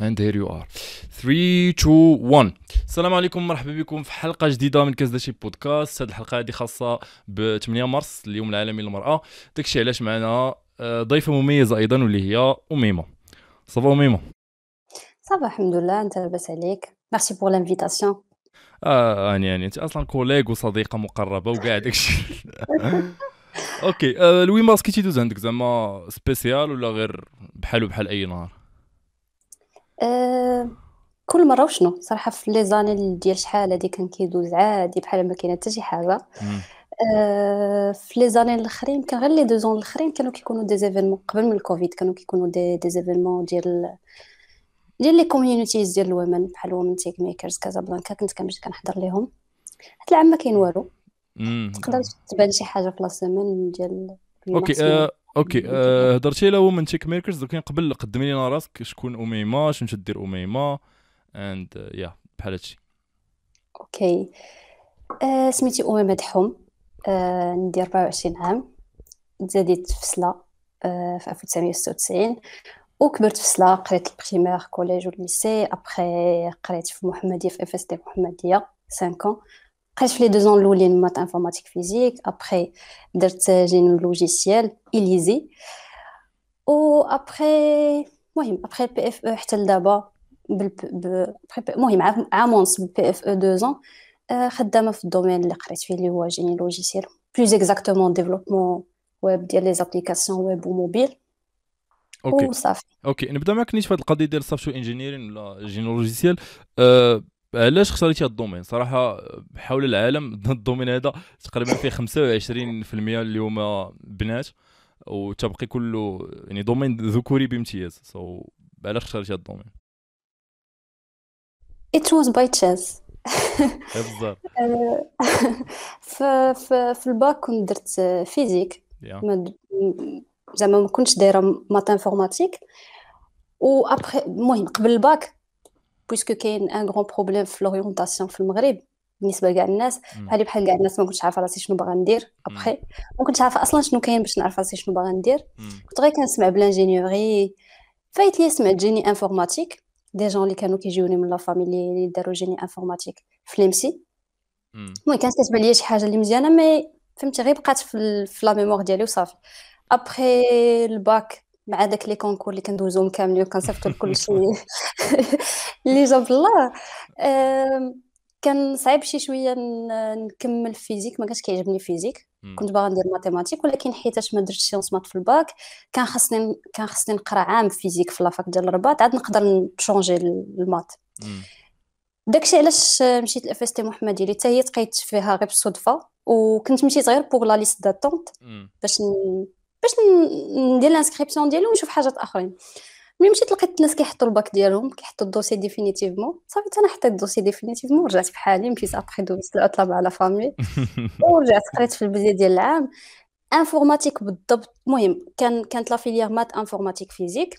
And here you are. 3 2 1. السلام عليكم، مرحبا بكم في حلقه جديده من كازداشي بودكاست. هذه الحلقه هذه خاصه ب 8 مارس، اليوم العالمي للمراه. داكشي علاش معنا ضيفه مميزه ايضا واللي هي اميمه. صافا اميمه؟ صافا الحمد لله. انت لاباس عليك؟ ميرسي بور لانفيتاسيون. يعني انت اصلا كوليغ وصديقه مقربه وكاع داكشي. اوكي. الوي ماسك تيدوز عندك زعما سبيسيال ولا غير بحال اي نهار؟ أه كل مره وشنو صراحه في لي زاني ديال شحال هادي كان كيدوز عادي بحال ما كاينه حتى شي حاجه. في لي زاني الاخرين كان غير لي 2 الاخرين كانوا كيكونوا دي زيفينمون قبل من الكوفيد، كانوا كيكونوا دي زيفينمون ديال لي كوميونيتيز ديال الومن بحال وومن تيك ميكرز كازابلانكا، كنت كنمشي كنحضر ليهم. هاد العام ما كاين والو. تقدر تبان شي حاجه في لا سيمين ديال اوكي. مارس ما اوكي. هضرتي على وومن تيك ميكرز، دوك قبل قدمي لينا راسك، شكون اميمه، شنو تدير اميمه اند يا بحال هادشي. اوكي. سميتي أميمة دحوم. ندير 24 عام. تزاديت في سلا في 1996، وكبرت في سلا. قريت البريمير كوليج والليسي، ابخي قريت في محمدية في اف اس تي محمدية 5 ans. قريت في لي 2 ans الاولين مات انفورماتيك فيزيك، ابخي درت جيني لوجيسيال اليزي، و ابخي المهم ابخي البي اف او حتى لدابا المهم عام ونص بالبي اف او 2 ans. خدامه في الدومين اللي قريت فيه اللي هو جيني لوجيسيال، بلوز اكزاكتومون ديفلوبمون ويب ديال لي زابليكاسيون ويب وموبيل اوكي. وصافي. اوكي، نبدا معك نيت في هذه القضيه ديال سوفتوير انجينيرين ولا جينولوجيسيال. علاش اختاريتي هذا الدومين؟ صراحه حول العالم الدومين هذا تقريبا فيه 25% اللي هما بنات، وتبقي كله يعني دومين ذكوري بامتياز. علاش اختاريتي هذا الدومين؟ it was by chance. بزاف. آه، في الباك كنت درت فيزيك. يا ما د- زعما ما كنتش دايره مات انفورماتيك. و ابخي المهم قبل الباك، بويسكو كاين ان غران بروبليم في لورينتاسيون في المغرب بالنسبه لكاع الناس، بحال كاع الناس ما كنتش عارفه راسي شنو باغا ندير. ابخي ما كنتش عارفه اصلا شنو كاين باش نعرف راسي شنو باغا ندير. كنت غير كنسمع بلانجينيوري، فايت لي سمعت جيني انفورماتيك. دي جون اللي كانوا كيجيوني من لا فاميلي اللي داروا جيني انفورماتيك في ليمسي. المهم كانت كتبان ليا شي حاجه اللي مزيانه، مي فهمتي غير بقات في لا ميموار ديالي وصافي. ابخي الباك مع داك لي كونكور اللي كندوزوهم كاملين وكنصيفطوا لكلشي اللي جاب الله. كان صعيب شي شويه نكمل فيزيك، ما كانش كيعجبني فيزيك. كنت باغا ندير ماتيماتيك، ولكن حيتاش ما درتش سيونس مات في الباك، كان خصني نقرا عام فيزيك في لافاك ديال الرباط عاد نقدر نشونجي المات. داكشي علاش مشيت لاف اس تي محمديه اللي حتى هي تقيت فيها غير بالصدفه، وكنت مشيت غير بوغ لا ليست داتونت باش ندير الانسكريبسيون ديالي ونشوف حاجات اخرين. ملي مشيت لقيت الناس كيحطوا الباك ديالهم، كيحطوا الدوسي ديفينيتيفمون. صافي انا حطيت الدوسي ديفينيتيفمون ورجعت بحالي. مشيت ابخي دوزت العطله مع لا فامي ورجعت قريت في البدايه ديال العام انفورماتيك بالضبط. المهم كانت لا فيليير مات انفورماتيك فيزيك.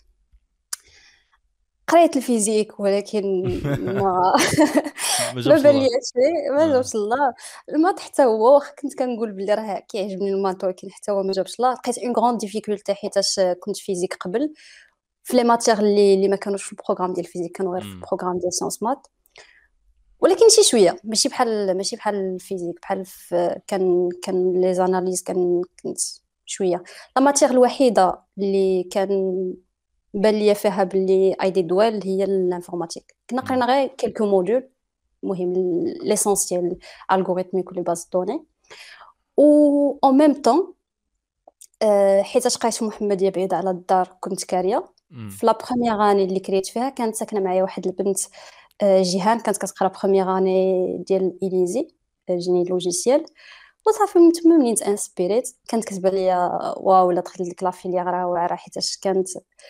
قريت الفيزيك ولكن ما ما ما جابش الله. بليش فيه، ما جابش الله. المات حتى هو واخا كنت كنقول بلي راه كيعجبني المات، ولكن حتى هو ما جابش الله. لقيت اون غران ديفيكولتي حيتاش كنت فيزيك قبل في لي ماتيغ اللي ما كانوش في البروغرام ديال الفيزيك، كانوا غير في البروغرام ديال سيونس مات. ولكن شي شويه ماشي بحال الفيزيك، بحال كان لي زاناليز كنت شويه. لا ماتيغ الوحيده اللي كان بان ليا فيها باللي اي دي دوال هي الانفورماتيك. كنا قرينا غير كيلكو موديول، المهم ليسونسيال الغوريثميك ولي باز دوني. و اون ميم طون حيت قريت في محمديه بعيده على الدار كنت كاريه. في لا بروميير اني اللي كريت فيها كانت ساكنه معايا واحد البنت جيهان، كانت كتقرا بروميير اني ديال اليزي جيني لوجيسيال. وصافي من تما منين انسبيريت كانت كتبان ليا واو لا دخلت لك لا فيليير راه واعره، حيتاش كانت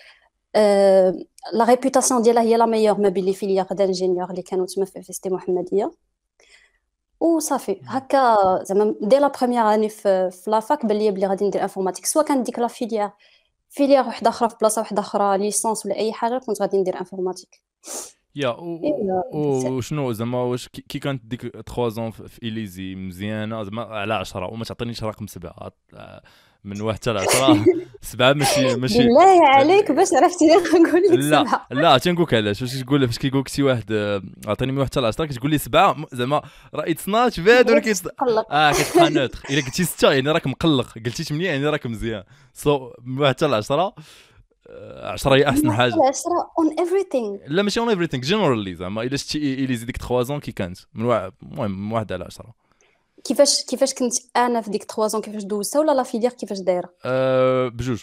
لا ريبوتاسيون ديالها هي لا ميور ما بين لي فيليير دانجينيور اللي كانوا تما في فيستي محمديه. وصافي هكا زعما دي لا بروميير اني في لافاك بان ليا بلي غادي ندير انفورماتيك، سواء كانت ديك لا فيليير وحده اخرى في بلاصه وحده اخرى ليسونس ولا اي حاجه، كنت غادي ندير انفورماتيك. يا ايوا وشنو زعما واش كي كانت ديك 3 زون في اليزي مزيانه زعما على 10 وما تعطينيش رقم 7 من 1 حتى ل 10. 7 ماشي بالله عليك باش عرفتي نقول لك لا 7. لا تنقولك علاش، واش تقول فاش كيقول لك شي واحد عطيني من 1 حتى ل 10 كتقول لي 7 زعما راه اتس نوت باد ولكن تقلق. كتبقى نوتر. الا قلتي 6 يعني راك مقلق، قلتي 8 يعني راك مزيان. من 1 حتى ل 10 10 هي احسن حاجه. 10 on everything. لا ماشي اون ايفريثينغ جينيرالي، زعما الا شتي اليزي ديك 3 زون كي كانت من المهم من 1 على 10. كيفاش كنت انا في ديك 3 كيفاش دوزتها ولا لا فيليير كيفاش دايره؟ بجوج.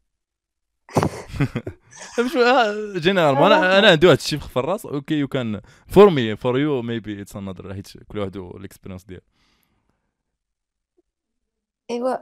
مش جينيرال انا عندي واحد الشيء في الراس. اوكي يو كان فور مي فور يو ميبي اتس انذر، حيت كل واحد الاكسبيرينس ديالو. ايوا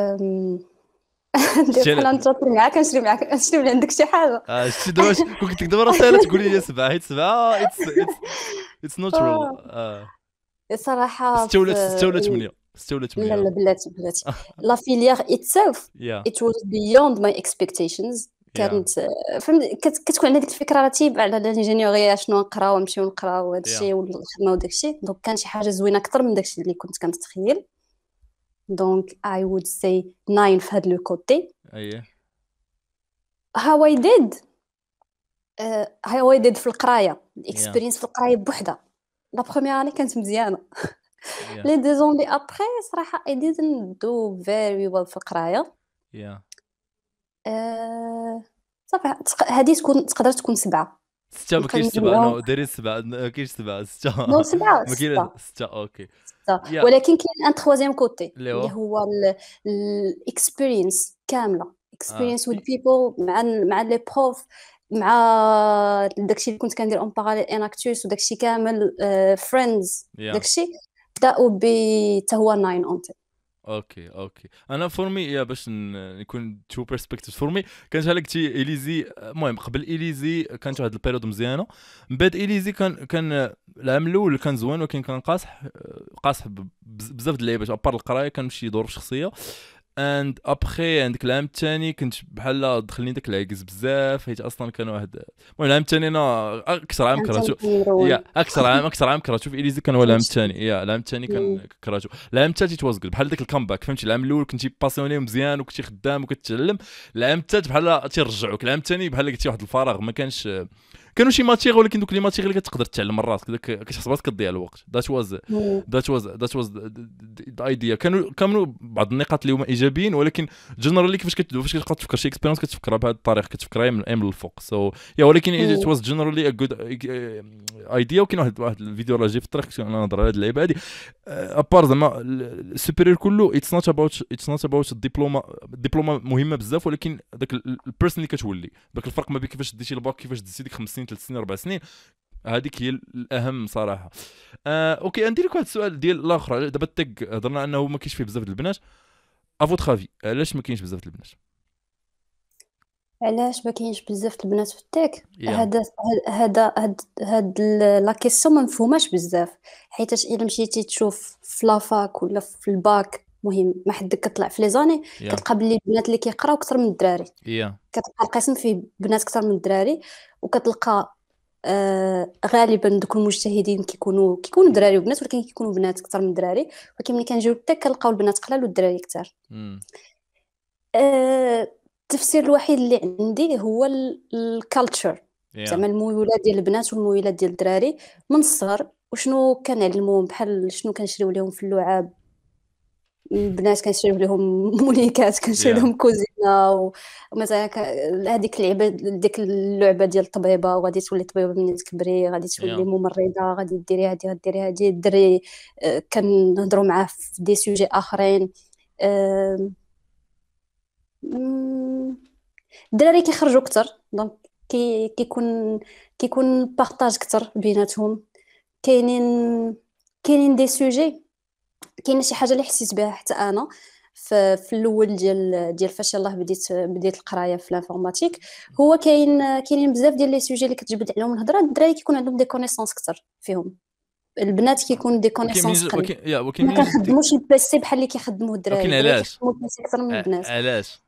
ندير بحال نتشاطر معاك نشري من عندك شي حاجه. شتي دابا كنت دابا راه ساهله تقولي لي 7 حيت 7 اتس ناتشورال. صراحه 6 ولا 8 لا لا بلاتي لا فيليير itself يا it was beyond my expectations. كانت فهمت كتكون عندك الفكره رتيبه على الانجينيوريه شنو نقراو ونمشيو نقراو هذا الشيء والخدمه وداك الشيء. دونك كان شي حاجه زوينه اكثر من داك الشيء اللي كنت كنتخيل. دونك I would say 9 في هذا لو كوتي. اييه how I did في القرايه الاكسبيرينس في القرايه بوحدها. لا بروميير اني كانت مزيانه. لي دي زون لي ابري صراحه I didn't do very well في القرايه. صافي هذه تقدر تكون 7. 6 ما كاينش 7 نو دايرين 7 ما كاينش 7 6 نو 7 ما كاين 6 اوكي. ولكن كاين ان تخوازيام كوتي اللي هو الاكسبيرينس كامله اكسبيرينس وذ بيبل مع لي بروف مع داكشي اللي كنت كندير اون باراليل اناكتوس وداكشي كامل فريندز داكشي بداو حتى هو 9 اون 10. اوكي انا فور مي باش نكون تو بيرسبكتيف فور مي كانت هلا قلتي اليزي. المهم قبل اليزي كانت واحد البيريود مزيانه. من بعد اليزي كان العام الاول كان زوين ولكن كان قاصح بزاف د اللعيبات ابار القرايه كان شي ظروف شخصيه. اند ابخي عندك العام الثاني كنت بحال دخلني داك العكز بزاف حيت اصلا كان واحد. المهم العام الثاني انا اكثر عام كرهتو. اكثر عام كرهتو في اليزي كان هو العام الثاني. العام الثاني كان كرهتو. العام الثالث توازقل بحال داك الكامباك فهمتي. العام الاول كنتي باسيوني مزيان وكنتي خدام وكتعلم. العام الثالث بحال تيرجعوك. العام الثاني بحال قلتي واحد الفراغ ما كانش. كانوا شي ماتيغ ولكن دوك لي ماتيغ اللي كتقدر تعلم من راسك كتحس براسك كتضيع الوقت. ذات واز ذا ايديا. كانوا بعض النقاط اللي هما ايجابيين ولكن جنرالي فاش كتبقى تفكر شي اكسبيرينس كتفكرها بهذه الطريقه كتفكرها من الفوق. ولكن ات واز جنرالي ا جود ايديا. وكاين واحد الفيديو راه جاي في الطريق انا نهضر على هذه اللعيبه هذه ابار زعما السوبيريور كله اتس نوت اباوت الدبلومه مهمه بزاف ولكن داك البيرسون اللي كتولي داك الفرق ما بين كيفاش ديتي الباك كيفاش ديتي ديك 5 سنين 3 سنين 4 سنين. هذيك هي الاهم صراحه. اوكي ندير لك واحد السؤال ديال الاخر. دابا التك هضرنا انه ما كاينش فيه بزاف د البنات. افوت خافي علاش ما كاينش بزاف د البنات؟ علاش ما كاينش بزاف البنات في التك؟ هاد لا كيسيون ما مفهوماش بزاف حيت الا مشيتي تشوف في لافاك ولا في الباك مهم ما حدك كطلع في لي زاني كتلقى بلي البنات اللي كيقراو اكثر من الدراري. كتلقى القسم فيه بنات اكثر من الدراري وكتلقى غالبا دوك المجتهدين كيكونوا دراري وبنات ولكن كيكونوا بنات اكثر من الدراري. ولكن ملي كنجيو للتك كنلقاو البنات قلال والدراري كثار. التفسير الوحيد اللي عندي هو الكالتشر زعما الميولات ديال البنات والميولات ديال الدراري من الصغر وشنو كنعلموهم بحال شنو كنشريو لهم في اللعاب. البنات كنشريو لهم مونيكات كنشريو لهم كوزينه ومثلا هذيك اللعبه ديك اللعبه ديال الطبيبه وغادي تولي طبيبه ملي تكبري غادي تولي ممرضه غادي ديري هادي غديري هادي. الدري كنهضروا معاه في دي سوجي اخرين. الدراري كيخرجوا اكثر دونك كيكون بارطاج اكثر بيناتهم. كاينين دي سوجي كاينه شي حاجه اللي حسيت بها حتى انا في الاول ديال فاش يلاه بديت القرايه في الانفورماتيك. هو كاينين بزاف ديال لي سوجي اللي كتجبد عليهم الهضره. الدراري كيكون عندهم دي كونيسونس اكثر فيهم. البنات كيكون دي كونيسونس قليل ما كنخدموش البيسي بحال اللي كيخدموه الدراري. ولكن علاش اكثر من البنات؟ علاش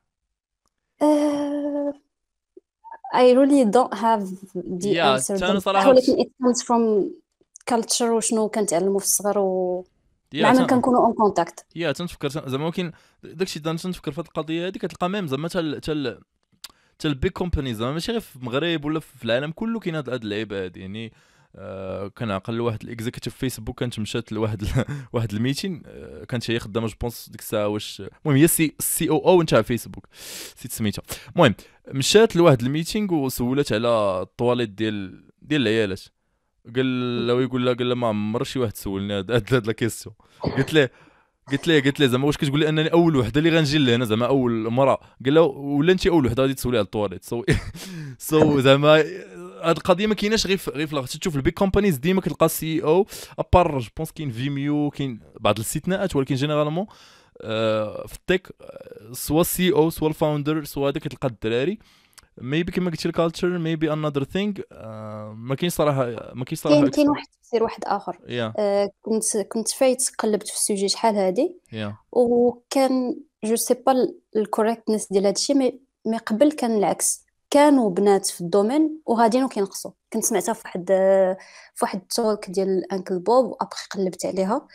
I really don't have the answer. ولكن it comes from culture وشنو كنتعلموا في الصغر يا مع من كنكونوا اون كونتاكت. تنفكر زعما كاين داكشي تنفكر في هاد القضيه هادي، كتلقى ميم زعما حتى البيج كومبانيز زعما ماشي غير في المغرب ولا في العالم كله كاين هاد اللعيبه هادي يعني. كنعقل واحد الاكزيكتيف فيسبوك كانت مشات لواحد واحد الميتين، كانت هي خدامه جو بونس ديك الساعه واش المهم هي سي او نتاع فيسبوك نسيت سميتها. المهم مشات لواحد الميتينغ وسولات على الطواليت ديال العيالات. قال له ما عمر شي واحد سولني هاد لا كيسيون. قلت له زعما واش كتقول لي انني اول وحده اللي غنجي لهنا زعما اول مرة؟ قال له ولا انت اول وحده غادي تسولي على الطواليت. سو زعما هاد القضيه ما كايناش غير في تشوف البيك كومبانيز ديما كتلقى سي او ابار جو بونس كاين فيميو كاين بعض الاستثناءات، ولكن جينيرالمون في التك سوا سي او سوا الفاوندر سوا هذا كتلقى الدراري. ميبي كما قلتي الكالتشر ميبي انذر ثينغ. ما كاينش صراحه كاين واحد التفسير واحد اخر. كنت فايت قلبت في السوجي شحال هادي وكان جو سي با الكوريكتنس ديال هادشي، مي قبل كان العكس، كانوا بنات في الدومين وغاديين وكينقصوا. كنت سمعتها في واحد التولك ديال انكل بوب وابخي قلبت عليها،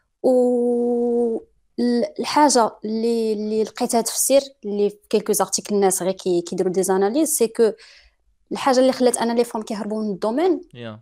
و الحاجه اللي لقيتها تفسير اللي في كيلكو زارتيكل الناس غير كيديروا دي زاناليز، سي كو الحاجه اللي خلات انا لي فام كيهربوا من الدومين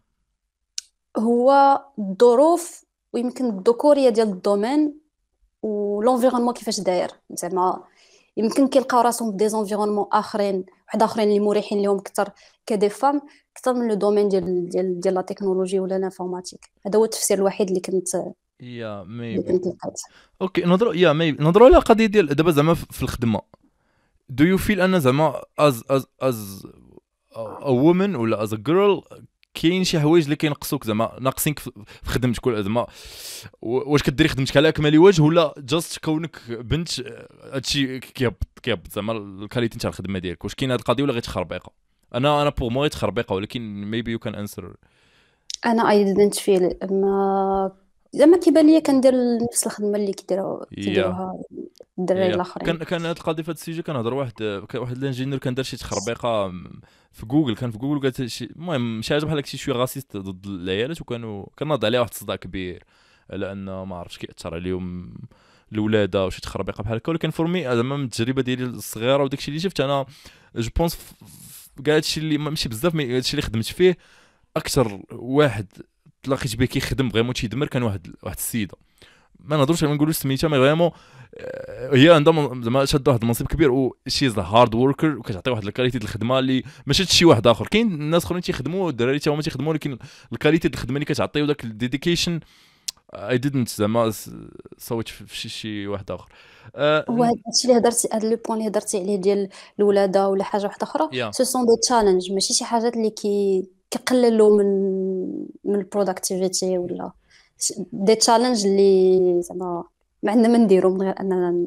هو الظروف ويمكن الذكوريه ديال الدومين ولونفيرونمون كيفاش داير. زعما يمكن كيلقاو راسهم في دي زونفيرونمون اخرين اللي مريحين لهم اكثر كدي فام اكثر من لو دومين ديال لا تكنولوجي ولا الانفورماتيك. هذا هو التفسير الوحيد اللي كنت ميبي اوكي. نضروا على قضيه ديال دابا زعما في الخدمه. do you feel ان زعما as a woman ولا as a girl كاين شي حوايج اللي كينقصوك زعما ناقصينك في خدمتك ولا زعما واش كديري خدمتك على اكمل وجه ولا جاست كونك بنت هادشي كيهبط زعما الكاليتي نتاع الخدمه ديالك؟ واش كاين هاد القضيه ولا غير تخربيقه؟ انا بور مو تخربيقه، ولكن ميبي يو كان انسر. انا اي ديدنت فيل ما زعما كيبان ليا كندير نفس الخدمه اللي كيديروها الدراري الاخرين. كان هاد القضيه في هاد السيجي كنهضر واحد الانجينير كان دار شي تخربيقه في جوجل، قالت شي المهم شي حاجه بحال هكا شي غاسيست ضد العيالات، وكانوا كناض عليه واحد الصداع كبير على ان ما عرفتش كيأثر عليهم الولاده وشي تخربيقه بحال هكا. ولكن فورمي زعما من التجربه ديالي الصغيره وداكشي اللي شفت انا جو بونس كاع هادشي اللي ماشي بزاف مي هادشي اللي خدمت فيه اكثر واحد تلاقيت به كيخدم فريمون تيدمر كان واحد السيده ما نهضروش ما نقولوش سميتها مي فريمون هي عندها زعما شاده واحد المنصب كبير وشي از هارد وركر وكتعطي واحد الكاليتي ديال الخدمه اللي ما شاتش شي واحد اخر. كاين الناس اخرين تيخدموا الدراري تا هما تيخدموا، ولكن الكاليتي ديال الخدمه اللي كتعطي وداك الديديكيشن اي ديدنت زعما صوت في شي واحد اخر. وهذا الشيء اللي هضرتي هذا لو بوين اللي هضرتي عليه ديال الولاده ولا حاجه واحده اخرى سو سون دي تشالنج، ماشي شي حاجات اللي كيقللوا من البروداكتيفيتي ولا دي تشالنج اللي زعما ما عندنا ما نديرو من غير اننا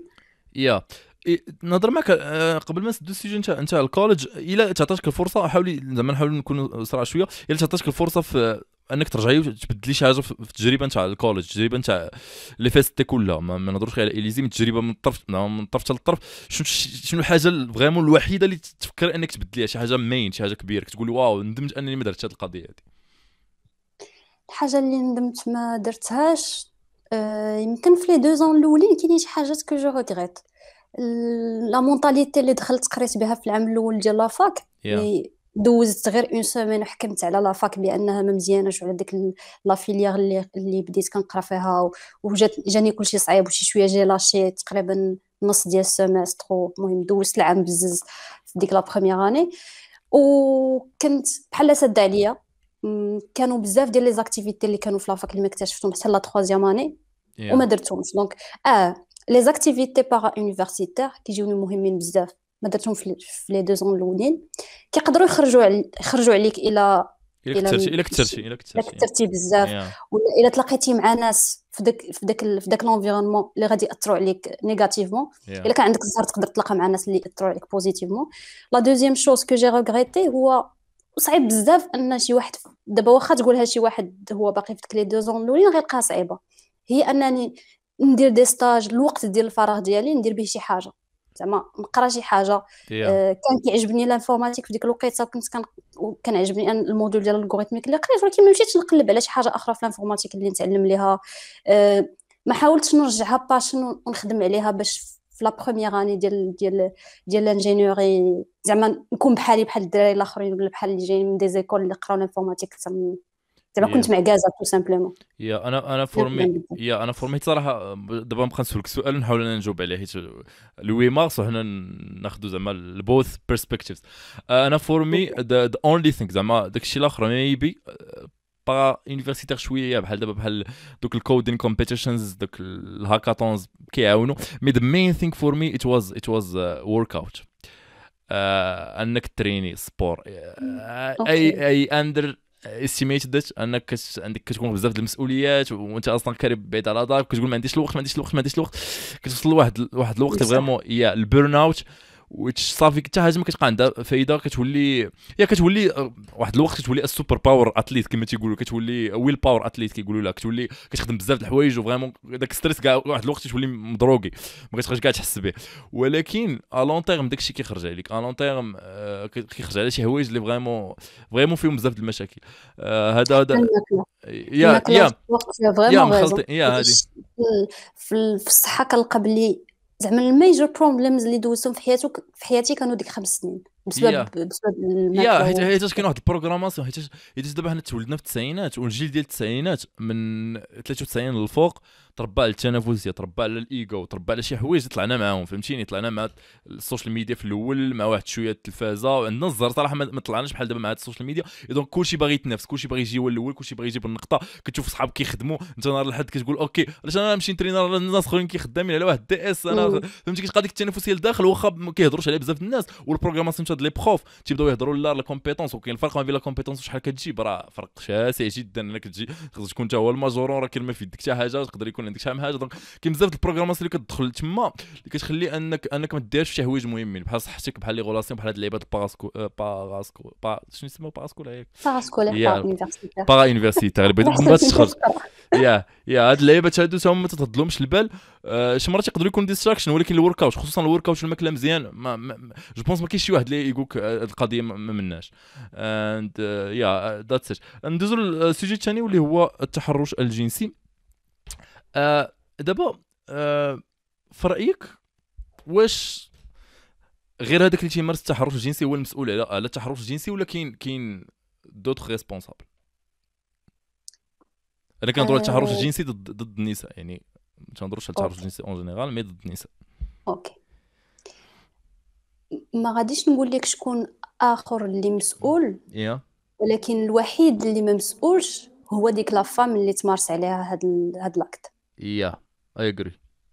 نهضر معك قبل ما نسدو السيجن نتاع الكوليج. الا تعطاتك الفرصه حاولي زعما نحاولوا نكونوا صراحه شويه، الا تعطاتك الفرصه في انك ترجعي وتبدلي شي حاجه في التجربه نتاع الكوليج، التجربه نتاع لي فيست كلها ما نهضروش على اليزي، من التجربه من الطرف حتى للطرف، شنو الحاجه فريمون الوحيده اللي تفكر انك تبدليها، شي حاجه مين شي حاجه كبيره كتقولي واو ندمت انني ما درتش هذه القضيه هذه؟ الحاجه اللي ندمت ما درتهاش يمكن في لي 2 زون الاولين كاينين شي حاجات كو جو ريغريت. لا مونطاليتي اللي دخلت قريت بها في العام الاول ديال لافاك اللي دوزت غير اون سيمين وحكمت على لافاك بانها ما مزياناش، وعلى ديك لا فيليير اللي بديت كنقرا فيها وجاني كلشي صعيب وشي شويه جي لاشي تقريبا نص ديال السيمستر. المهم دوزت العام بزز في ديك لا بروميير اني وكنت بحال سد عليا. كانوا بزاف ديال لي زاكتيفيتي اللي كانوا في لافاك اللي ما اكتشفتهم حتى لا 3 اني وما درتهمش. دونك لي زاكتيفيتي بارا يونيفرسيتير كيجيوني مهمين بزاف ما درتهم في لي 2 زون الاولين، كيقدروا يخرجوا عليك الى كثرتي بزاف ولا الا تلاقيتي مع ناس في داك لونفيرونمون اللي غادي ياثروا عليك نيجاتيفمون. الا كان عندك الزهر تقدر تلاقى مع ناس اللي ياثروا عليك بوزيتيفمون. لا دوزيام شوز كو جي ريغريتي هو صعيب بزاف ان شي واحد دابا واخا تقولها شي واحد هو باقي في ديك لي 2 زون الاولين غيلقاها صعيبه، هي انني ندير دي ستاج الوقت ديال الفراغ ديالي ندير به شي حاجه، زعما نقرا شي حاجه. كان كيعجبني الانفورماتيك في ديك الوقيته كنت كنعجبني ان الموديول ديال الالغوريثميك اللي قريت، ولكن ما مشيتش نقلب على شي حاجه اخرى في الانفورماتيك اللي نتعلم ليها. ما حاولتش نرجعها باشن ونخدم عليها باش في لا بروميير اني ديال الانجينيوري زعما نكون بحال الدراري الاخرين ولا بحال اللي جايين من دي زيكول اللي قراو الانفورماتيك زعما كنت معكازه تو سامبلومون. يا انا فورمي يا انا فورميت صراحه. دابا نبقى نسولك سؤال نحاول انا نجاوب عليه حيت ل 8 مارس وحنا ناخذوا زعما البوث بيرسبكتيفز. انا فورمي ذا اونلي ثينك زعما داكشي الاخر ميبي با يونيفرسيتير شويه بحال دابا بحال دوك الكودين كومبيتيشنز دوك الهاكاثونز كيعاونوا. مي ذا مين ثينك فور مي ات واز ورك اوت. انك تريني سبور اي اندر استيميتد انك عندك كتكون بزاف د المسؤوليات وانت اصلا كارب بعيد على دارك كتقول ما عنديش الوقت كتوصل لواحد الوقت فريمون يا البيرن اوت ويتش صافي حتى حاجه ما كتبقى عندها فايده. كتولي واحد الوقت كتولي السوبر باور اتليت كما تيقولوا كتولي ويل باور اتليت كيقولوا لها كتولي كتخدم بزاف د الحوايج وفريمون داك ستريس كاع واحد الوقت تولي مضروقي ما كتبقاش كاع تحس به. ولكن ا لون تيرم داكشي كيخرج عليك ا لون تيرم كيخرج على شي حوايج اللي فريمون فيهم بزاف د المشاكل. هذا يا مخلطين يا هذه في الصحه كنلقى بلي زعما الميجور بروبليمز اللي دوزتهم في حياتي كانوا ديك 5 سنين بسبب حيت كاين واحد البروغراماسيون حيت دابا حنا تولدنا في التسعينات والجيل ديال التسعينات من 93 للفوق تربى على التنافسيه تربى على الايغو تربى على شي حوايج طلعنا معاهم فهمتيني. طلعنا مع السوشيال ميديا في الاول مع واحد شويه التلفازه وعندنا الزهر صراحه ما طلعناش بحال دابا مع السوشيال ميديا. دونك كلشي باغي يتنافس كلشي باغي يجي هو الاول كلشي باغي يجيب النقطه. كتشوف صحابك كيخدموا انت نهار الحد كتقول اوكي علاش انا نمشي نترينا على الناس اخرين كيخدامين على واحد دي اس انا فهمتي. كتبقى ديك التنافسيه لداخل واخا ما كيهضروش عليها بزاف الناس والبروغراماسيون تاع لي بروف تيبداو يهضروا لا كومبيتونس. وكاين الفرق ما بين لا كومبيتونس وشحال كتجيب راه فرق شاسع جدا. انك تجي خصك تكون انت هو الماجورون راه كاين ما في يدك حتى حاجه تقدر يكون عندك شحال من حاجه. دونك كاين بزاف د البروغراماسيون اللي كتدخل تما اللي كتخلي انك ما ديرش شي حوايج مهمين بحال صحتك بحال لي غولاسيون بحال هاد اللعيبات باراسكو شنو يسموا باراسكو لا بارا يونيفرسيتير اللي بغيت تخرج يا هاد اللعيبات هادو هما ما تتهضلهمش البال. شي مرات يقدروا يكون ديستراكشن ولكن الورك اوت خصوصا الورك اوت الماكله مزيان جو بونس ما كاينش شي واحد اللي يقولك القضيه ما مناش. اند يا ذاتس ات. ندوزو للسوجي الثاني واللي هو التحرش الجنسي. دابا في رايك واش غير هذاك اللي تيمارس التحرش الجنسي هو المسؤول على التحرش الجنسي ولا كاين دوطخ ريسبونسابل؟ انا كنهضروا على التحرش الجنسي ضد النساء يعني ما تنهضروش على التحرش الجنسي اون جينيرال مي ضد النساء. اوكي ما غاديش نقول لك شكون اخر اللي مسؤول ولكن الوحيد اللي ما مسؤولش هو ديك لا فام اللي تمارس عليها هاد لاكت. اي اغري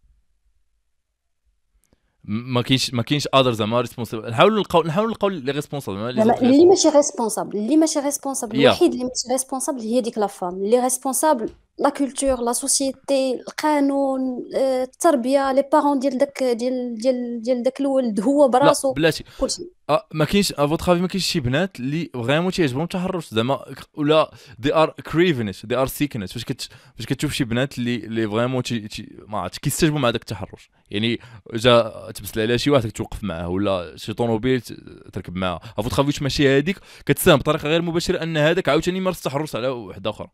ما كاينش ادر زعما ريسبونسابل. نحاولوا نلقاو لي ريسبونسابل اللي ماشي ريسبونسابل الوحيد اللي ماشي ريسبونسابل هي ديك لا فام. اللي ريسبونسابل لا كولتور لا سوسيتي القانون التربيه لي بارون ديال داك الولد هو براسو بلاتي كلشي. ما كاينش افوترافي ما كاينش شي بنات اللي فريمون تيعجبهم التحرش زعما ولا دي ار كريفينش دي ار سيكنش فاش كتشوف شي بنات اللي فريمون ما عرفتش كيستجبوا مع داك التحرش يعني جا تبسل عليها شي واحد توقف معاه ولا شي طوموبيل تركب معاه افوترافي ماشي هذيك كتساهم بطريقه غير مباشره ان هذاك عاوتاني مارس التحرش على وحده اخرى.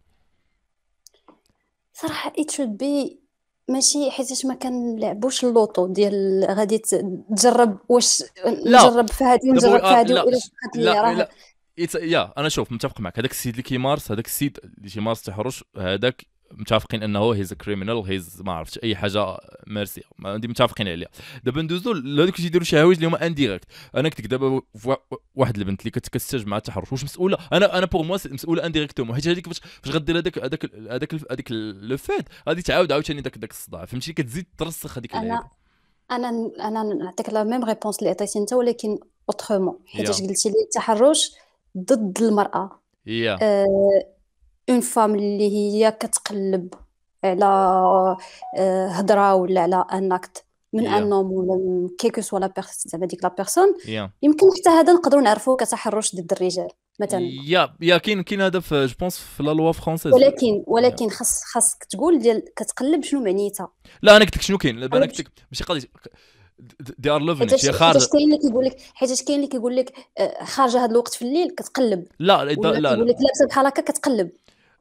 صراحه it should be ماشي حيتاش ما كنلعبوش اللوطو ديال غادي تجرب واش نجرب في هذه ونجرب في هذه ولا بقات لي راه يا انا شوف متفق معك. هذاك السيد اللي كيمارس هذاك السيد اللي تيمارس التحرش هذاك متفقين انه هيز كريمينال هيز ما عرفتش اي حاجه مارسيه ما عندي متفقين عليها. دابا ندوزو لهذوك اللي تيديروا شي حوايج اللي هما انديريكت. انا كنت دابا واحد البنت اللي كتستجب مع التحرش واش مسؤوله انا بوغ موا مسؤوله انديريكتومون حيت هذيك فاش غدير هذاك لو فيت غادي تعاود عاوتاني داك الصداع فهمتي كتزيد ترسخ هذيك اللعيبه. انا نعطيك لا ميم ريبونس اللي عطيتي انت ولكن اوترومون حيتاش قلتي لي التحرش ضد المراه. اون فام اللي هي كتقلب على هضره ولا على ان اكت من ان نوم ولا كيكو سوا لا بيرسون زعما ديك لا بيرسون يمكن حتى هذا نقدروا نعرفوه كتحرش ضد الرجال مثلا. يا كاين هذا في جو بونس في لا لوا فرونسيز ولكن خاصك تقول ديال كتقلب شنو معنيتها. لا انا قلت لك شنو كاين انا قلت لك ماشي قضيه دي ار لوفين شي خارج حيت كاين اللي كيقول لك خارجه هذا الوقت في الليل كتقلب لا يقول لك لابسه بحال هكا كتقلب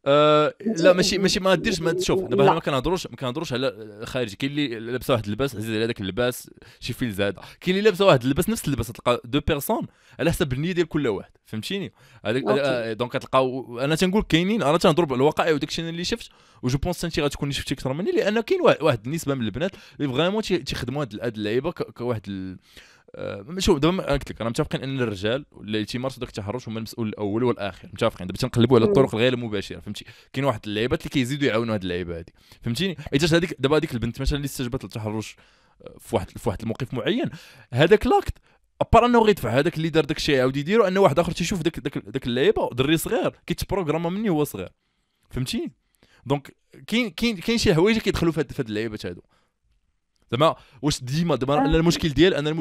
لا ماشي ما ديرش ما شوف دابا هنا ما كنهضروش على خارجي. كاين اللي لابسه واحد اللباس عزيز على داك اللباس شي فيل زاده، كاين اللي لابسه واحد اللباس نفس اللباس تلقى دو بيرسون على حسب النيه ديال كل واحد، فهمتيني؟ هذاك دونك كتلقاو انا تنقول كاينين، انا تنضرب الواقع وداكشي اللي شفت، وجو بونس انت غتكوني شفتي اكثر مني، لان كاين واحد النسبه من البنات اللي فريمون تيخدموا هاد اللعيبه كواحد شوف دابا قلت لك انا متفقين ان الرجال اللي تيمارسوا داك التحرش هما المسؤول الاول والاخر، متفقين. دابا تنقلبوا على الطرق الغير مباشره، فهمتي؟ كاين واحد اللعيبات اللي كيزيدوا يعاونوا هاد اللعيبه هذه، فهمتيني؟ حيت هذيك دابا هذيك البنت مثلا اللي استجابت للتحرش في واحد الموقف معين، هذاك لاكت ابار انه غيدفع هذاك اللي دار داك الشيء يعاود يديرو، ان واحد اخر تيشوف داك اللعيبه دري صغير كيتبروغراما مني هو صغير، فهمتيني؟ دونك كاين شي حوايج كيدخلوا في هاد اللعيبات هادو. زعما واش ديما دابا انا المشكل ديال انا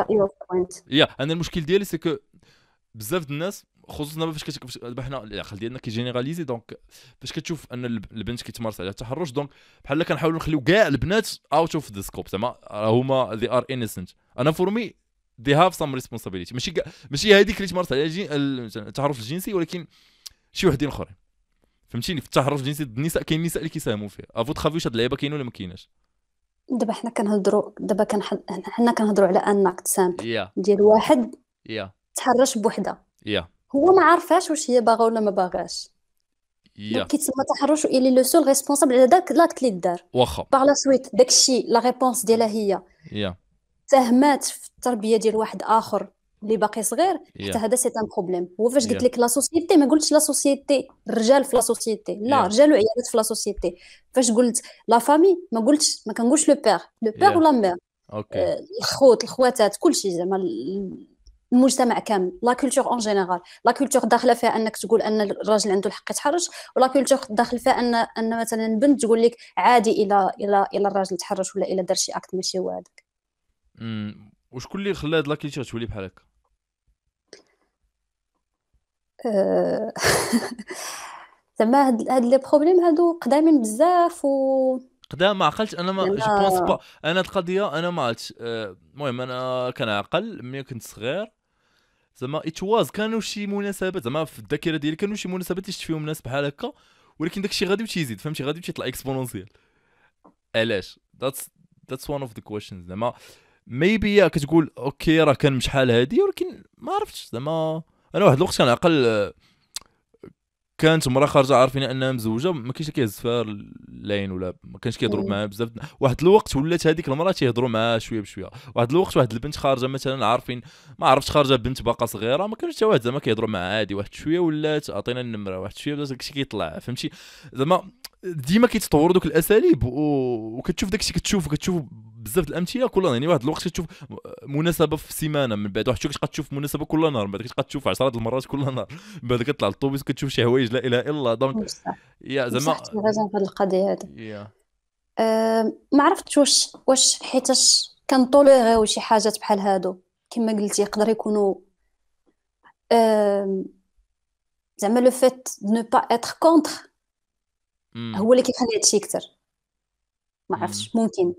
المشكل ديالي سي كو بزاف د الناس خصوصا دابا فاش دابا حنا العقل ديالنا كيجينيراليزي، دونك فاش كتشوف ان البنت كيتمارس عليها التحرش، دونك بحال كنحاولوا نخليو كاع البنات اوت اوف ذا سكوب، زعما هما they are innocent. انا فور مي they have some responsibility، ماشي هذيك اللي تمارس عليها التحرش الجنسي، ولكن شي وحدين اخرين، فهمتيني؟ في التحرش الجنسي ضد النساء كاين نساء اللي كيساهموا فيه. افو تخافيو واش هاد اللعيبه كاينه ولا ما كايناش؟ دابا حنا كنهضروا على ان اكت سامبل yeah ديال واحد yeah تحرش بوحده، yeah هو ما عارفاش واش هي باغا ولا ما باغاش، دونك كيتسمى تحرش واللي لو سول ريسبونسابل على داك لاكت اللي دار. واخا باغ لا سويت داكشي لا ريبونس ديالها هي yeah ساهمات في التربيه ديال واحد اخر اللي باقي صغير، حتى yeah هذا سي ان بروبليم. هو فاش قلت yeah لك لا سوسيتي ما قلتش لا سوسيتي الرجال في لا سوسيتي، لا yeah رجال وعيالات في لا سوسيتي. فاش قلت لا فامي ما كنقولش لو بير yeah ولا مير، اوكي الخوت الخواتات كلشي، زعما المجتمع كامل، لا كولتور اون جينيرال. لا كولتور داخله فيها انك تقول ان الراجل عنده الحق يتحرش، ولا كولتور داخل فيها ان مثلا البنت تقول لك عادي الى الراجل تحرش ولا الى دار شي اكت ماشي هو هذاك. وشكون اللي خلى هاد لاكيلتي تولي بحال هكا؟ زعما هاد لي بروبليم هادو قدامين بزاف قدام ما عقلتش انا، ما جو بونس با انا القضيه انا ما عرفتش. المهم انا كنعقل ملي كنت صغير، زعما اتواز كانوا شي مناسبات، زعما في الذاكره ديالي كانوا شي مناسبات اللي شفت فيهم ناس بحال هكا، ولكن داكشي غادي وتيزيد، فهمتي؟ غادي وتيطلع اكسبونونسيال. علاش؟ that's one of the questions. زعما ميبي كتقول اوكي راه كان شحال هادي، ولكن ما عرفتش. زعما انا واحد الوقت كنعقل كانت مرا خارجه عارفين انها مزوجه، ما كاينش كيهز فيها اللاين ولا ما كانش كيهضروا معاها بزاف. واحد الوقت ولات هذيك المراه تيهضروا معاها شويه بشويه. واحد الوقت واحد البنت خارجه مثلا عارفين ما عرفتش خارجه بنت باقا صغيره، ما كانش حتى واحد زعما كيهضروا معاها عادي. واحد شويه ولات عطينا النمره، واحد شويه بدا داكشي كيطلع، فهمتي؟ زعما ديما كيتطوروا دوك الاساليب وكتشوف داكشي كتشوف بزاف الامثله كل نهار. يعني واحد الوقت كتشوف مناسبه في السيمانه، من بعد واحد شويه كتشوف مناسبه كل نهار، من بعد كتشوف 10 المرات كل نهار، من بعد كتطلع للطوبيس كتشوف شي حوايج لا اله الا الله. دونك يا زعما في هذه القضيه هذه ما عرفتش واش حيتاش كنطوليريو شي حاجات بحال هادو كما قلتي يقدر يكونوا زعما لو فيت دو نو با اتر كونتر هو اللي كيخلي هادشي اكثر. ما عرفتش ممكن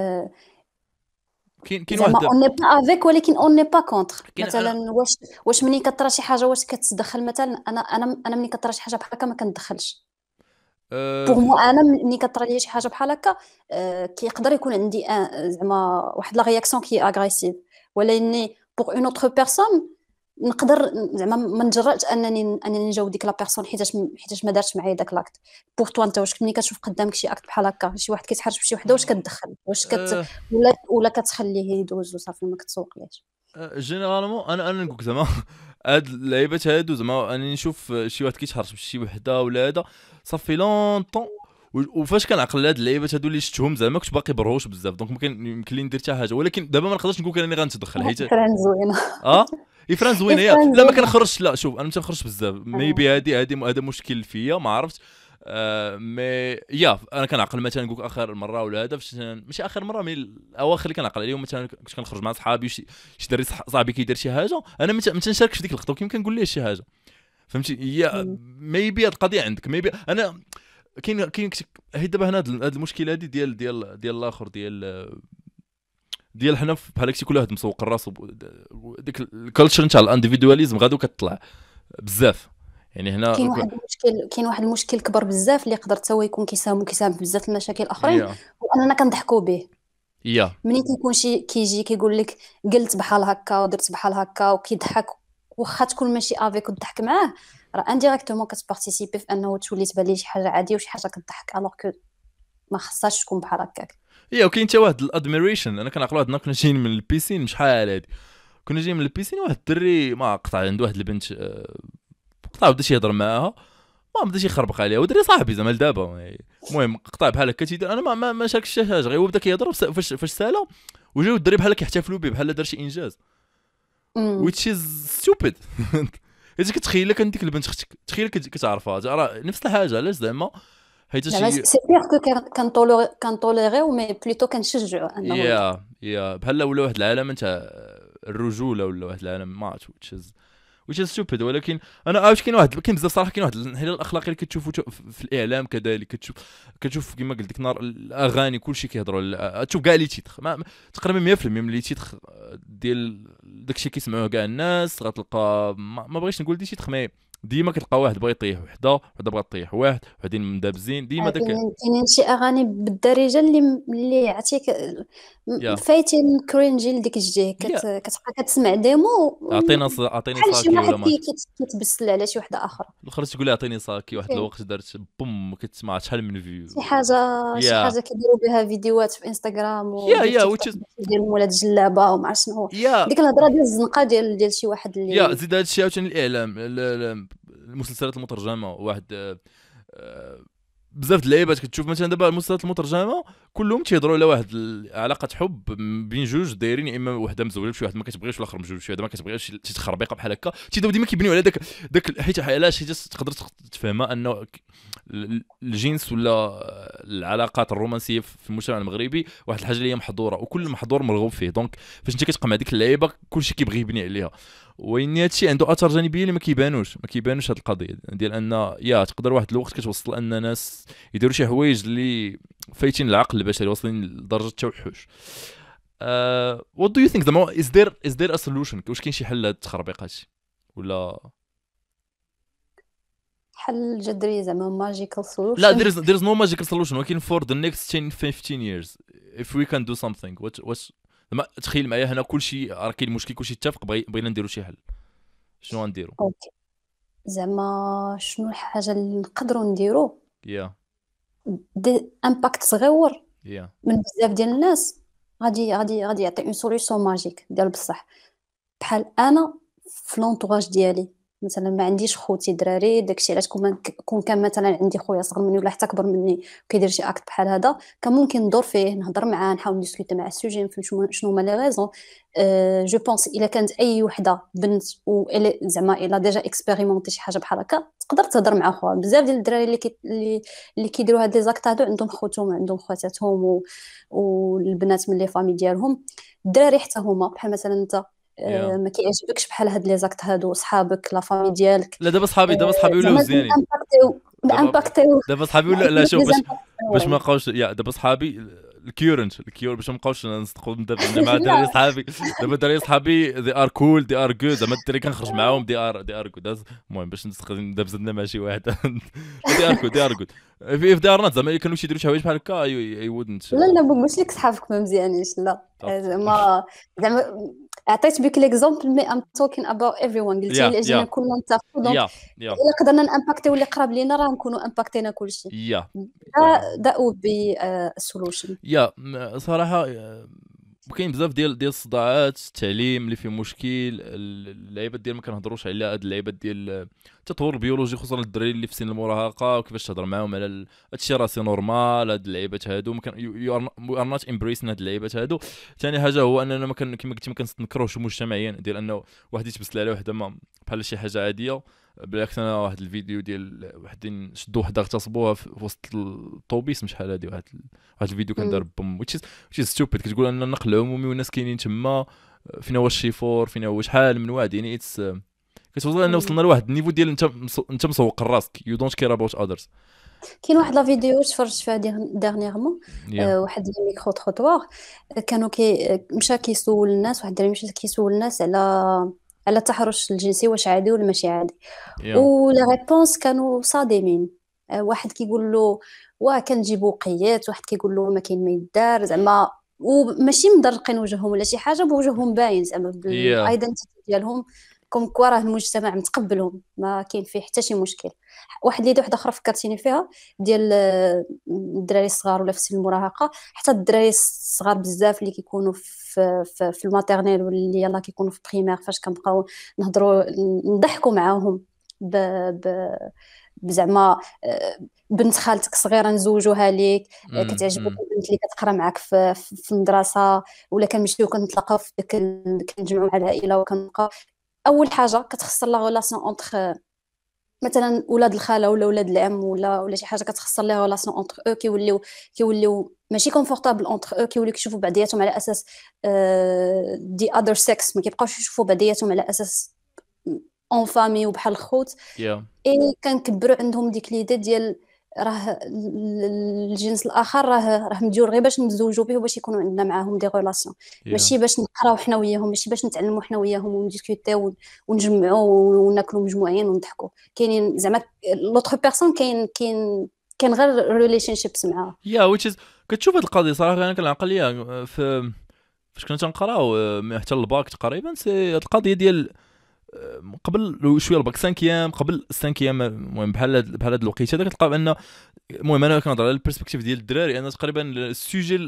كاين واحد اون ني با افيك ولكن اون ني با كونتر. مثلا واش منين كطرا شي حاجه واش كتدخل؟ مثلا انا منين كطرا شي حاجه بحال هكا ما كندخلش. بوغ مو انا منين كطرا لي شي حاجه بحال هكا كيقدر يكون عندي زعما واحد لا رياكسيون كي اغريسيف، ولكن بوغ اون اوتر بيرسون نقدر زعما ما نجرأش انني نجاوب ديك لا بيرسون حيتاش ما دارتش معايا داك لاكت. بوغ تو انت واش ملي كتشوف قدامك شي اكت بحال هكا، شي واحد كيتحرش بشي وحده، واش كتدخل؟ واش ولا كتخليه يدوز وصافي ما كتسوقليش؟ جينيرالمون انا نقول زعما هاد اللعيبات هادو، زعما انا نشوف شي واحد كيتحرش بشي وحده ولا هذا صافي لونطون، وفاش كنعقل هاد اللعيبات هادو اللي شفتهم زعما كنت باقي برهوش بزاف، دونك ما يمكن لي ندير حتى حاجه. ولكن دابا ما نقدرش نقول انني غنتدخل حيت فران زوينه فران زوينه لا ما كنخرجش. لا شوف انا ما تنخرجش بزاف، ميبي هذا مشكل فيا ما عرفت. مي انا كنعقل مثلا نقول اخر مره ولا هذا ماشي اخر مره، مي الاواخر اللي كنعقل عليهم مثلا كنت كنخرج مع صحابي شي دري صاحبي كيدير شي حاجه، انا ما تنشاركش في ديك اللقطه وكيما كنقول ليه شي حاجه، فهمتي؟ هي ميبي القضيه عندك، ميبي انا كاين هي دابا هنا هاد المشكله هذه ديال الاخر ديال حنا بحال هكشي كل واحد مسوق راسو، ديك الكالتشر نتاع الانديفيدواليزم غادو كتطلع بزاف. يعني هنا كاين واحد المشكل كبر بزاف اللي يقدر حتى هو يكون كيساهم في بزاف المشاكل الاخرين، يا واننا كنضحكوا به. يا ملي كيكون شي كيجي كيقول لك قلت بحال هكا ودرت بحال هكا وكيضحك، واخا تكون ماشي افيك وتضحك معاه، راه انديريكتومون كتبارتيسيبي في انه تولي تبان ليه شي حاجه عاديه وشي حاجه كضحك، الوغ كو ما خصهاش تكون بحال هكاك. وكاين حتى واحد الادميريشن. انا كنعقل واحد كنا جايين من البيسين شحال هادي، كنا جايين من البيسين واحد الدري ما قطع عنده واحد البنت قطع بدا يهضر معاها، ما بداش يخربق عليها، ودري صاحبي زعما دابا. المهم قطع بحال هكا تيدير، انا ما شاركش حتى حاجه، غير هو بدا كيهضر فاش سالا وجاو الدري بحال كيحتفلوا به بحال دار شي انجاز امم which is stupid. اذا كتخيل لك ديك البنت اختك، تخيل كتعرفها راه نفس الحاجه. علاش زعما حيت زعما شي سي بيغ كنطوليغيو مي بلوتو كنشجعوا انه بحال ولا واحد العالم تاع الرجوله، ولا واحد العالم ما عرفت which is stupid. ولكن انا عاوش كاين بزاف صراحه، كاين واحد الانحلال الاخلاقي اللي كتشوفوا في الاعلام كذلك. كتشوف كما قلت لك نار الاغاني كلشي كيهضروا، تشوف كاع لي تيتر تقريبا 100% من لي تيتر ديال داكشي كيسمعوه كاع الناس. غتلقى ما بغيتش نقول دي تيتر، مي ديما كتلقى واحد بغى يطيح وحده بغات تطيح واحد، وحدين مدابزين ديما داك. كاينين شي اغاني بالدارجه اللي عرفتي يا فايتين كرينجي لديك الجهه، يا كتبقى كتسمع ديمو اعطيني بحال شي ساكي واحد ولا مات كيتبسل على شي وحده اخرى. الاخر تقول لي اعطيني ساكي، واحد اوكي. الوقت دارت بوم كتسمع شحال من شي فيو. حاجه شي يا حاجه كيديروا بها فيديوهات في انستغرام وديال يا تيك which توك is ديالهم، ولا الجلابه وما عرفت شنو، يا ديك الهضره ديال الزنقه ديال شي واحد اللي زيد هذا الشيء عاوتاني الاعلام المسلسلات المترجمه. واحد بزاف د اللعيبات كتشوف مثلا دابا المسلسلات المترجمه كلهم تيهضروا على واحد علاقه حب بين جوج دايرين، يا اما وحده مزوجه بشي واحد ما كتبغيش، والاخر مزوج بشي واحد ما كتبغيش، شي تخربيقه بحال هكا تيبداو ديما كيبنيو على داك حيت علاش تقدر تفهمها انه الجنس ولا العلاقات الرومانسيه في المجتمع المغربي واحد الحاجه اللي هي محظوره، وكل محظور مرغوب فيه. دونك فاش انت كتبقى مع ديك اللعيبه كلشي كيبغي يبني عليها. وان هادشي عنده اثار جانبيه اللي ما كيبانوش هاد القضيه ديال ان تقدر واحد الوقت كتوصل ان ناس يديروا شي حوايج اللي فايتين العقل البشري، واصلين لدرجه التوحش. what do you think زعما is there a solution؟ واش كاين شي حل لهاد التخربيقات ولا حل جذري زعما ماجيكال لا؟ سولوشن؟ there is no magical solution، ولكن for the next 10-15 years if we can do something what زعما تخيل معايا هنا كلشي راه كاين مشكل، كلشي اتفق بغينا نديروا شي حل، شنو غنديروا؟ اوكي، زعما شنو الحاجه اللي نقدروا نديرو؟ يا امباكت صغيور يا من بزاف ديال الناس غادي يعطي اون سوليوشن ماجيك ديال بصح. بحال انا في لونطواج ديالي مثلا ما عنديش خوتي دراري، داكشي علاش كون كان مثلا عندي خويا صغر مني ولا حتى كبر مني كيدير شي اكت بحال هذا، كان ممكن ندور فيه نهضر معاه نحاول نديسكوتي مع السوجي نفهم شنو هما لي ريزون. جو بونس الا كانت اي وحده بنت و زعما الا ديجا اكسبيريمونتي شي حاجه بحال هكا تقدر تهضر مع خوها. بزاف ديال الدراري اللي كيديروا هاد لي زاكت هادو عندهم خوتهم عندهم خواتاتهم والبنات من لي فامي ديالهم. الدراري حتى هما بحال مثلا انت ما كيعجبكش بحال هاد لي زاكت هادو صحابك لا فامي ديالك. لا دابا صحابي ولاو زينين. امباكتيو دابا صحابي ولا لا شوف باش ما بقاوش دابا صحابي الكيورنت ما بقاوش نصدقوا دابا مع دراري صحابي. دابا دراري صحابي they are cool they are good، زعما الدراري كنخرج معاهم they are good. المهم باش دابا زدنا مع شي واحد they are good if they are not زعما كانوا يديروا شي حوايج بحال هكا I wouldn't. لا ما قلتش لك صحابك ما مزيانينش، لا زعما عطيت بك ليكزامبل مي ام توكين اباوت ايفريون. قلتي لي اجينا كلنا نتفقوا، دونك الا قدرنا نامباكتيو اللي قراب لينا راه نكونوا امباكتينا كلشي. that would be a solution. صراحه كاين بزاف ديال الصداعات التعليم اللي فيه مشكل. اللعيبات ديال ما كنهضروش على هاد اللعيبات ديال التطور البيولوجي خصوصا الدراري اللي في سن المراهقه، وكيفاش تهضر معاهم على هادشي راه سي نورمال. هاد اللعيبات هادو ما كان يو ار نوت امبريسين هاد اللعيبات هادو. ثاني حاجه هو اننا ما كما قلتي ما كنستنكروش مجتمعيا ديال انه واحد يتبسل على وحده بحال شي حاجه عاديه. بالعكس انا واحد الفيديو ديال وحدين شدوا وحده اغتصبوها في وسط الطوبيس مش شحال هادي، واحد الفيديو كان دار بوم which is stupid. كتقول ان النقل العمومي والناس كاينين تما فينا هو الشيفور فينا هو شحال من واحد يعني كتوصل ان وصلنا لواحد النيفو ديال انت مسوق راسك يو دونت كير اباوت اذرز. كاين واحد لا فيديو تفرجت فيها ديرنييرمون واحد لي ميكرو تروطوار كانوا مشى كيسول الناس، واحد الدري مشى كيسول الناس على على التحرش الجنسي واش عادي ولا ماشي عادي. يا ولا ريبونس كانوا صادمين. واحد كيقول له واه كنجيبوا وقيات، واحد كيقول له ما كاين ما يدار زعما، وماشي مدرقين وجههم ولا شي حاجه، بوجههم باين زعما يا بالايدنتيتي ديالهم، كوم كوا راه المجتمع متقبلهم، ما كاين فيه حتى شي مشكل. واحده اخرى فكرتيني فيها، ديال الدراري الصغار ولا في سن المراهقه، حتى الدراري الصغار بزاف اللي كيكونوا في الماتيرنيل، واللي يلاه كيكونوا في بريمير، فاش كنبقاو نهضروا نضحكوا معاهم ب... ب... بزعما بنت خالتك صغيره نزوجوها ليك، كتعجبك البنت اللي كتقرا معاك في المدرسه، ولا كنمشيو كنتلاقاو في كنجمعوا مع العائله وكنبقاو. اول حاجه كتخسر لا غولاسيون اونتر مثلا ولاد الخاله ولا ولاد العم ولا شي حاجه، كتخسر لي ريلاسيون اونتر او، كيوليو ماشي كونفورطابل اونتر او، كيوليو كيشوفوا بعضياتهم على اساس دي اذر سكس، ما كيبقاوش يشوفوا بعضياتهم على اساس اون فامي وبحال الخوت. يا اي كنكبروا عندهم ديك ليدي ديال راه الجنس الاخر راه مديور غير باش نتزوجوا به وباش يكونوا عندنا معاهم دي ريلاسيون، يا ماشي باش نقراو حنا وياهم، ماشي باش نتعلموا حنا وياهم ونديسكوتيو ونجمعوا وناكلوا مجموعين ونضحكوا. كاينين زعما لوتر بيرسون، كاين غير ريليشن شيبس معاه. يا which is كتشوف هاد القضيه صراحه. انا كنعقل ليها فاش كنا تنقراو حتى الباك تقريبا، سي هاد القضيه ديال قبل شويه الباك 5 قبل 5 المهم بحال هاد الوقيته هذا كتلقى بان المهم انا كنهضر على البيرسبكتيف ديال الدراري، انا تقريبا السوجي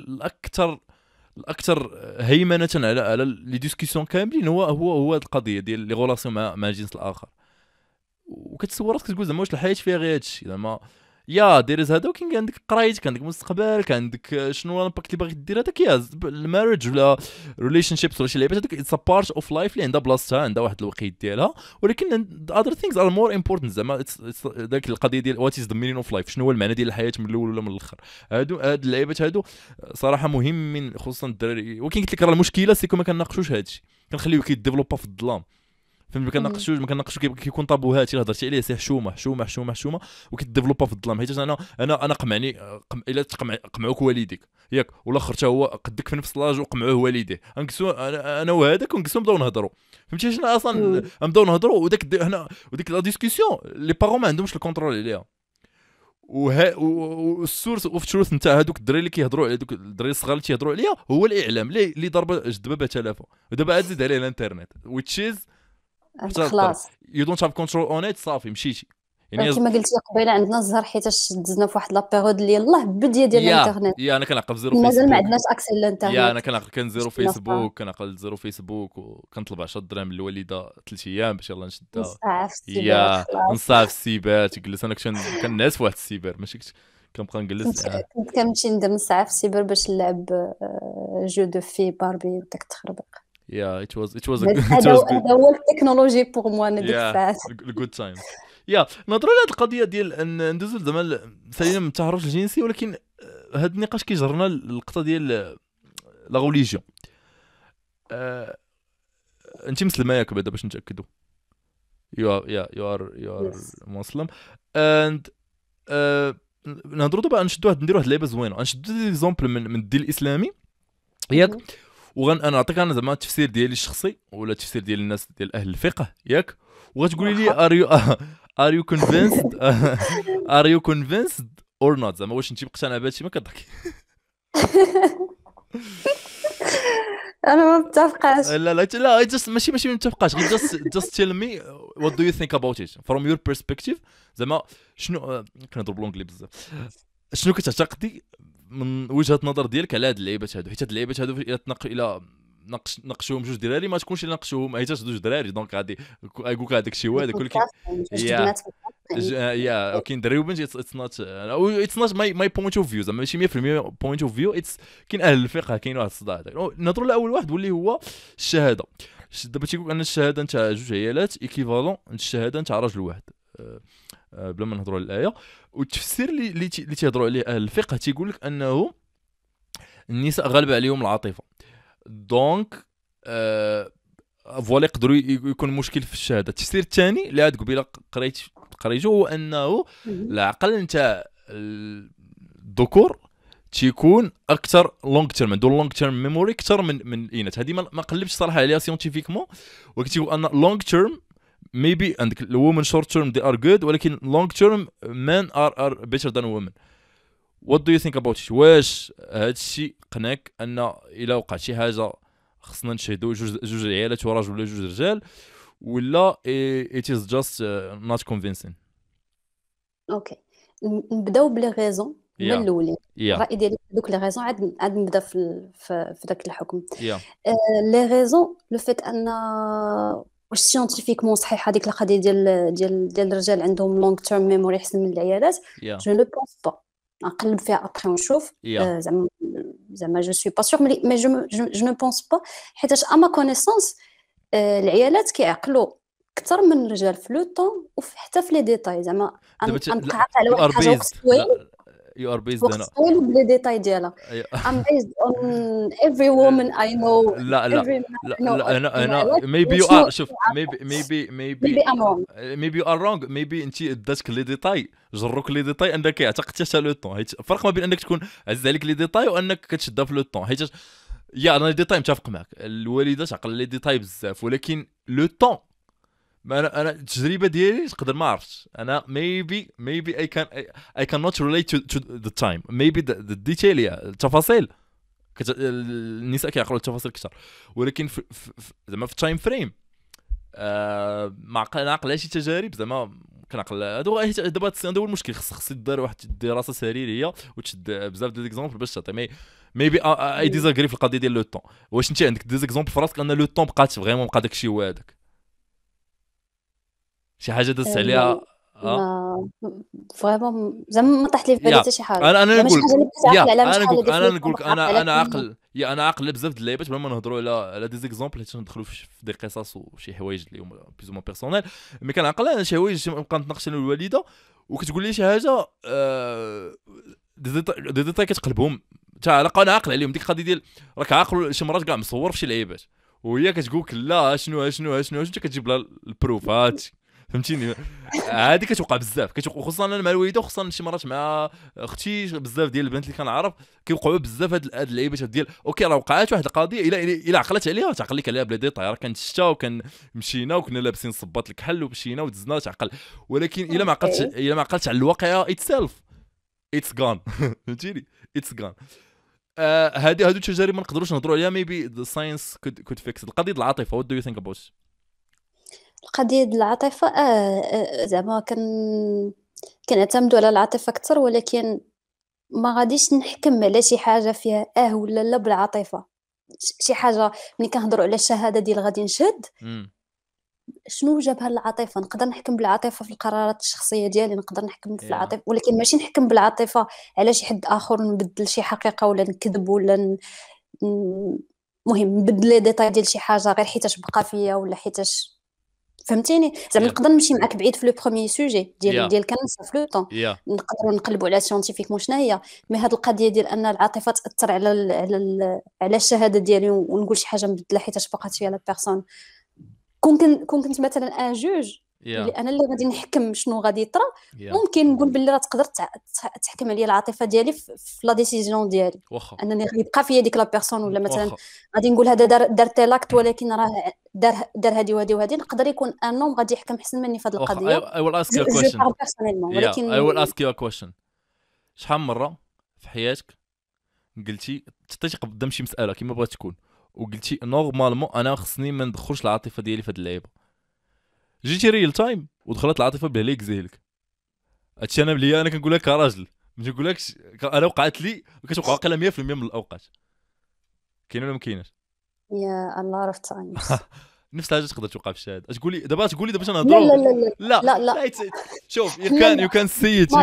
الاكثر هيمنه على لي ديسكسيون كاملين هو هاد القضيه ديال لي غولاسيون مع الجنس الاخر. وكتصور راسك تقول زعما واش الحياه فيها غير هادشي زعما يا دايرز هذا، وكاين عندك قرايت، كان عندك مستقبل، كان عندك شنو الامباكت اللي باغي دير هذاك يا المارج ولا ريليشن شيبس ولا شي لعيبات هذوك اتس ا بارت اوف لايف اللي عندها بلاصتها، عندها واحد الوقيت ديالها، ولكن اذر ثينكس ار مور امبورتنت زعما ذاك القضيه ديال وات از ذا مينين اوف لايف، شنو هو المعنى ديال الحياه من الاول ولا من الاخر. هاد اللعيبات هادو صراحه مهمين خصوصا الدراري. ولكن قلت لك راه المشكله سيكو ما كنناقشوش هادشي، كنخليوه كيديفلوبا في الظلام، فهمت؟ ما كنناقشوش كيكون طابوهات الا هضرتي عليه سي حشومه وكيديفلوبا في الظلام. حيت انا قمعني الا قمعوك والديك ياك، والاخر حتى هو قدك في نفس لاج وقمعوه والديه، غنكسو انا وهذاك ونكسو نبداو نهضروا، فهمتي؟ شنو اصلا نبداو نهضروا هنا وديك لا ديسكسيون لي بارون ما عندهمش الكونترول عليها. والسورس اوف تروث نتاع هذوك الدراري اللي كيهضروا على دوك الدراري الصغار اللي تيهضروا عليها هو الاعلام اللي ضرب جدبه تلافه، ودابا عاد زيد عليه الانترنت which is خلاص you don't have control on it. صافي مشيتي يعني كما قلتي قبيله عندنا الزهر، حيتاش دزنا في واحد لابيريود اللي يلاه بديه ديال الانترنت، انا كنعقل زيرو مازال ما فيسبوك. عندناش اكسي للانترنت. انا كنعقل كان زيرو فيسبوك، كنعقل زيرو فيسبوك، وكنطلب 10 دراهم من الوالده 3 ايام باش يلاه نشدها نصاع في السيبر خلاص. نصاع في السيبر. تجلس انا كنعس في واحد السيبر، ماشي كنبقى نجلس. كنت كنمشي ندير نصاع في السيبر باش نلعب جو دو في باربي وداك التخربيق. it was a هذا هو التكنولوجي بوغ موا انا ديك الساعات. good times. نهضروا على هذه القضيه ديال ان ندوزو زعما سالينا من التحرش الجنسي، ولكن هذا النقاش كيجرنا اللقطه ديال لا غوليجيون. انت مسلمه ياك بعدا باش نتاكدوا؟ you are مسلم. and نهضروا دابا نديروا واحد اللعبه زوينه، نشدوا دي زومبل من الدين الاسلامي ياك، انا نعطيك انا زعما التفسير ديالي الشخصي ولا التفسير ديال الناس ديال اهل الفقه ياك، وغتقولي لي are you convinced or not، زعما واش انت مقتنع بهادشي ما كضحك. انا ما متفقاش. لا ماشي ما متفقاش، غير just tell me what do you think about it from your perspective. زعما شنو كنهضر بالونجلي بزاف، شنو كتعتقدي من وجهه نظر ديالك على هاد اللعيبات هادو؟ حيت هاد اللعيبات هادو الى ناقشوهم جوج دراري ما تكونش الا ناقشوهم حيت جوج دراري دونك غادي يقولك هذاك الشيء هذاك، ولكن يا كاين دراري وبنت اتس نوت ماي بوينت اوف فيو، زعما ماشي 100% بوينت اوف فيو. كاين اهل الفقه، كاين واحد الصداع. نهضروا على اول واحد واللي هو الشهاده. دابا تيقول ان الشهاده نتاع جوج عيالات ايكيفالون الشهاده نتاع راجل واحد، بلا ما نهضروا على الايه. والتفسير اللي تيهضروا عليه اهل الفقه تيقول لك انه النساء غالبه عليهم العاطفه، دونك فوالا يقدروا يكون مشكل في الشهاده. التفسير الثاني اللي عاد قبيله قريته هو انه العقل نتاع الذكور تيكون اكثر لونغ تيرم، عندو لونغ تيرم ميموري اكثر من الاناث. هذه ما قلبتش صراحه عليها سيونتيفيكمون، ولكن تيقول ان لونغ تيرم ميبي عندك الومن شورت تيرم دي ار جود، ولكن لونغ تيرم مان ار بيتر ذان وومن. وات دو يو ثينك اباوت ات؟ واش هذا الشيء قناك ان الا وقع شي حاجه خصنا نشهدوا جوج عيالات وراجل ولا جوج رجال، ولا it is just not convincing؟ اوكي، نبداو بلي غيزون من الاولين. يا الراي ديالي دوك لي غيزون عاد نبدا في داك الحكم. يا لي غيزون لو فيت ان واش سيونتيفيكمون صحيحه ديك القضيه ديال الرجال عندهم لونغ تيرم ميموري احسن من العيالات. جو نو بونس با، نقلب فيها ابخي ونشوف. زعما جو سوي با سور، مي جو نو بونس با، حيتاش اما كونيسونس العيالات كيعقلوا اكثر من الرجال في لو طون وحتى في لي ديتاي. زعما نقعد على واحد الحاجه وقت طويل، you are based وقت طويل بلي ديتاي ديالها. I'm based on every woman I know. لا انا maybe you are، شوف maybe I'm wrong. maybe you are wrong. maybe انت داتك لي ديتاي، جروك لي ديتاي انك اعتقدتي حتى لو طون. الفرق ما بين انك تكون عزيز عليك لي ديتاي وانك كتشدها في لو طون. حيت انا لي ديتاي متفق معك، الوالده تعقل لي ديتاي بزاف، ولكن لو طون انا التجربه ديالي تقدر ما عرفتش. انا maybe I cannot relate to the time. maybe the detail، التفاصيل النساء كيعقلوا التفاصيل اكثر، ولكن زعما في التايم فريم ما عقل شي تجارب. زعما كنعقل دابا هذا هو المشكل. خص يدار واحد دراسه سريريه وتشد بزاف ديال ليكزامبل باش تعطي. ميبي اي ديزاغري في القضيه ديال لو طون. واش انت عندك ديزاكزامبل في راسك ان لو طون بقات فريمون بقى داكشي هو هذاك، شي حاجه دازت عليها؟ فريمون زعما ما طاحت لي في بالي حتى شي حاجه. انا نقول انا عاقل بزاف د اللعيبات بلا ما نهضروا على دي زيكزامبل، حيت ندخلوا في دي قصص وشي حوايج اللي هما بلوز مون بيرسونيل. مي كنعقل انا شي حوايج نبقى نتناقش انا والوالده وكتقول لي شي حاجه دي ديتاي كتقلبهم حتى انا عاقل عليهم. ديك القضيه ديال راك عاقل شي مرات كاع مصور في شي لعيبات وهي كتقول لك لا شنو انت كتجيب لها البروف. هادشي فهمتيني؟ هذه كتوقع بزاف، خصوصا انا مع الوالده، خصوصا شي مرات مع اختي. بزاف ديال البنات اللي كنعرف كيوقعوا بزاف هاد اللعيبات ديال اوكي راه وقعات واحد القضيه الا عقلت عليها تعقل لك عليها بلا ديتاي. راه كانت الشتا مشينا وكنا لابسين صباط الكحل ومشينا ودزنا تعقل. ولكن الا ما عقلتش على الواقعه اتسيلف اتس غان. فهمتيني؟ اتس غان. هادو التجارب ما نقدروش نهضروا عليها. ميبي ذا ساينس كود فيكس القضيه ديال العاطفه. وات دو يو ثينك اباوت القضيه ديال العاطفه؟ زعما كنعتمدوا على العاطفه اكثر، ولكن ما غاديش نحكم على شي حاجه فيها ولا لا بالعاطفه. شي حاجه ملي كنهضروا على الشهاده ديال غادي نشهد شنو جابها العاطفه. نقدر نحكم بالعاطفه في القرارات الشخصيه ديالي، نقدر نحكم في العاطفه، ولكن ماشي نحكم بالعاطفه على شي حد اخر، نبدل شي حقيقه ولا نكذب ولا مهم نبدل لي ديتاي ديال شي حاجه غير حيتاش بقى فيا ولا حيتاش. فهمتيني؟ زعما نقدر نمشي معاك بعيد في لو بروميي سوجي ديال كنسه في لو طون. نقدروا نقلبوا على سيونتيفيكمون شناهي. مي هاد القضيه ديال ان العاطفه تاثر على الشهاده ديالي ونقول شي حاجه مبدله حيتاش بقات فيا لا بيرسون. كنت مثلا ان جوج اللي انا اللي غادي نحكم شنو غادي يطرا، ممكن نقول باللي راه تقدر تحكم عليا العاطفه ديالي في لا ديسيجن ديالي، انني غيبقى فيا ديك لا بيرسون. ولا مثلا غادي نقول هذا دار تيلاكت ولكن راه دار هذه وهذه. نقدر يكون ان نوم غادي يحكم احسن مني في هذه القضيه. I will ask you a question. ولكن I will ask you a question. شحال مره في حياتك قلتي تطيش قدام شي مساله كيما بغات تكون وقلتي نورمالمون انا خصني ما ندخلش العاطفه ديالي في هذه اللعيبه، جيتي ريل تايم ودخلت العاطفه بلا ليك زيلك؟ هادشي انا بلي انا كنقول لك كراجل، ماشي نقول لكش انا وقعت لي وكتوقع واقيلا 100% من الاوقات. كاين ولا ما كاينش؟ يا الله عرفت تايمز نفس الحاجه تقدر توقع في الشهاده. تقولي دابا باش نهضروا؟ لا شوف يو كان سي ات.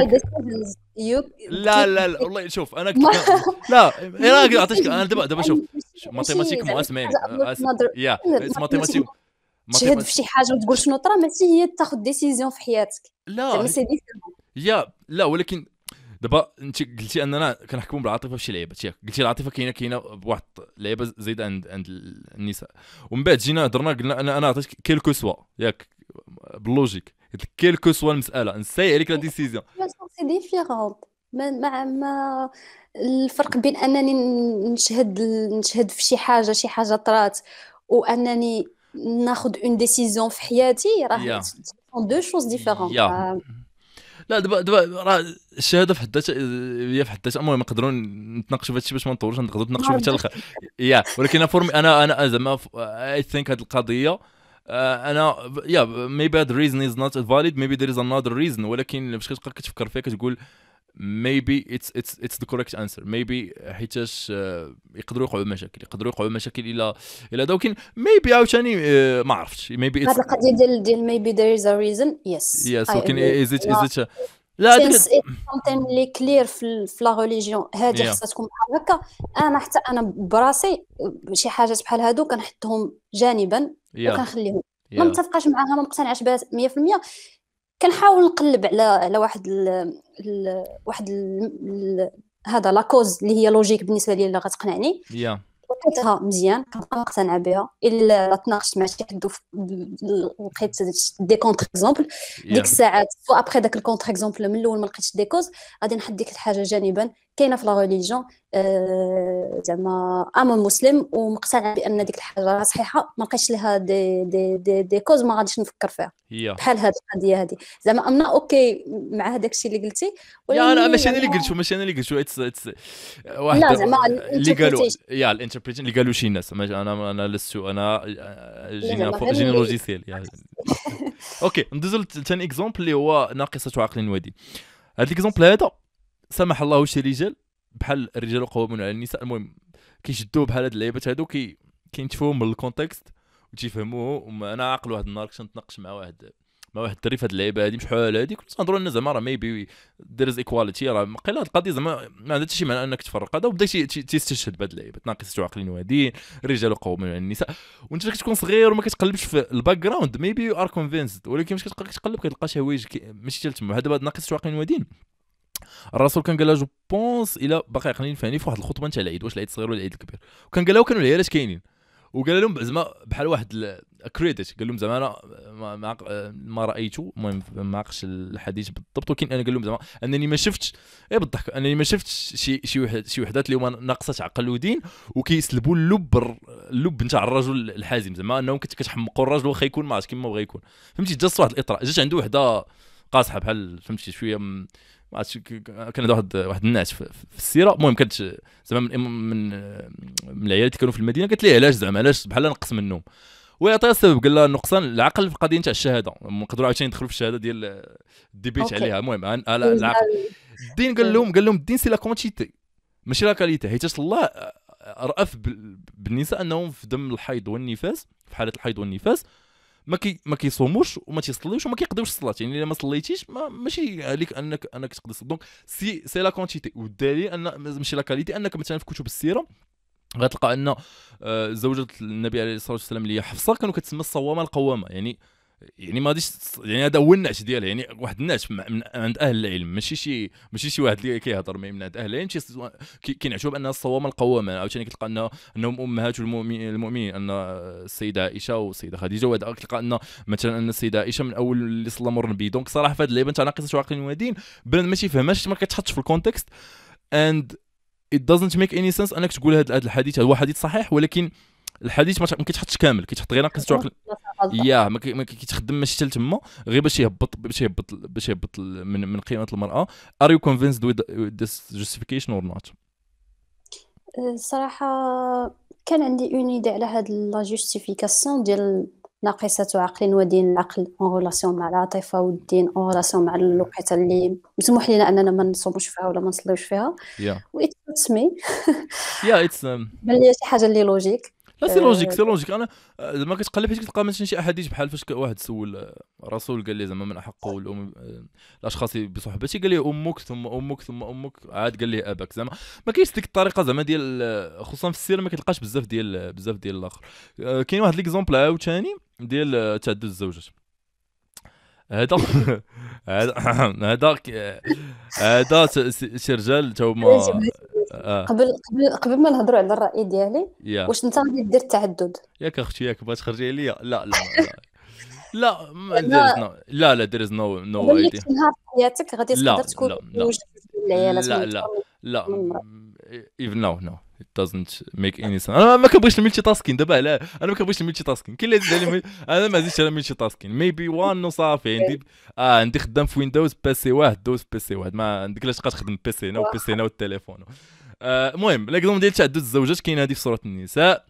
لا والله شوف انا لا انا عطيتك انا دابا شوف ماتيماتيك اسمعني يا ماتيماتيك تشهد في شي حاجه وتقول شنو طرا، ماشي هي تاخذ ديسيزيون في حياتك. لا لا ولكن دابا انت قلتي اننا كنحكموا بالعاطفه في شي لعيبات، قلتي العاطفه كاينه بواحد لعيبه زايده عند النساء، ومن بعد جينا هضرنا قلنا انا عطيتك كيلكو سوا باللوجيك، قلت لك كيلكو سوا المساله نساي عليك لا ديسيزيون. سي ديفيرونت ما الفرق بين انني نشهد في شي حاجه طرات، وانني ناخذ اون ديسيزيون في حياتي، راه يا دو شوز ديفيرون. يا لا دابا راه الشهاده في حد ذاتها هي في حد ذاتها، المهم نقدروا نتناقشوا في هذا الشيء باش ما نطولوش، نقدروا ما نتناقشوا في ردش. حتى يا ولكن فورمي انا زعما اي ثينك هذه القضيه انا يا maybe that reason is not valid, maybe there is another reason، ولكن باش كتبقى كتفكر فيها كتقول maybe it's the correct answer. maybe حيتاش يقدروا يوقعوا مشاكل، الى ولكن maybe عاوتاني ما عرفتش maybe هاد it's القضيه ديال maybe there is a reason. Yes, yes، I ولكن agree. is it لا هذيك since it's something اللي كلير في لا ريليجيون هادي يا خاصها تكون بحال هكا. حتى انا براسي شي حاجات بحال هادو كنحطهم جانبا يا وكنخليهم. ما يا متفقاش معاها، ما مقتنعش بها 100%. كنحاول نقلب على هذا لاكوز اللي هي لوجيك بالنسبه لي اللي غتقنعني، يا لقيتها مزيان كنبقى مقتنعه بها. الا تناقشت مع شي حد لقيت دي كونتر اكزومبل، ديك يا الساعات سو ابخي داك الكونتر اكزومبل من الاول ما لقيتش دي كوز، غادي نحط ديك الحاجه جانبا. كاينه في لا ريليجيون زعما انا مسلم ومقتنع بان ديك الحاجه راه صحيحه، ما لقيتش لها دي كوز، ما غاديش نفكر فيها. يا بحال هاد القضيه هادي زعما امنا اوكي مع هذاك الشيء اللي قلتي، يا انا ولكن ماشي انا زعما اللي قلتو اتس واحد لا زعما اللي قالوا الانتربريتيشن. يا الانتربريتيشن اللي قالوا شي ناس، انا لست انا لا زعما غير جيني لوجيسيال يعني. اوكي ندوزو لثاني اكزومبل اللي هو ناقصه عقل ودين. هذا الاكزومبل هذا سمح الله شي رجال بحال الرجال قوامون على النساء، المهم كيشدوه بحال هاد اللعيبات هادو كينتفوهم من الكونتكست وتيفهموه. انا عاقل واحد النهار كنت نتناقش مع واحد الدري في هاد اللعيبه هادي بشحال هادي، كنت نهضروا لنا زعما راه ميبي دير از ايكواليتي، راه قيل هاد القضيه زعما ما عندها حتى شي معنى انك تفرق هذا، وبدا تيستشهد بهاد اللعيبه ناقصه عقل ودين، الرجال قوامون على النساء. وانت كتكون صغير وما كتقلبش في الباك جراوند ميبي يو ار كونفينسد، ولكن مش كتقلب كتلقى شي حوايج ماشي حتى تما. هذا ناقصه عقل ودين الرسول كان قالها جو بونس الى باقي عقلين فهمني في واحد الخطبه نتاع العيد، واش العيد الصغير ولا العيد الكبير، وكان قالها وكانوا العيالات كاينين، وقال لهم زعما بحال واحد كريديت، قال لهم زعما انا ما رايته، المهم ما عقلش الحديث بالضبط، ولكن انا قال لهم زعما انني ما شفتش بالضحك انني ما شفتش شي وحدات اللي هما ناقصه عقل ودين وكيسلبوا اللب نتاع الرجل الحازم، زعما انهم كتحمقوا الرجل واخا يكون ما عرفتش كيما بغا يكون. فهمتي جات واحد الاطراء، جات عنده وحده قاصحه بحال فهمتي شويه ما عرفتش، كان واحد الناس في السيره، المهم كانت زعما من العيال اللي كانوا في المدينه، قالت لي علاش بحال نقص منهم، ويعطيها السبب قال لها النقصان العقل في القضيه نتاع الشهاده. نقدروا عاوتاني ندخلوا في الشهاده ديال الديبيت اوكي عليها. المهم العقل الدين قال لهم الدين سي لا كونتيتي ماشي لا كاليتي، حيت الله رأف بالنساء انهم في دم الحيض والنفاس، في حاله الحيض والنفاس ما كيصوموش وما تيصليوش وما كيقضيوش الصلاه، يعني الا ما صليتيش ماشي عليك انك تقضي الصلاه. دونك سي لا كونتيتي، والدليل ان ماشي لا كاليتي، انك مثلا في كتب السيره غتلقى ان زوجة النبي عليه الصلاه والسلام اللي هي حفصه كانوا كتسمى الصوامه القوامه، يعني ما غاديش يعني هذا هو النعش ديالها، يعني واحد الناس من عند اهل العلم، ماشي شي واحد اللي كيهضر من عند اهل العلم كينعشوا بانها الصوامه القوامه. عاوتاني كتلقى انهم امهات المؤمنين، ان السيده عائشه والسيده خديجه، وهذا كتلقى ان مثلا ان السيده عائشه من اول اللي صلى مر النبي. دونك صراحه في هذه اللعبه نتاع ناقصه عقل ودين بنادم ما تيفهمهاش، ما كتحطش في الكونتكست and it doesn't make any sense انك تقول هذا الحديث هو حديث صحيح، ولكن الحديث ما كيتحطش كامل، كيتحط غير ناقصه عقل. ياه ما كيتخدم ماشي حتى تما، غير باش يهبط من قيمه المراه. are you convinced with this justification or not؟ الصراحه كان عندي اون ايدي على هاد لا جوستيفيكاسيون ديال ناقصة عقل ودين. العقل اون ريلاسيون مع العاطفه، والدين اون ريلاسيون مع الوقيته اللي مسموح لنا اننا ما نصوموش فيها ولا ما نصليوش فيها. يا واتس مي يا اتس بان لي شي حاجه اللي لوجيك. لا سي لوجيك. انا زعما كتقلب حيت كتلقى مثلا شي احاديث بحال فاش واحد سول الرسول قال لي زعما من احق الاشخاص بصحبتي، قال لي امك ثم امك ثم امك، عاد قال لي اباك. زعما ما كاينش ديك الطريقه زعما ديال خصوصا في السيره ما كتلقاش بزاف ديال الاخر. كاين واحد ليكزومبل عاوتاني ديال تعدد الزوجات. هذا هذا هذا شي رجال تا هما قبل ما نهضروا على الراي ديالي، يا واش انت غادي دير التعدد؟ ياك اختي ياك بغات تخرجي عليا؟ لا there is no idea. نهار في حياتك غادي تقدر تكون لا زوج العيالات لا من لا أكثر لا من مرة. even no it doesn't make any sense. انا ما كنبغيش الملتي تاسكين دابا، علاه انا ما كنبغيش الملتي تاسكين. كاين اللي زيد على انا ما زدتش على الملتي تاسكين. ميبي وان وصافي. عندي خدام في ويندوز بيسي واحد، دوز بيسي واحد، ما عندك علاش تبقى تخدم بيسي هنا وبيسي هنا والتليفون. المهم لاكزومبل ديال تعدد الزوجات كاين هذه في سوره النساء.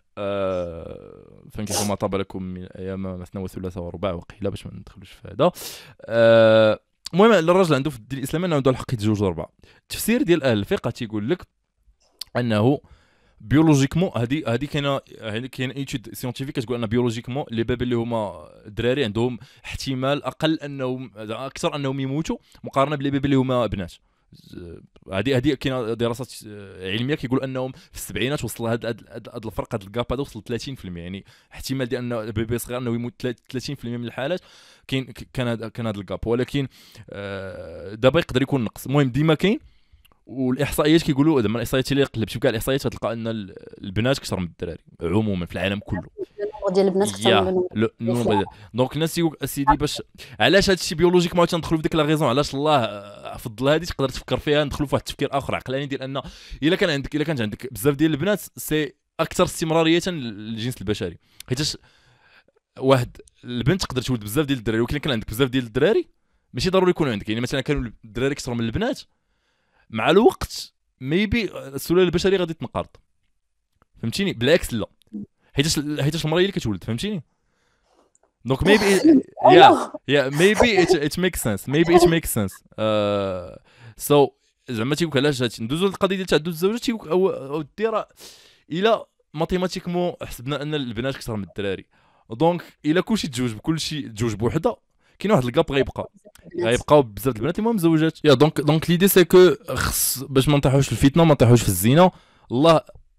فانكحوا ما طاب لكم من ايام مثنى وثلاث ورباع وقيل، باش ما ندخلوش في هذا. المهم الراجل عنده في الدين الاسلامي انه عنده الحق يتزوج 4. التفسير ديال اهل الفقه تيقول لك انه بيولوجيكمون هذه كاين ايتود سيونتيفيك كتقول ان بيولوجيكمون لي باب اللي هما الدراري عندهم احتمال اقل انهم اكثر انهم يموتوا مقارنه بلي باب اللي هما بنات. هذه كاينه دراسات علميه كيقول انهم في السبعينات وصل هذا الفرق، هذا الجاب هذا وصل 30%. يعني احتمال ديال انه بيبي صغير انه يموت 30% من الحالات كان هذا الجاب. ولكن دابا يقدر يكون نقص. المهم ديما كاين. والاحصائيات كيقولوا زعما الاحصائيات اللي قلبتي بكاع الاحصائيات غتلقى ان البنات اكثر من الدراري عموما في العالم كله. النمبر ديال البنات اكثر من النمبر. دونك الناس اسيدي باش علاش هذا الشيء بيولوجيك ما تندخلوا في ديك لا ريزون علاش الله فضل هذه تقدر تفكر فيها. ندخلوا في واحد التفكير اخر عقلاني ديال ان الا كانت عندك بزاف ديال البنات سي اكثر استمراريه للجنس البشري. حيت واحد البنت تقدر تولد بزاف ديال الدراري، ولكن كان عندك بزاف ديال الدراري ماشي ضروري يكونوا عندك. يعني مثلا كانوا الدراري اكثر من البنات مع الوقت ميبي السلاله البشريه غادي تنقرض. فهمتيني؟ بالعكس لا، حيت المراه هي اللي كتولد. فهمتيني؟ دونك ميبي ميبي ات ميك سنس. ميبي ات ميك سنس. سو زعما تيقول علاش ندوزو للقضيه ديال تعدد الزوجات. تيقول او دير الى ماتيماتيكمون حسبنا ان البنات اكثر من الدراري، دونك الى كلشي تزوج بوحده كاين واحد الكاب غيبقاو بزاف البنات اللي مزوجات. يا دونك ليدي سي كو خص باش ما نطيحوش في الفتنه ما نطيحوش في الزنا. الله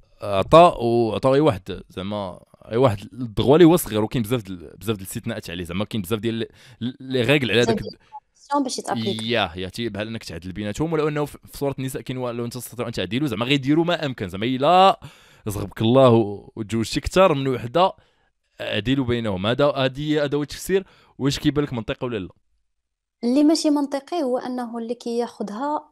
عطا اي واحد زعما اي واحد الدغوالي هو صغير، وكاين بزاف ديال الاستثناءات عليه. زعما كاين بزاف ديال لي ريغل على داك باش يتابليك. يا بحال انك تعدل بيناتهم، ولو انه في سوره النساء كاين لو انت تستطيع ان تعدلوا زعما غيديروا ما امكن. زعما الا رزقك الله وتزوجتي اكثر من وحده عدلوا بينهم. هذا هو التفسير. واش كيبان لك منطقي ولا لا؟ اللي ماشي منطقي هو انه اللي كياخذها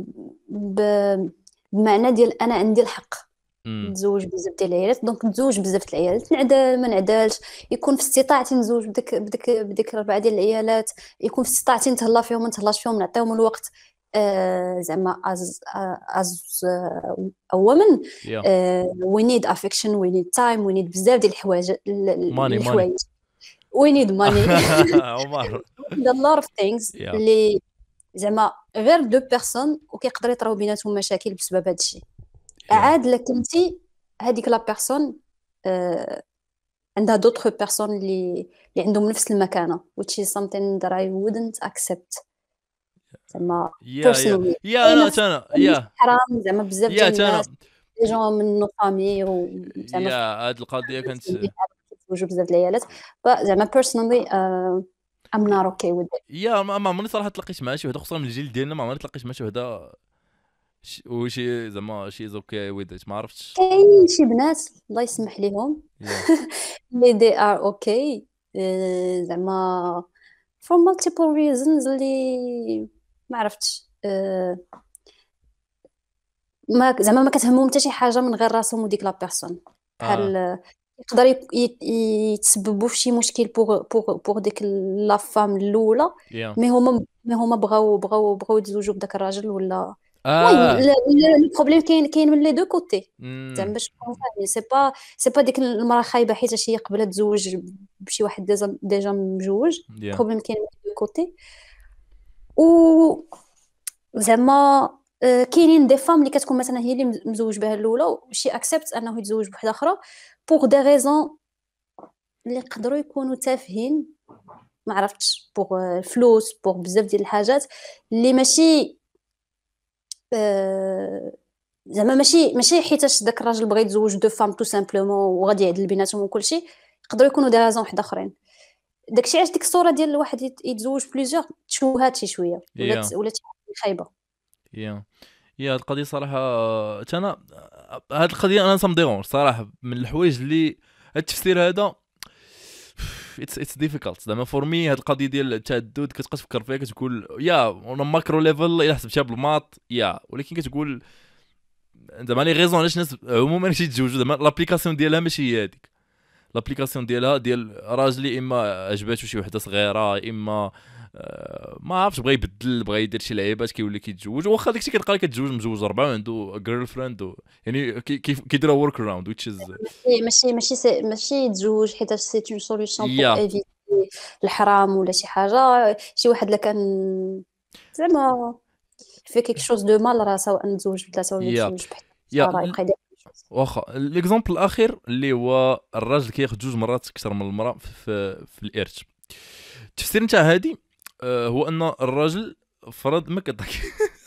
بمعنى ديال انا عندي الحق نتزوج بزاف ديال العيالات، دونك نتزوج بزاف ديال العيالات، نعدل ما نعدلش، يكون في استطاعتي نتزوج بديك 4 ديال العيالات، يكون في استطاعتي نتهلا فيهم ما نتهلاش فيهم، نعطيهم الوقت. زعما از women we need affection, we need time, we need بزاف ديال الحوايج we need money عمر a lot of things اللي زعما غير دو بيرسون وكيقدر يطراو بيناتهم مشاكل بسبب هذا الشيء. عاد لك انت هذيك لا بيرسون عندها دوطخ بيرسون اللي عندهم نفس المكانه which is something that I wouldn't accept. زعما انا حرام زعما بزاف ديال الناس لي جون من نو فامي زعما هاد القضيه كانت يتزوجوا بزاف ديال العيالات. زعما personally I'm not okay with it. ما عمرني صراحه تلاقيت مع شي وحده خصوصا من الجيل ديالنا، ما عمرني تلاقيت مع شي وحده وشي زعما شي اوكي ويدت. ما عرفتش كاين شي بنات الله يسمح ليهم اللي they are okay زعما for multiple reasons اللي ما عرفتش ما زعما ما كتهمهم حتى شي حاجه من غير راسهم وديك لا بيرسون. بحال يقدر يتسببوا في شي مشكل بوغ ديك لا فام الاولى مي هما بغاو يتزوجوا بداك الراجل ولا المهم البروبليم كاين من لي دو كوتي. زعما باش نكون فاهمين سي با ديك المراه خايبه حيت هي قبلت تزوج بشي واحد ديجا مجوج. البروبليم كاين من لي دو كوتي. و زعما كاينين دي فام اللي كتكون مثلا هي اللي مزوج بها الاولى وشي اكسبت انه يتزوج بوحده اخرى بوغ دي ريزون اللي يقدروا يكونوا تافهين ما عرفتش بوغ الفلوس بوغ بزاف ديال الحاجات اللي ماشي زعما ماشي حيتاش داك الراجل بغى يتزوج دو فام تو سامبلومون وغادي يعدل بيناتهم وكلشي. يقدروا يكونوا دي ريزون واحد اخرين. داكشي علاش ديك الصوره ديال الواحد يتزوج بليزيور تشوهات شي شويه ولا خايبه. هاد القضيه صراحه انا هاد القضيه انا صمديرون صراحه من الحوايج اللي هاد التفسير هذا اتس ديفيكالت زعما فور مي. هاد القضيه ديال التعدد كتبقى تفكر فيها كتقول يا اون ماكرو ليفل الا حسبتها بالماط يا، ولكن كتقول زعما لي غيزون علاش الناس عموما كيتزوجوا زعما لابليكاسيون ديالها ماشي هي هذيك. لابليكاسيون ديالها ديال راجلي اما عجباتو شي وحده صغيره، اما ما عرفتش بغى يبدل، بغى يدير شي لعيبات كيولي كيتزوج. واخا داكشي كتلقى كتزوج مزوج ربعه وعنده جيرل فريند يعني كيديروا ورك اراوند which is ماشي يتزوج حيت سي اون سوليوشن بور يا ايفيتي الحرام ولا شي حاجه. شي واحد اللي كان زعما في كيك شوز دو مال راه سواء نتزوج بثلاثه ولا يا نتزوج بحال يا راه يبقى يدير واخا ليكزامبل الاخير اللي هو الراجل كياخذ جوج مرات اكثر من المراه في الارث. التفسير نتاع هادي هو ان الراجل فرض ما كتضحك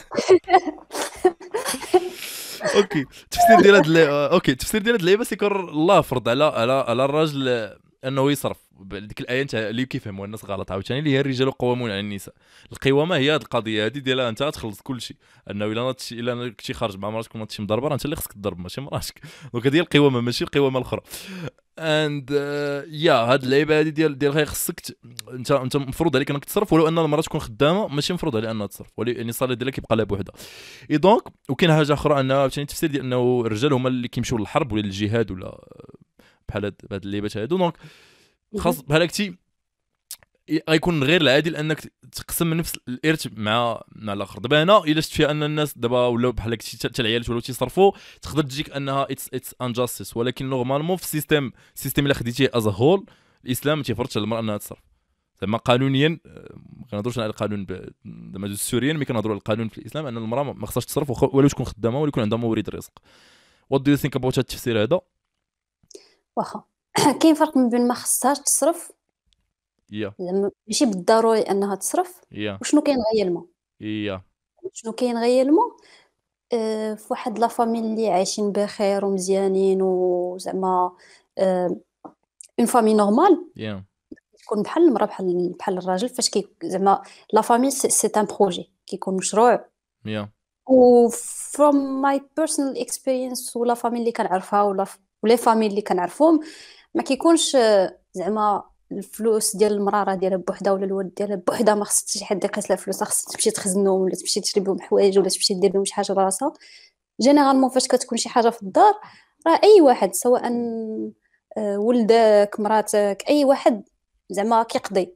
اوكي التفسير ديال هاد اوكي التفسير ديال هاد اللعيبه سيكون الله فرض على الراجل انه يصرف. ديك الايه نتاع اللي كيفهموا الناس غلط عاوتاني اللي هي الرجال قوامون على النساء. القوامه هي هاد القضيه هادي ديالها انت تخلص كل شيء، انه الا كنتي خارج مع مراتك وما تمشي مضربه انت اللي خصك تضرب ماشي مراتك. دونك هذه هي القوامه ماشي القوامه الاخرى. اند يا هاد اللعيبه هادي ديال غير خصك انت مفروض عليك انك تصرف، ولو ان المراه تكون خدامه ماشي مفروض عليها انها تصرف، يعني الصالير ديالها كيبقى لها بوحدها. اي دونك وكاين حاجه اخرى انها عاوتاني التفسير ديال انه الرجال هما اللي كيمشيو للحرب ولا للجهاد ولا بحال هاد اللعيبات هادو. دونك خاص بحال هكتي غيكون غير العادل انك تقسم نفس الارث مع الاخر. دابا هنا الا شفت فيها ان الناس دابا ولاو بحال هكا حتى العيالات ولاو تيصرفوا تقدر تجيك انها اتس انجاستيس، ولكن نورمالمون في السيستيم الا خديتيه از هول الاسلام ما تيفرضش على المراه انها تصرف. زعما قانونيا ما كنهضروش على القانون زعما السوريين، ملي كنهضروا على القانون في الاسلام ان المراه ما خصهاش تصرف ولو تكون خدامه ولا يكون عندها مورد رزق. وات دو يو ثينك اباوت هذا التفسير هذا؟ واخا كاين فرق ما بين ما خصهاش تصرف زعما ماشي بالضروري انها تصرف وشنو كاين غيالمون. شنو كاين غيالمون في واحد لا فاميل اللي عايشين بخير ومزيانين وزعما اون فامي نورمال تكون بحال المراه بحال الراجل فاش زعما لا فامي سي ان بروجي كيكون مشروع. و from my personal experience ولا فامي اللي كنعرفها ولا لي فامي اللي كنعرفهم ما كيكونش زعما الفلوس ديال المراه راه ديالها بوحدها ولا الولد ديالها بوحدها ما خص شي حد يقيس لها فلوس، خص تمشي تخزنهم ولا تمشي تشري بهم حوايج ولا تمشي دير بهم شي حاجه لراسها. جينيرالمون فاش كتكون شي حاجه في الدار راه اي واحد سواء ولدك مراتك اي واحد زعما كيقضي.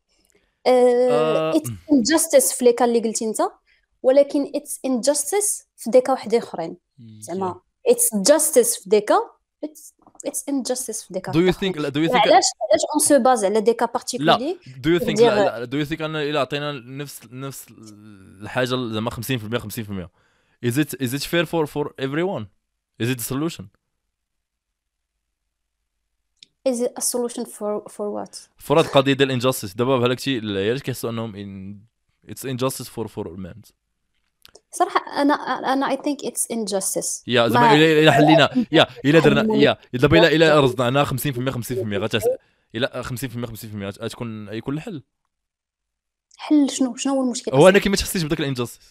اتس انجاستيس في ليكا اللي قلتي انت، ولكن اتس انجاستيس في ديكا وحدين اخرين. زعما اتس جاستيس في ديكا اتس انجاستيس في ديكا. do you think علاش اون سو باز على ديكا بارتيكولي؟ do you think ان الا عطينا نفس الحاجه زعما 50% 50% is it fair for everyone? is it a solution? is it a solution for what? for هاد القضيه ديال الانجاستيس. دابا بحال هكتي العيالات كيحسوا انهم it's injustice for men. صراحه انا I think it's injustice. يا زعما الا حلينا الا درنا دابا الا رزعناها 50% 50% الا 50% 50% غتكون يكون الحل. حل شنو هو المشكل؟ هو انك ما تحسيش بداك الانجاستيس.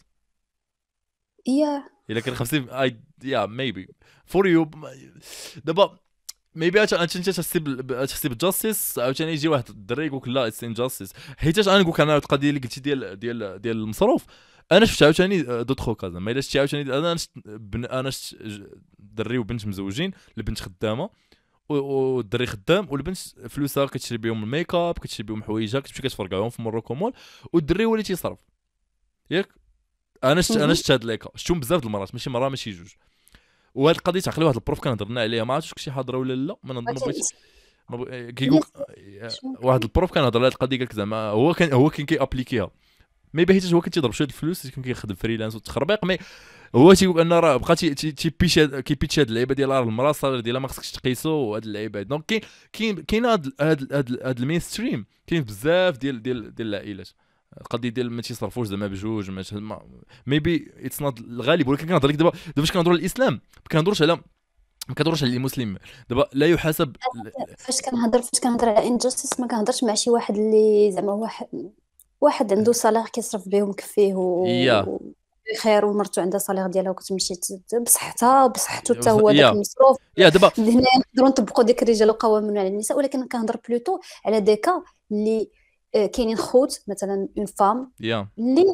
الا كان 50 maybe for you دابا ميبي انت تحسب الجاستيس عاوتاني يجي واحد الدري يقول لك لا اتس انجاستيس. حيتاش انا نقول لك انا القضيه اللي قلتي ديال المصروف انا شفت عاوتاني دوطخو كازا ما الا شفتي عاوتاني انا شفت دري وبنت مزوجين، البنت خدامه والدري خدام والبنت فلوسها كتشري بهم الميك اب كتشري بهم حوايجها كتمشي كتفرقعهم في موروكو مول والدري هو اللي تيصرف ياك. انا شفت هاد ليكا شفتهم بزاف د المرات ماشي مره ماشي جوج. وهاد القضيه تعقلي واحد البروف كنهضرنا عليها ما عرفتش شي حاضره ولا لا ما نظن كيقول واحد البروف كنهضر على هاد القضيه قالك زعما هو كان كيابليكيها مي حيت هو كان تيضرب شويه الفلوس كان كيخدم فريلانس وتخربيق مي هو تيقول ان راه بقى كيبيتش هاد اللعيبه ديال المراه الصالير ديالها ما خصكش تقيسو وهاد اللعيبه. دونك كاين هاد المين ستريم كاين بزاف ديال العائلات القضيه ديال ما تيصرفوش زعما بجوج ميبي اتس نوت الغالب. ولكن كنهضر لك دابا فاش كنهضروا على الاسلام ما كنهضروش على المسلم دابا لا يحاسب. فاش كنهضر على انجاستيس ما كنهضرش مع شي واحد اللي زعما واحد عنده صالير كيصرف بهم كفيه بخير ومرته عندها صالير ديالها وكتمشي بصحتها بصحته حتى هو داك يا المصروف. يا دابا هنا نقدروا نطبقوا ديك الرجال قوامون على النساء، ولكن كنهضر بلوتو على ديكا اللي كاينين خوت مثلا اون فام يا اللي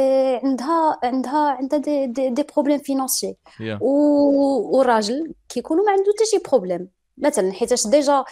عندها دي بروبليم فينانسيي، يا وراجل كيكونوا ما عنده حتى شي بروبليم مثلا، حيتاش ديجا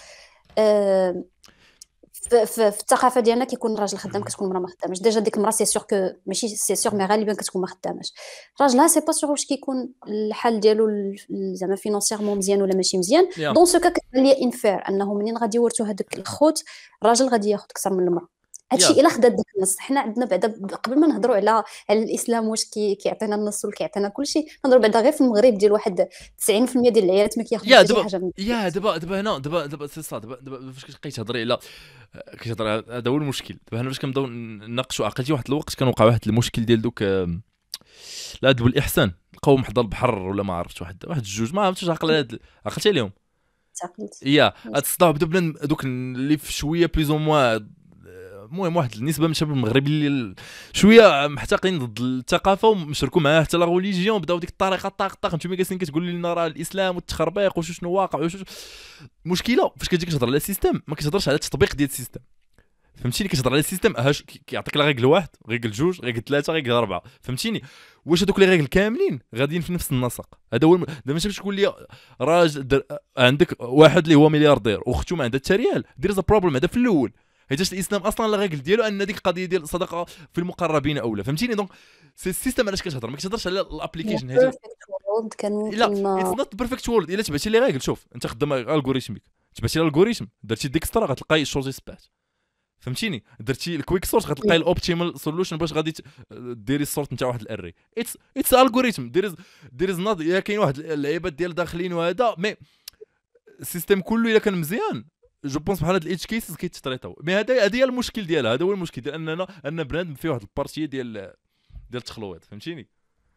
في الثقافه ديالنا كيكون الراجل خدام كتكون المراه ما خدامش. ديجا ديك المراه سي سور كو ماشي سي سور مي غالبا كتكون ما خدامش. راجلها سي با سور واش كيكون الحال ديالو زعما فينانسيرمون مزيان ولا ماشي مزيان. يا دون سو كا كتبان ليا انفير انه منين غادي يورثوا هذوك الخوت الراجل غادي ياخذ اكثر من المراه. هادشي يا الا خدات داك النص. حنا عندنا بعدا قبل ما نهضروا على الاسلام واش كيعطينا النص ولا كيعطينا كلشي، نهضروا بعدا غير في المغرب ديال واحد 90% ديال العيالات ما كياخذوش يا حتى شي دابا حاجه من يا دابا هنا دابا سي صا دابا فاش كتبقاي تهضري على كتهضر هذا هو المشكل. دابا هنا فاش كنبداو نناقشوا عقلتي واحد الوقت كان وقع واحد المشكل ديال دوك العدل والاحسان، لقاو حدا البحر ولا ما عرفتش واحد الجوج ما عرفتش عقلتي عليهم. تعقلت. يا هاد الصداع بدا بنادم دوك اللي في شويه بليز او موان، المهم واحد النسبه من الشباب المغربي اللي شويه محتقين ضد الثقافه ومشركوا معاه حتى لا ريليجيون، بداو ديك الطريقه طاق نتوما جالسين كتقول لنا راه الاسلام والتخربيق وشنو واقع وشنو مشكله. فاش كتجي كتهضر على السيستم ما كتهضرش على التطبيق ديال السيستم، فهمتيني؟ كتهضر على السيستم كيعطيك لا ريغل واحد، ريغل جوج، ريغل ثلاثه، ريغل اربعه، فهمتيني؟ واش هذوك لي ريغل كاملين غاديين في نفس النسق؟ هذا هو دابا ماشي باش تقول لي راجل عندك واحد اللي هو ملياردير واختو ما عندها حتى ريال، دير ذا بروبليم هذا في الاول. حيتاش الاسلام اصلا لا ريغل ديالو ان ديك القضيه ديال الصدقه في المقربين اولى، فهمتيني؟ دونك سي السيستم علاش كتهضر، ما كتهضرش على الابليكيشن. هذه كان لا ممكن اتس نوت بيرفكت وورلد. الا تبعتي لي ريغل، شوف انت خدام الغوريثميك، تبعتي الالغوريثم درتي ديكسترا غتلقاي الشوز سبات، فهمتيني؟ درتي الكويك سورت غتلقاي الاوبتيمال سوليوشن باش غادي ديري السورت نتاع واحد الاري. اتس الغوريثم دير از نوت. يا كاين واحد اللعيبات ديال داخلين وهذا مي السيستم كله الا كان مزيان جو بونس بحال هاد الاتش كيسز كيتطريطاو. مي هذا هي المشكل ديالها، هذا هو المشكل ديال ان بنادم فيه واحد البارتيه ديال التخلويط، فهمتيني؟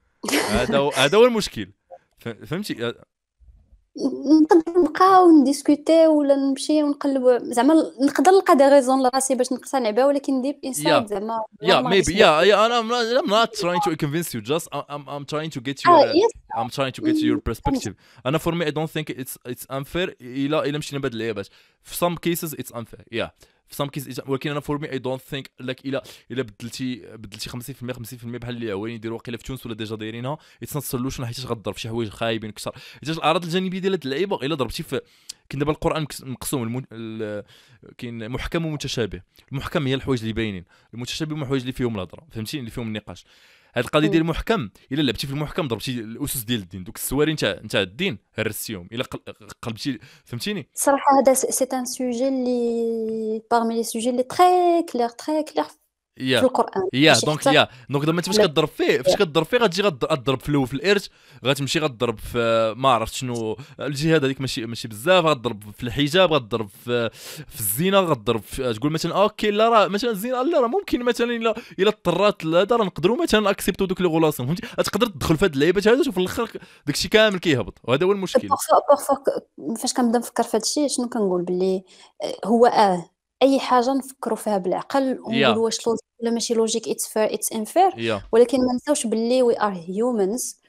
هذا هو المشكل، فهمتي؟ نقدر نبقاو نديسكوتي ولا نمشي ونقلبوا زعما نقدر نلقى دي ريزون لراسي باش نقتنع بها، ولكن ديب انسايد زعما maybe I'm not trying to convince you, just I'm trying to get I'm trying to get your perspective. أنا for me I don't think it's unfair. إلا مشينا بهاد اللعيبات في some cases it's unfair في some cases، ولكن أنا for me I don't think like إلا بدلتي 50% بحال اللي عوين يديروا واقيلا في تونس ولا ديجا دايرينها it's not solution، حيت غضرب في شي حوايج خايبين اكثر. حيت الاعراض الجانبيه ديال هاد اللعيبه الا ضربتي في كاين دابا القران مقسوم كاين محكم ومتشابه. المحكم هي الحوايج اللي باينين، المتشابه هما الحوايج اللي فيهم الهضره، فهمتيني؟ اللي فيهم النقاش. هاد القضيه ديال المحكم الا لعبتي في المحكم ضربتي الاسس ديال الدين، دوك السواري نتاع الدين هرستيهم الا قلبتي، فهمتيني؟ صراحه هذا سي ان سوجي اللي parmi les sujets اللي تري كلير في القران. دونك دابا انت فاش كضرب فيه غتجي غضرب في الاول في الارث، غتمشي غضرب في ما عرفت شنو الجهاد هذيك ماشي بزاف، غضرب في الحجاب، غضرب في الزنا، غضرب تقول مثلا اوكي لا راه مثلا الزنا لا راه ممكن مثلا الا اضطرات هذا راه نقدروا مثلا اكسبتو دوك لي غولاسيون، فهمتي؟ تقدر تدخل في هاد اللعيبات هذا وفي الاخر داكشي كامل كيهبط، وهذا هو المشكل. فاش كنبدا نفكر في هادشي شنو كنقول باللي هو اي حاجه نفكروا فيها بالعقل ونقولوا واش لوجيك ولا ماشي لوجيك اتس فير اتس انفير، ولكن ما نساوش باللي وي ار هيومنز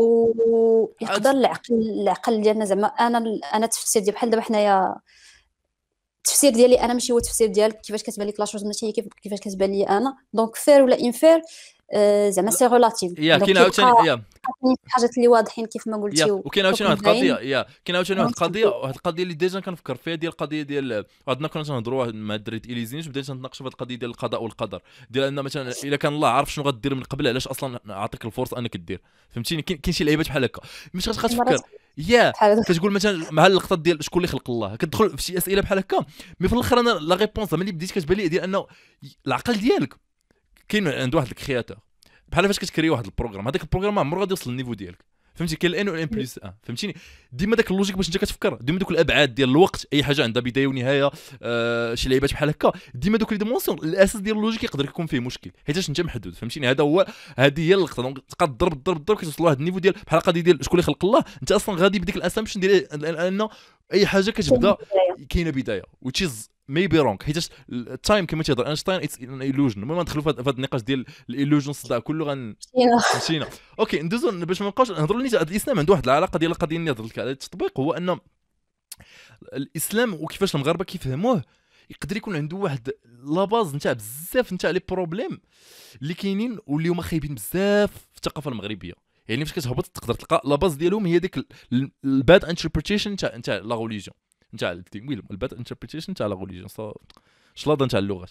ويقدر العقل ديالنا زعما انا التفسير ديال بحال دابا حنايا التفسير ديالي انا ماشي هو التفسير ديالك، كيفاش كتبان لك لاشوز ماشي كيفاش كتبان لي انا، دونك فير ولا انفير زعما سي ريلاتيف. كاين عاوتاني حاجات اللي واضحين كيف ما قلتي، وكاين عاوتاني واحد القضيه كاين عاوتاني واحد القضيه اللي ديجا كنفكر فيها، ديال القضيه ديال عندنا كنا تنهضروا مع الدراري اليزينيش، بدينا نتناقشوا في هذه القضيه ديال القضاء والقدر، ديال ان مثلا الا كان الله عارف شنو غدير من قبل علاش اصلا عطيك الفرصه انك دير، فهمتيني؟ كاين شي لعيبات بحال هكا مش غتفكر كتقول مثلا مع اللقطه ديال شكون اللي خلق الله، كتدخل في شي اسئله بحال هكا، مي في الاخر انا لا ريبونس ملي بديت كتبان لي ديال انه العقل ديالك كاين عند واحد الكرياتور، بحال فاش كتكري واحد البروغرام، هذاك البروغرام عمره غادي يوصل للنيفو ديالك، فهمتي؟ كاين الان والان بلس ان، فهمتيني؟ ديما داك اللوجيك باش انت كتفكر، ديما دوك الابعاد ديال الوقت، اي حاجه عندها بدايه ونهايه، شي لعيبات بحال هكا، ديما دوك لي ديمونسيون الاساس ديال اللوجيك يقدر يكون فيه مشكل حيتاش انت محدود، فهمتيني؟ هذه هي اللقطه. دونك تبقى تضرب كتوصل لواحد النيفو ديال بحال القضيه ديال شكون اللي خلق الله، انت اصلا غادي بديك الاسامبشن ديال انه اي حاجه كاينة كتبدا بداية. كاينه بدايه which is maybe wrong، حيت التايم كما تيهضر اينشتاين اتس ان illusion. المهم ندخلوا في هذا النقاش ديال الالوجن الصداع كله مشينا. مشينا. اوكي ندوزو باش ما نبقاوش نهضروا نيت. الاسلام عنده واحد العلاقه ديال القضيه اللي هضرت لك على التطبيق، هو ان الاسلام وكيفاش المغاربه كيفهموه يقدر يكون عنده واحد لاباز نتاع بزاف نتاع لي بروبليم اللي كاينين واللي هما خايبين بزاف في الثقافه المغربيه. يعني فاش كتهبط تقدر تلقى لاباز ديالهم هي ديك الباد انتربريتيشن نتاع لا ريليجيون، نتاع الدين، الباد انتربريتيشن نتاع لا ريليجيون شلاضه نتاع اللغات.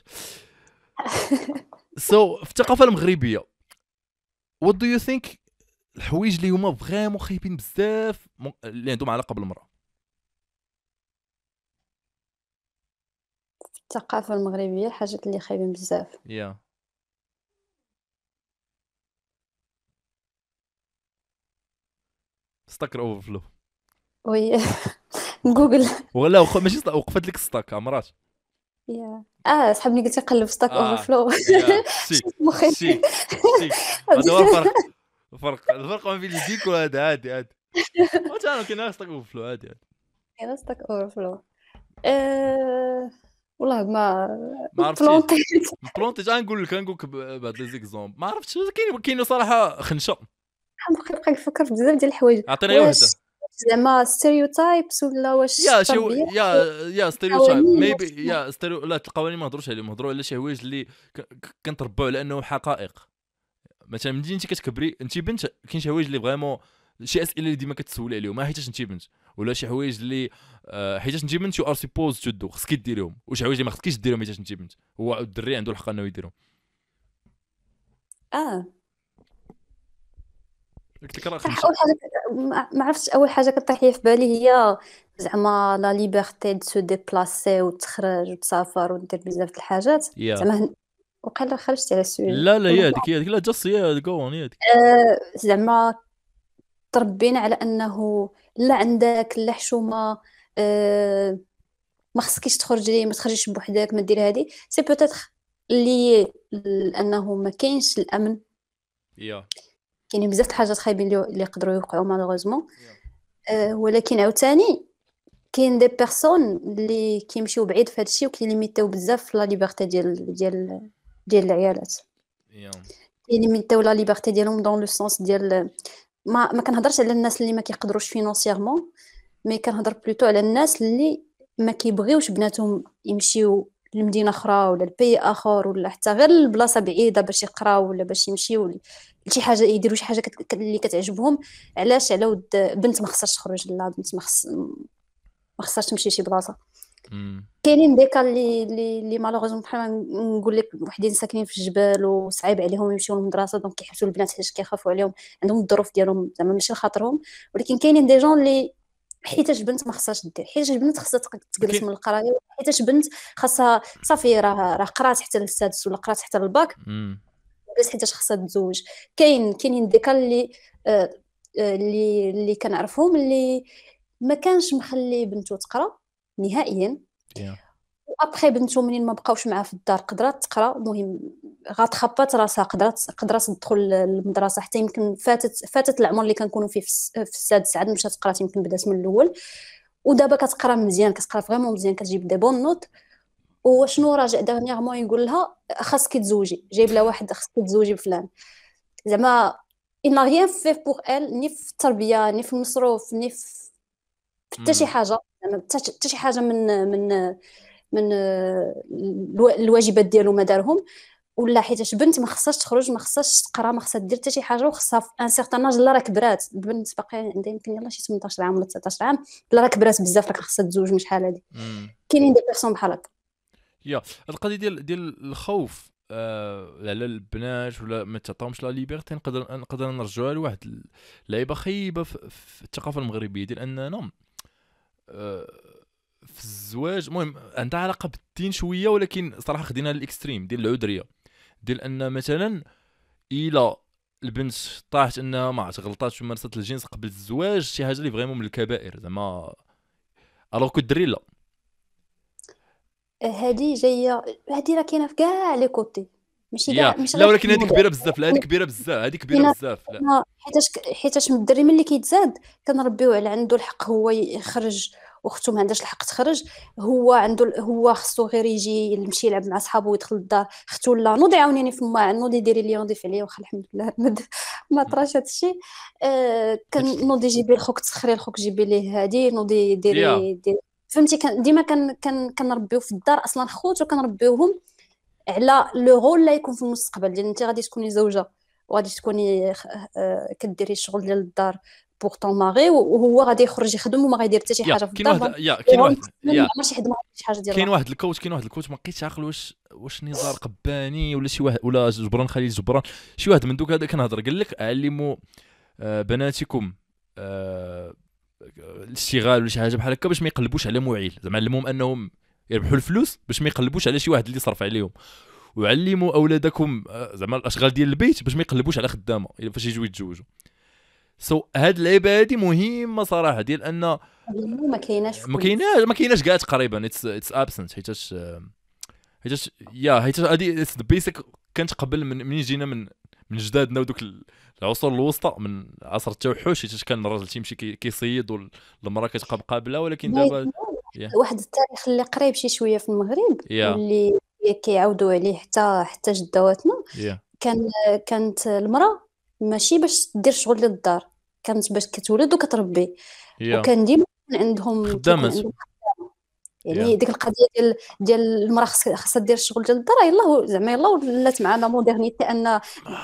سو في الثقافه المغربيه what do you think الحوايج اللي هما فريمون خايبين بزاف اللي عندهم علاقه بالمراه؟ الثقافة المغربية الحاجات اللي خايبين بزاف. يا ستاك اوفر وي جوجل. ولا ماشي وقفت لك ستاك عمرات. صحاب ملي قلتي قلب ستاك اوفر فلو. يا شيك شيك شيك. هذا هو الفرق ما بين الجيك وهذا. عادي وانا كاين ستاك اوفر فلو عادي. كاين ستاك اوفر فلو. والله ما عرفتي بلونتي. نقول لك بعض لي زيكزومبل ما عرفتش. كاين صراحه خنشه. نبقى نفكر في بزاف ديال الحوايج. عطينا واش وحده. زعما ستيريوتايبس ولا واش يا شي التربية؟ يا ستيريوتايب قوانين ميبي يا لا القوانين ما نهضروش عليهم، نهضروا على شي حوايج اللي كنتربوا على انهم حقائق. مثلا ملي انت كتكبري انت بنت كاين شي حوايج اللي فريمون شي اسئله اللي ديما كتسولي عليهم ما حيتاش انت بنت، ولا شي حوايج اللي حيتاش انت بنت يو ار سيبوز تو دو خصك ديريهم، وشي حوايج اللي ما خصكيش ديرهم حيتاش انت بنت. هو الدري عنده الحق انه يديرهم. قلت لك راه خمسه. اول حاجه ما عرفتش، اول حاجه كطيح لي في بالي هي زعما لا ليبرتي دو سو ديبلاسي وتخرج وتسافر ودير بزاف د الحاجات. زعما وقيلا خرجت على السويد. لا هي هذيك لا جاست هي جو اون هذيك. زعما تربينا على انه لا عندك لا حشومه، ما خصكيش تخرجي، ما تخرجيش بوحدك، ما دير هذه. سي بوتيتر اللي لانه ما كاينش الامن. كاينين بزاف د الحاجات خايبين اللي يقدروا يوقعوا مالوغوزمون. ولكن عاوتاني كاين دي بيرسون اللي كيمشيو بعيد في هذا الشيء وكيليميتاو بزاف لا ليبرتي ديال العيالات. كيليميتاو لا ليبرتي ديالهم دون لو سونس ديال ما كنهضرش على الناس اللي ما كيقدروش فينونسيرمون، مي كنهضر بلوتو على الناس اللي ما كيبغيوش بناتهم يمشيو لمدينه اخرى ولا لبي اخر ولا حتى غير البلاصه بعيده باش يقراو ولا باش يمشيو لشي حاجه، يديروا شي حاجه اللي كتعجبهم. علاش؟ على ود بنت ما خصهاش تخرج، لا بنت ما خصهاش تمشي لشي بلاصه. كاينين ديكا اللي مالوغوزمون بحال نقول لك وحدين ساكنين في الجبال وصعيب عليهم يمشيو للمدرسه، دونك كيحبسوا البنات حيت كيخافوا عليهم، عندهم الظروف ديالهم زعما ماشي لخاطرهم. ولكن كاينين دي جون اللي حيتاش بنت ما خصهاش دير، حيتاش بنت خصها تجلس من القرايه، حيتاش بنت خاصها صافي راه قرات حتى للسادس ولا قرات حتى للباك بس حيتاش خصها تتزوج. كاينين ديكا اللي كنعرفهم اللي ما كانش مخلي بنته تقرا نهائيا. وابخي بنته منين ما بقاوش معاه في الدار قدرات تقرا، المهم غتخبط راسها، قدرات تدخل المدرسه حتى يمكن فاتت العمر اللي كنكونوا فيه في السادس عاد مشات تقرا، يمكن بدات من الاول ودابا كتقرا مزيان، كتقرا فريمون مزيان، كتجيب دي بون نوت. وشنو راجع دغنيغمون يقول لها خاصك تزوجي، جايب لها واحد خاصك تزوجي بفلان. زعما إن ريان في بور ال، ني في التربيه ني في المصروف ني في حتى شي حاجه، زعما حتى شي حاجه من الواجبات ديالو ما دارهم. ولا حيتاش بنت ما خصهاش تخرج، ما خصهاش تقرا، ما خصها دير حتى شي حاجه، وخصها في ان سيغتان اج لا راه كبرات. البنت باقي عندها يمكن يلاه شي 18 عام ولا 19 عام، لا راه كبرات بزاف، راه خصها تزوج من شحال هادي. كاينين دي بيرسون بحال هكا. القضيه ديال الخوف على البنات ولا ما تعطاهمش لا ليبرتي، نقدر نرجعوها لواحد اللعيبه خايبه في الثقافه المغربيه ديال اننا في الزواج. المهم عندها علاقه بالدين شويه، ولكن صراحه خدينا الاكستريم ديال العذريه، ديال ان مثلا الا البنت طاحت انها ما غلطاتش ومارست الجنس قبل الزواج، شي حاجه اللي فريمون من الكبائر زعما، الوغ كو الدري لا. هادي جايه، هادي راه كاينه في كاع لي كوتي، ماشي كاع ماشي لا، ولكن هذه كبيره بزاف. لا هذه كبيره بزاف، هذه كبيره بزاف. لا حيتاش من الدري ملي كيتزاد كنربيو على عنده الحق هو يخرج واختو ما عندهاش الحق تخرج، هو خصو غير يجي يمشي يلعب مع صحابو ويدخل للدار. اختو لا نوضي عاونيني في ما نوضي ديري لي نضيف عليا، واخا الحمد لله ما طراش هادشي. كان نوضي جيبي لخوك تسخري لخوك جيبي ليه هادي، نوضي يا ديري فهمتي. كان ديما كنربيو في الدار اصلا خوت، وكنربيوهم على لو رول اللي يكون في المستقبل ديال انت غادي تكوني زوجه وغادي تكوني كديري الشغل ديال الدار بوغ طون ماغي، وهو غادي يخرج يخدم وما غيدير حتى شي حاجه في كاين الدار. واحد ما عمرش يخدم شي حاجه ديال كاين واحد الكوت ما بقيتش عاقل واش نزار قباني ولا شي واحد ولا جبران خليل جبران، شي واحد من دوك هذا كنهضر قال لك علموا بناتكم الاشتغال ولا شي حاجه بحال هكا باش ما يقلبوش على معيل، زعما علموهم انهم يربحوا الفلوس باش ما يقلبوش على شي واحد اللي صرف عليهم، وعلموا اولادكم زعما الاشغال ديال البيت باش ما يقلبوش على خدامه الا فاش يجوا يتزوجوا. هاد اللعيبه هادي مهمه صراحه، ديال ان ما كايناش ما كايناش كاع تقريبا اتس ابسنت، حيتاش هادي اتس ذا بيسك. كانت قبل من جينا من جدادنا ودوك العصور الوسطى، من عصر التوحش، حيتاش كان الراجل تيمشي كيصيد والمراه كتبقى مقابله، ولكن دابا واحد التاريخ اللي قريب شي شويه في المغرب واللي كيعاودوا عليه حتى جدواتنا. كانت المراه ماشي باش دير شغل ديال الدار، كانت باش كتولد وكتربي، وكان ديما عندهم خدامه. يعني ديك القضيه ديال المراه خاصها دير الشغل ديال الدار، يلاه زعما يلاه ولات معنا مودرنيتي، ان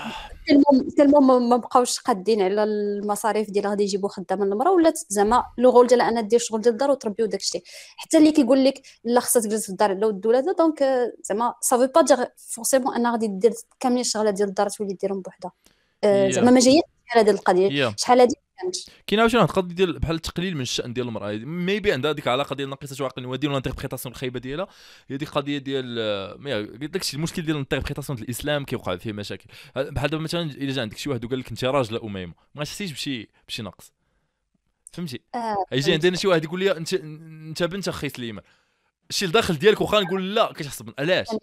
تلمو ما بقاوش قادين على المصاريف ديال غادي يجيبوا خدامه المراه، ولات زعما لو رول ديالها انها دير الشغل ديال الدار وتربي وداك الشيء. حتى اللي كيقول لك لا خاصها تجلس في الدار على ود ولادها، دونك زعما صافي با دير فورسيمون انها غادي دير كاملين الشغلات ديال الدار تولي ديرهم بوحدها. زعما ما جايه شحال هذه القضيه، شحال هذه كاين عاوتاني واحد القضيه ديال بحال التقليل من الشان ديال المراه، ميبي عندها ديك العلاقه ديال ناقصه عقل نوادي ولا انتربريتاسيون الخايبه ديالها، هي ديك القضيه ديال داكشي المشكل ديال الانتربريتاسيون ديال الاسلام كيوقع فيه مشاكل. بحال دابا مثلا الا جا عندك شي واحد وقال لك انت راجله اميمه، ما تحسيش بشي نقص، فهمتي؟ يجي عندنا شي واحد يقول لي انت بنت اخي سليمان، الشيء الداخل ديالك واخا نقول لا كتحسب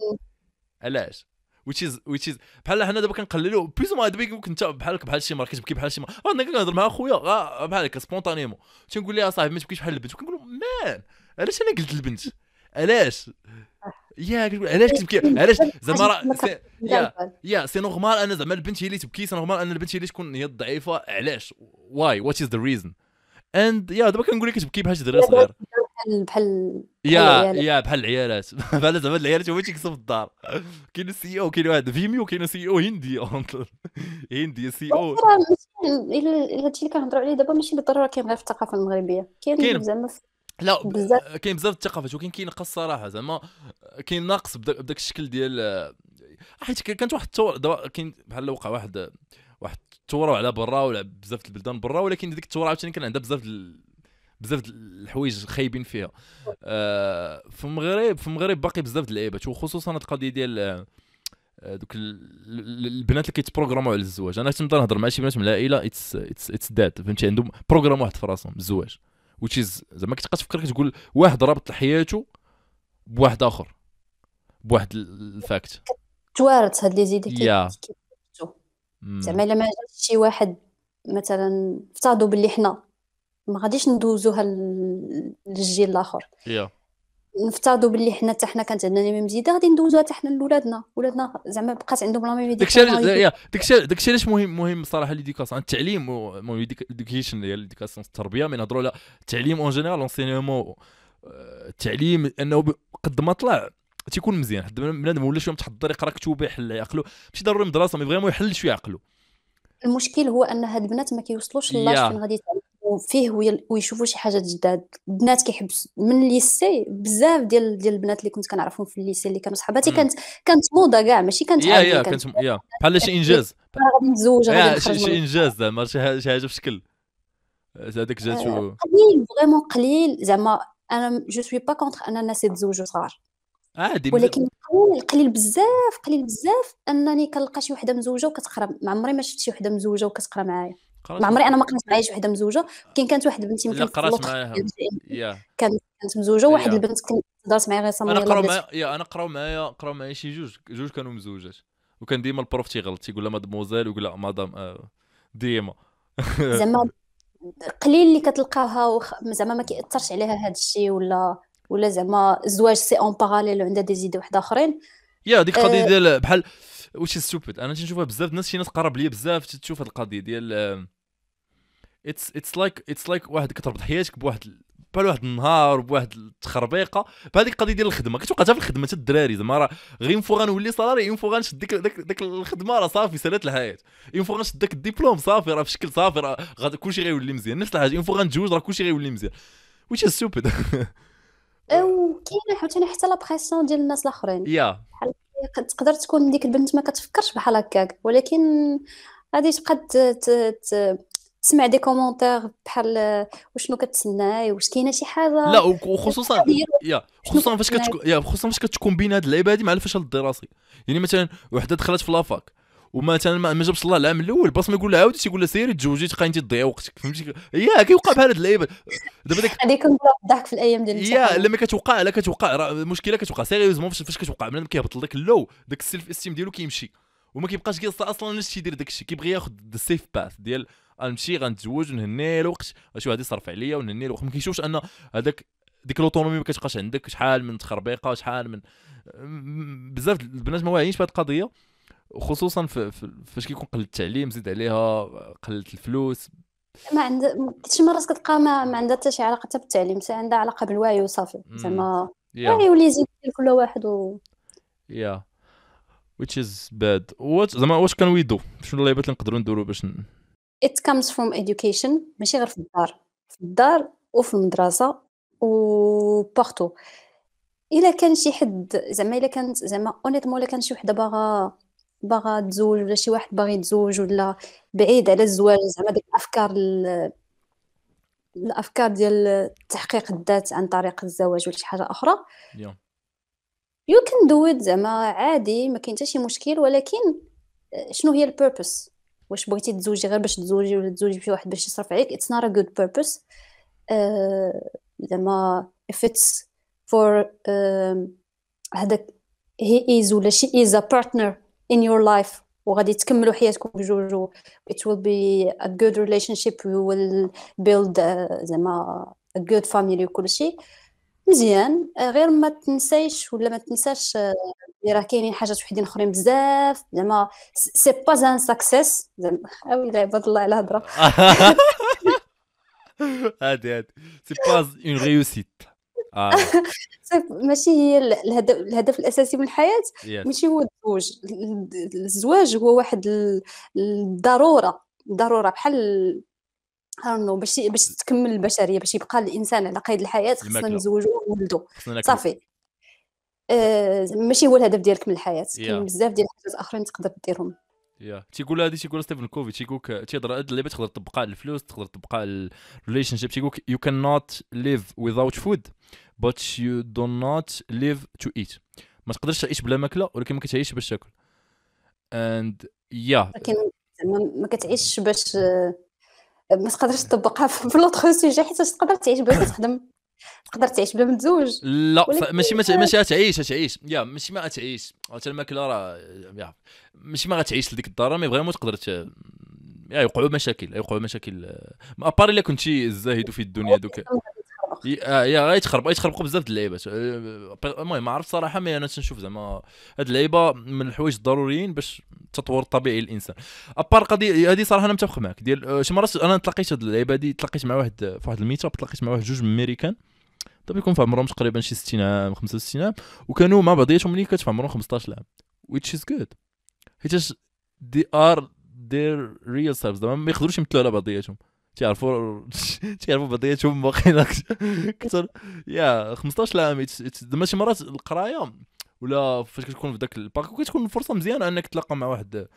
علاش which is بحال حنا دابا كنقللوا بليز ما دابا يمكن انت بحال شي مرة كتبكي بحال شي مرة، انا كنهضر مع خويا بحال هكا سبونطانيمون تنقول لها صاحبي ما تبكيش بحال البنت، وكنقول له مان علاش انا قلت البنت علاش كتقول علاش كتبكي علاش زعما سي نورمال انا زعما البنت هي اللي تبكي، سي نورمال ان البنت هي اللي تكون هي الضعيفه، علاش واي وات از ذا ريزون اند دابا كنقول لك كتبكي بحال شي دري صغير بحال بحال العيالات بحال زعما العيالات هما تيكسوا في الدار. كاين السي او، كاين واحد فيميو، كاين سي او هندي سي او. الا هادشي اللي كنهضروا عليه دابا ماشي بالضروره كاين غير في الثقافه المغربيه، كاين زعما لا كاين بزاف الثقافات، ولكن كاين نقص صراحه، زعما كاين ناقص بداك الشكل ديال حيت كانت واحد الثوره دابا كاين بحال وقع واحد الثوره على برا ولا بزاف البلدان برا، ولكن ديك الثوره عاوتاني كان عندها بزاف الحوايج خايبين فيها. في المغرب باقي بزاف اللعيبات، وخصوصا القضيه ديال دوك البنات اللي كيتبروغراموا على الزواج. انا كنت نهضر مع شي بنات من العائله اتس داد، فهمتي، عندهم بروغرام واحد في راسهم بالزواج، وتشيز زعما كتبقى تفكر كتقول واحد رابط حياته بواحد اخر بواحد الفاكت توارث هاد لي زيدي زعما الا ما جاش شي واحد مثلا افترضوا باللي حنا ما غاديش ندوزوها للجيل الاخر، نفترضوا باللي حنا حتى حنا كانت عندنا ميم زيده غادي ندوزوها حتى حنا لولادنا زعما بقات عندهم لا ميم داكشي علاش مهم صراحه ليديكاسيون التعليم اديوكيشن ديال الاديوكاسيون التربيه. من نهضروا على التعليم اون جينيرال لونسينيومون، التعليم انه قد ما طلع تيكون مزيان، حتى بنادم ولا شويه متحضر يقرا كتب يحل عقله، ماشي ضروري مدرسه، مي فريمون يحل شويه عقله. المشكل هو ان هاد البنات ما كيوصلوش لاش فين غادي يتعلموا فيه ويشوفوا شي حاجه جداد. البنات كيحبس من الليسي، بزاف ديال البنات اللي كنت كنعرفهم في الليسي اللي كانوا صحاباتي كانت موضه كاع ماشي كانت عاديه، كانت بحال شي انجاز غادي نتزوج غادي نخرج شي انجاز زعما شي حاجه بشكل هذاك جاتو قليل فريمون قليل. زعما انا جو سوي با كونتر ان الناس يتزوجوا صغار عادي، ولكن قليل بزاف انني كنلقى شي وحده مزوجه وكتقرا. ما عمري ما شفت شي وحده مزوجه وكتقرا معايا، ما عمري انا ما قرات معايا شي وحده مزوجه. كاين واحد بنتي يمكن قرات معاها كانت مزوجه، واحد البنت كانت هضرت معايا غير صاميه. انا قراو معايا شي جوج كانوا مزوجات، وكان ديما البروف تيغلط تيقول لها مادموزيل ويقول لها مدام ديما زعما قليل اللي كتلقاها زعما ما كيأثرش عليها هذا الشيء، ولا زعما الزواج سي اون باراليل وعندها دي زيدي واحد اخرين. يا ديك القضيه ديال بحال واش ستوبيد، انا تنشوفها بزاف الناس، شي ناس قرب ليا بزاف تشوف هاد القضيه ديال اتس لايك واحد كتربط حياتك بحال واحد النهار بواحد التخربيقه، بحال ديك القضيه ديال الخدمه كتوقع حتى في الخدمه حتى الدراري زعما راه غير اون فوا غنولي صالاري، اون فوا غنشد ديك الخدمه راه صافي سالات الحياه، اون فوا غنشد داك الدبلوم صافي راه في شكل صافي راه كلشي غيولي مزيان، نفس الحاجه اون فوا غنتزوج راه كلشي غيولي مزيان which is stupid. وكاينه عاوتاني حتى لا بريسيون ديال الناس الاخرين، يا بحال تقدر تكون ديك البنت ما كتفكرش بحال هكاك، ولكن غادي تبقى تسمع دي كومونتير بحال وشنو كتسناي، واش كاينه شي حاجه. لا وخصوصا شنو خصوصا فاش كتسناي؟ خصوصا فاش كتكون بين هاد اللعيبه هادي مع الفشل الدراسي. يعني مثلا وحده دخلت في لافاك ومثلا ما جابش الله العام الاول، باش ما يقول لها عاودي تيقول لها سيري تزوجي تبقى انت تضيع وقتك، فهمتي؟ كيوقع بحال هاد اللعيبه دابا ديك. غادي يكون الضحك في الايام ديال الامتحان. لما كتوقع لا كتوقع راه المشكله كتوقع سيريوزمون فاش كتوقع بنادم كيهبط لك اللو، داك السيلف استيم ديالو كيمشي وما كيبقاش اصلا ناس يدير داك الشيء، كيبغي ياخذ السيف باث ديال غنمشي غنتزوج ونهني الوقت شي واحد يصرف عليا ونهني الوقت، ما كيشوفش ان ديك الاوتونومي ما كتبقاش عندك، شحال من تخربيقه شحال من بزاف البنات ما واعيينش بهاد القضيه، خصوصا فاش كيكون قل التعليم زيد عليها قلت الفلوس. ما عندها شي مرات كتلقى ما عندها حتى شي علاقه حتى بالتعليم، عندها علاقه بالوعي وصافي، زعما الوعي واللي يزيد كل واحد يا which is bad. زعما واش كان ويدو شنو اللعيبات اللي نقدروا نديروا باش it comes from education، ماشي غير في الدار وفي المدرسه وبارتو. الا كان شي حد زعما الا كانت زعما اونيتمون الا كان شي وحده باغا تزوج، ولا شي واحد باغي يتزوج ولا بعيد على الزواج، زعما ديك الافكار ديال تحقيق الذات عن طريق الزواج ولا شي حاجه اخرى، you can do it زعما عادي، ما كاين حتى شي مشكل. ولكن شنو هي البيربس؟ واش بغيتي تزوجي غير باش تزوجي ولا تزوجي بشي واحد باش يصرف عليك؟ it's not a good purpose. زعما if it's for هذاك he is ولا she is a partner in your life وغادي تكملوا حياتكم بجوج، it will be a good relationship, you will build زعما a good family وكل شيء مزيان. غير ما تنسايش ولا ما تنساش راه كاينين حاجات وحدين اخرين بزاف، زعما سي با ان ساكسيس، زعما ويلي عباد الله على الهضره. هادي سي با اون ريوسيت. ماشي هي الهدف الاساسي من الحياه، ماشي هو الزواج. الزواج هو واحد الضروره بحال باش تكمل البشريه، باش يبقى الانسان على قيد الحياه خصنا نزوجوا ونولدوا صافي. ماشي هو الهدف ديالك من الحياه، كاين بزاف ديال الحاجات اخرين تقدر ديرهم. تيقول هذه تيقول ستيفن كوفي تيهضر هاد اللعبه تقدر تطبقها على الفلوس، تقدر تطبقها على الريليشن شيب. تيقول you cannot live without food but you do not live to eat. ما تقدرش تعيش بلا ماكله ولكن ما كتعيش باش تاكل. and لكن ما كتعيش باش ما تقدرش تطبقها في لوطخ سوجي، حيت تقدر تعيش بلا تخدم، تقدر تعيش بلا ما تزوج. لا ماشي تعيش ماشي ما غتعيش حتى الماكله راه ماشي ما غتعيش لديك الدار، مي فريمون تقدر يوقعوا مشاكل ابار الا كنتي زاهد في الدنيا دوك غيتخربقوا بزاف د اللعيبات. المهم ما عرفت صراحه، مي انا تنشوف زعما هاد اللعيبه من الحوايج الضروريين باش التطور الطبيعي للانسان. ابار قضيه هذه صراحه انا متفق معك ديال شي مرات انا تلاقيت هاد اللعيبه هذه، تلاقيت مع واحد في واحد الميت اب، تلاقيت مع واحد جوج من امريكان طبعا يكون في عمرهم تقريبا شي 60 عام 65 عام، وكانوا مع بعضياتهم ملي كانت في عمرهم 15 عام which is good حيت they are their real selves، ما يقدروش يمثلوا على بعضياتهم، تعرفوا بعضياتهم واقيلا كثر 15 عام. ماشي مرات القرايه ولا فاش كتكون في داك الباك كتكون فرصه مزيانه انك تلاقى مع واحد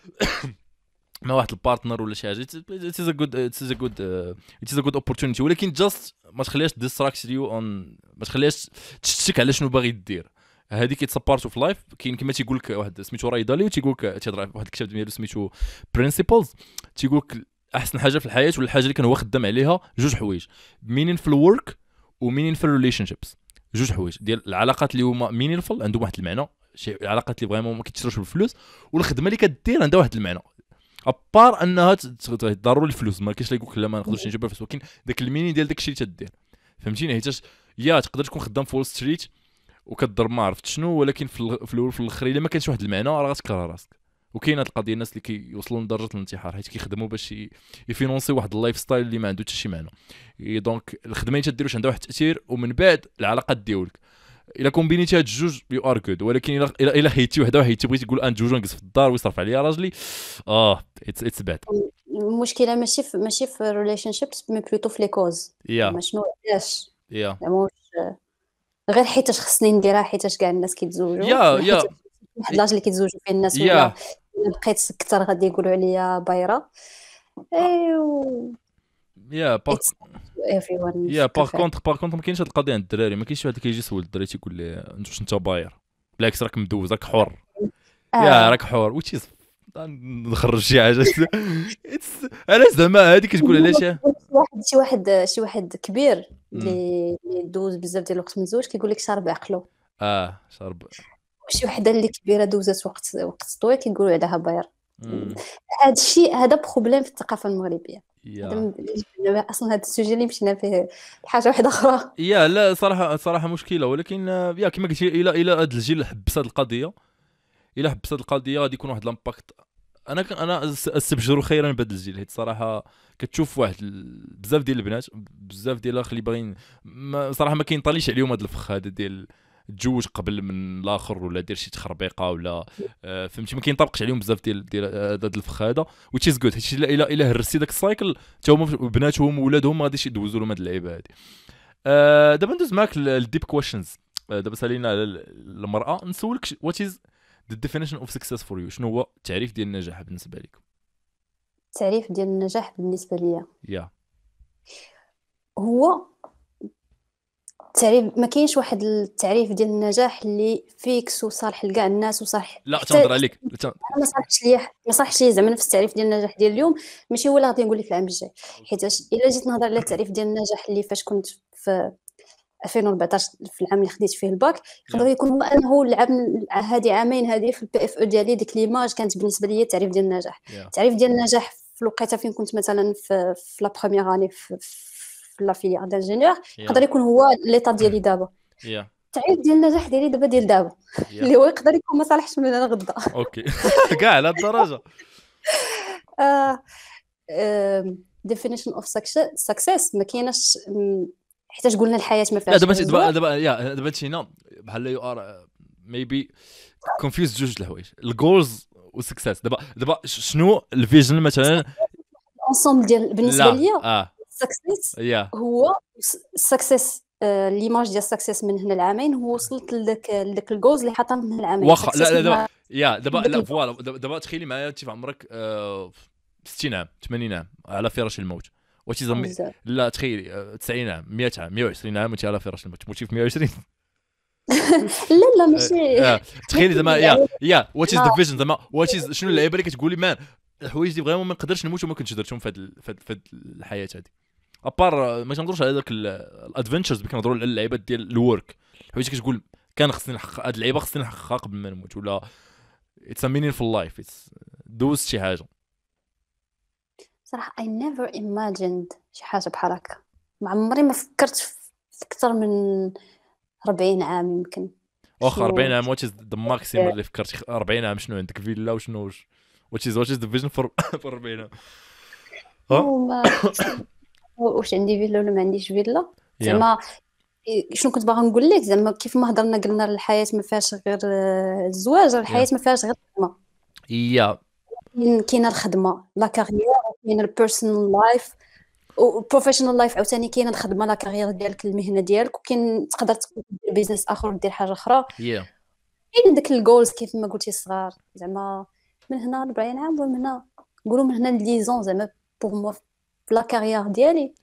مع واحد البارتنر ولا شي حاجه. it is a good opportunity، ولكن جاست ما تخليهاش distract you on، ما تخليهاش تشتك على شنو باغي دير. هذيك اتس بارت اوف لايف. كاين كما تيقول لك واحد سميتو راي داليو، تيقول لك تيهضر واحد الكتاب ديالو سميتو برينسيبلز، تيقول لك احسن حاجه في الحياه ولا الحاجه اللي كان هو خدام عليها جوج حوايج، meaningful work و meaningful relationships. جوج حوايج ديال العلاقات اللي هما meaningful عندهم واحد المعنى، شي علاقات اللي فريمون ما كيتشروش بالفلوس، والخدمه اللي كدير عندها واحد المعنى. ابار انها ضروري الفلوس، ما كاينش اللي يقول لك لا ما نقدرش نجيب الفلوس، ولكن داك الميني ديال داك الشيء اللي تدير فهمتيني. حيتاش يا تقدر تكون خدام في وول ستريت وكضرب ما عرفت شنو، ولكن في الاول في الاخر الا ما كانش واحد المعنى راه غتكره راسك. وكاين هاد القضيه الناس اللي كيوصلوا لدرجه الانتحار حيت كيخدموا باش يفينونسي واحد اللايف ستايل اللي ما عنده حتى شي معنى. دونك الخدمه اللي تديروش عندها واحد التاثير، ومن بعد العلاقات ديالك الا كومبينيتي هاد الجوج يو ار جود. ولكن الا حيدتي وحده وحيدتي بغيتي تقول ان جوج نجلس في الدار ويصرف عليا راجلي، اتس باد. المشكله ماشي في الريليشن شيبس مي بلوتو في لي كوز. يا شنو علاش يا زعما غير حيتاش خصني نديرها، حيتاش كاع الناس كيتزوجوا، يا يا حيت واحد لاج اللي كيتزوجوا فيه الناس، ولا يا بقيت كثر غادي يقولوا عليا بايره. ايوا يا اتس everyone يا في كافي. باغ كونتر ما كاينش هاد القضيه عند الدراري. ما كاينش شي واحد كيجي يسول الدراري تيقول ليه انت واش انت باير، بالعكس راك مدوز راك حر. يا راك حر وتشيز نخرج شي حاجه علاش زعما هادي كتقول علاش شي واحد كبير اللي دوز بزاف ديال الوقت متزوج كيقول لك شارب عقلو. شرب. وشي وحده اللي كبيره دوزات وقت طويل كيقولوا عليها باير. هذا الشيء هذا بروبليم في الثقافه المغربيه. هذا اصلا هذا السوجي اللي مشينا فيه حاجه واحده اخرى. يا لا صراحه مشكله. ولكن يا كما قلتي الى هذا الجيل حبس هذه القضيه، الى حبس هذه القضيه غادي يكون واحد الامباكت. انا استبشروا خيرا بهذا الجيل، حيت صراحه كتشوف واحد بزاف ديال البنات بزاف ديال الاخ اللي باغيين صراحه ما كينطاليش عليهم هذا الفخ هذا ديال تزوج قبل من الاخر ولا دير شي تخربيقه ولا فهمتي. ما كينطبقش عليهم بزاف ديال هذا الفخ هذا which is good. حيت الا هرسي داك السايكل حتى هما بناتهم وولادهم ما غاديش يدوزوا لهم هاد اللعيبه هادي. دابا ندوز معاك الديب كويشنز. دابا سالينا على المراه، نسولك وات از the definition of success for you. شنو هو التعريف ديال النجاح بالنسبه لك؟ التعريف ديال النجاح بالنسبه ليا يا هو التعريف، ما كاينش واحد التعريف ديال النجاح اللي فيكس وصالح لكاع الناس وصالح لا تنهضر عليك ما صالحش ليا زعما نفس التعريف ديال النجاح ديال اليوم ماشي هو اللي غادي نقول لك العام الجاي. حيت الا جيت نهضر على التعريف ديال النجاح اللي فاش كنت في 2014 في العام اللي خديت فيه الباك، يقدر يكون هو انه العام هذه عامين هذه في البي اف او ديالي ديك ليماج كانت بالنسبه لي التعريف ديال النجاح. التعريف ديال النجاح في الوقيته فين كنت مثلا في لا بروميير اني في لا فيليير دانجينيور يقدر يكون هو ليطا ديالي دابا. التعريف ديال النجاح ديالي دابا ديال دابا اللي هو يقدر يكون ما صالحش من انا غدا. اوكي كاع على الدرجه. definition of success ما كايناش حيت قلنا الحياه ما فيهاش. دابا تينا بحال يو ار ميبي كونفيوز جوج الحوايج، الجولز والسكسس. دابا شنو الفيجن مثلا انصومبل ديال بالنسبه ليا السكسس هو السكسس ليماج ديال السكسس من هنا العامين هو وصلت لذاك الجولز اللي حاطه من هنا العامين. واخا دابا لا فوالا دابا تخيلي معايا انت في عمرك 60 عام 80 عام على فراش الموت لا تخيلي 90 عام 100 عام 120 عام وانت على فراش الموت تموتي في 120. لا ماشي تخيلي زعما يا وات از ذا فيجن زعما وات از شنو اللعيبه اللي كتقولي مان الحوايج اللي فريمون ما نقدرش نموت وما كنتش درتهم في هاد الحياه هذه. ابار ما كنهضروش على داك الادفنتشرز، كنهضروا على اللعيبات ديال الورك، الحوايج كتقول كان خصني نحقق هاد اللعيبه خصني نحققها قبل ما نموت، ولا اتس ا مينينفول لايف اتس دوزت شي حاجه. صراحه I never imagined شي حاجه بحال هكا. ما عمري ما فكرت في اكثر من 40 عام يمكن. واخا 40 عام واتش ذا ماكسيمم اللي فكرت 40 عام شنو عندك فيلا وشنو واتش ذا فيجن فور 40 عام؟ واش عندي فيلا ولا ما عنديش فيلا زعما شنو كنت باغا نقول لك زعما كيف ما هضرنا قلنا الحياه ما فيهاش غير الزواج، الحياه ما فيهاش غير الخدمه. كاينه الخدمه لا كارير، كاين البيرسونال لايف وبروفيشنال لايف عاوتاني، كاينه الخدمه لا كارير ديالك المهنه ديالك، وكاين تقدر دير بيزنس اخر ودير حاجه اخرى. كاين داك الجولز كيف ما قلتي الصغار زعما من هنا 40 عام ومن هنا نقولوا من هنا ليزون زعما بوغ مو في لا كارير ديالي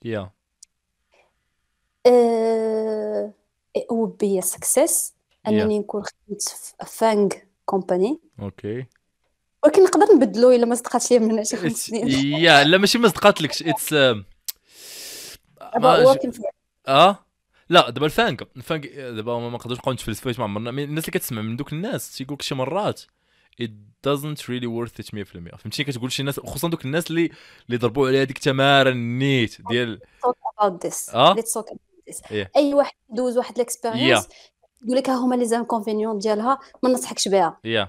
او بي سكسس انني نكون خدمت في فانغ كومباني. اوكي ولكن نقدر نبدلو الا ما صدقاتش ليا من شي 5 سنين. لا ماشي ما صدقاتلكش اتس لا دابا الفانغ دابا ما نقدرش نبقاو نتفلسفوا ما عمرنا الناس اللي كتسمع من دوك الناس تيقول لك شي مرات doesn't really worth it 100%. فهمتي كتقول شي ناس خصوصا دوك الناس اللي ضربوا عليها ديك تماره النيت ديال talk about this اه let's talk about this ايه اي واحد يدوز واحد يا ليكسبيريونس يقول لك ها هما لي زانكونفينيون ديالها ما نصحكش بها يا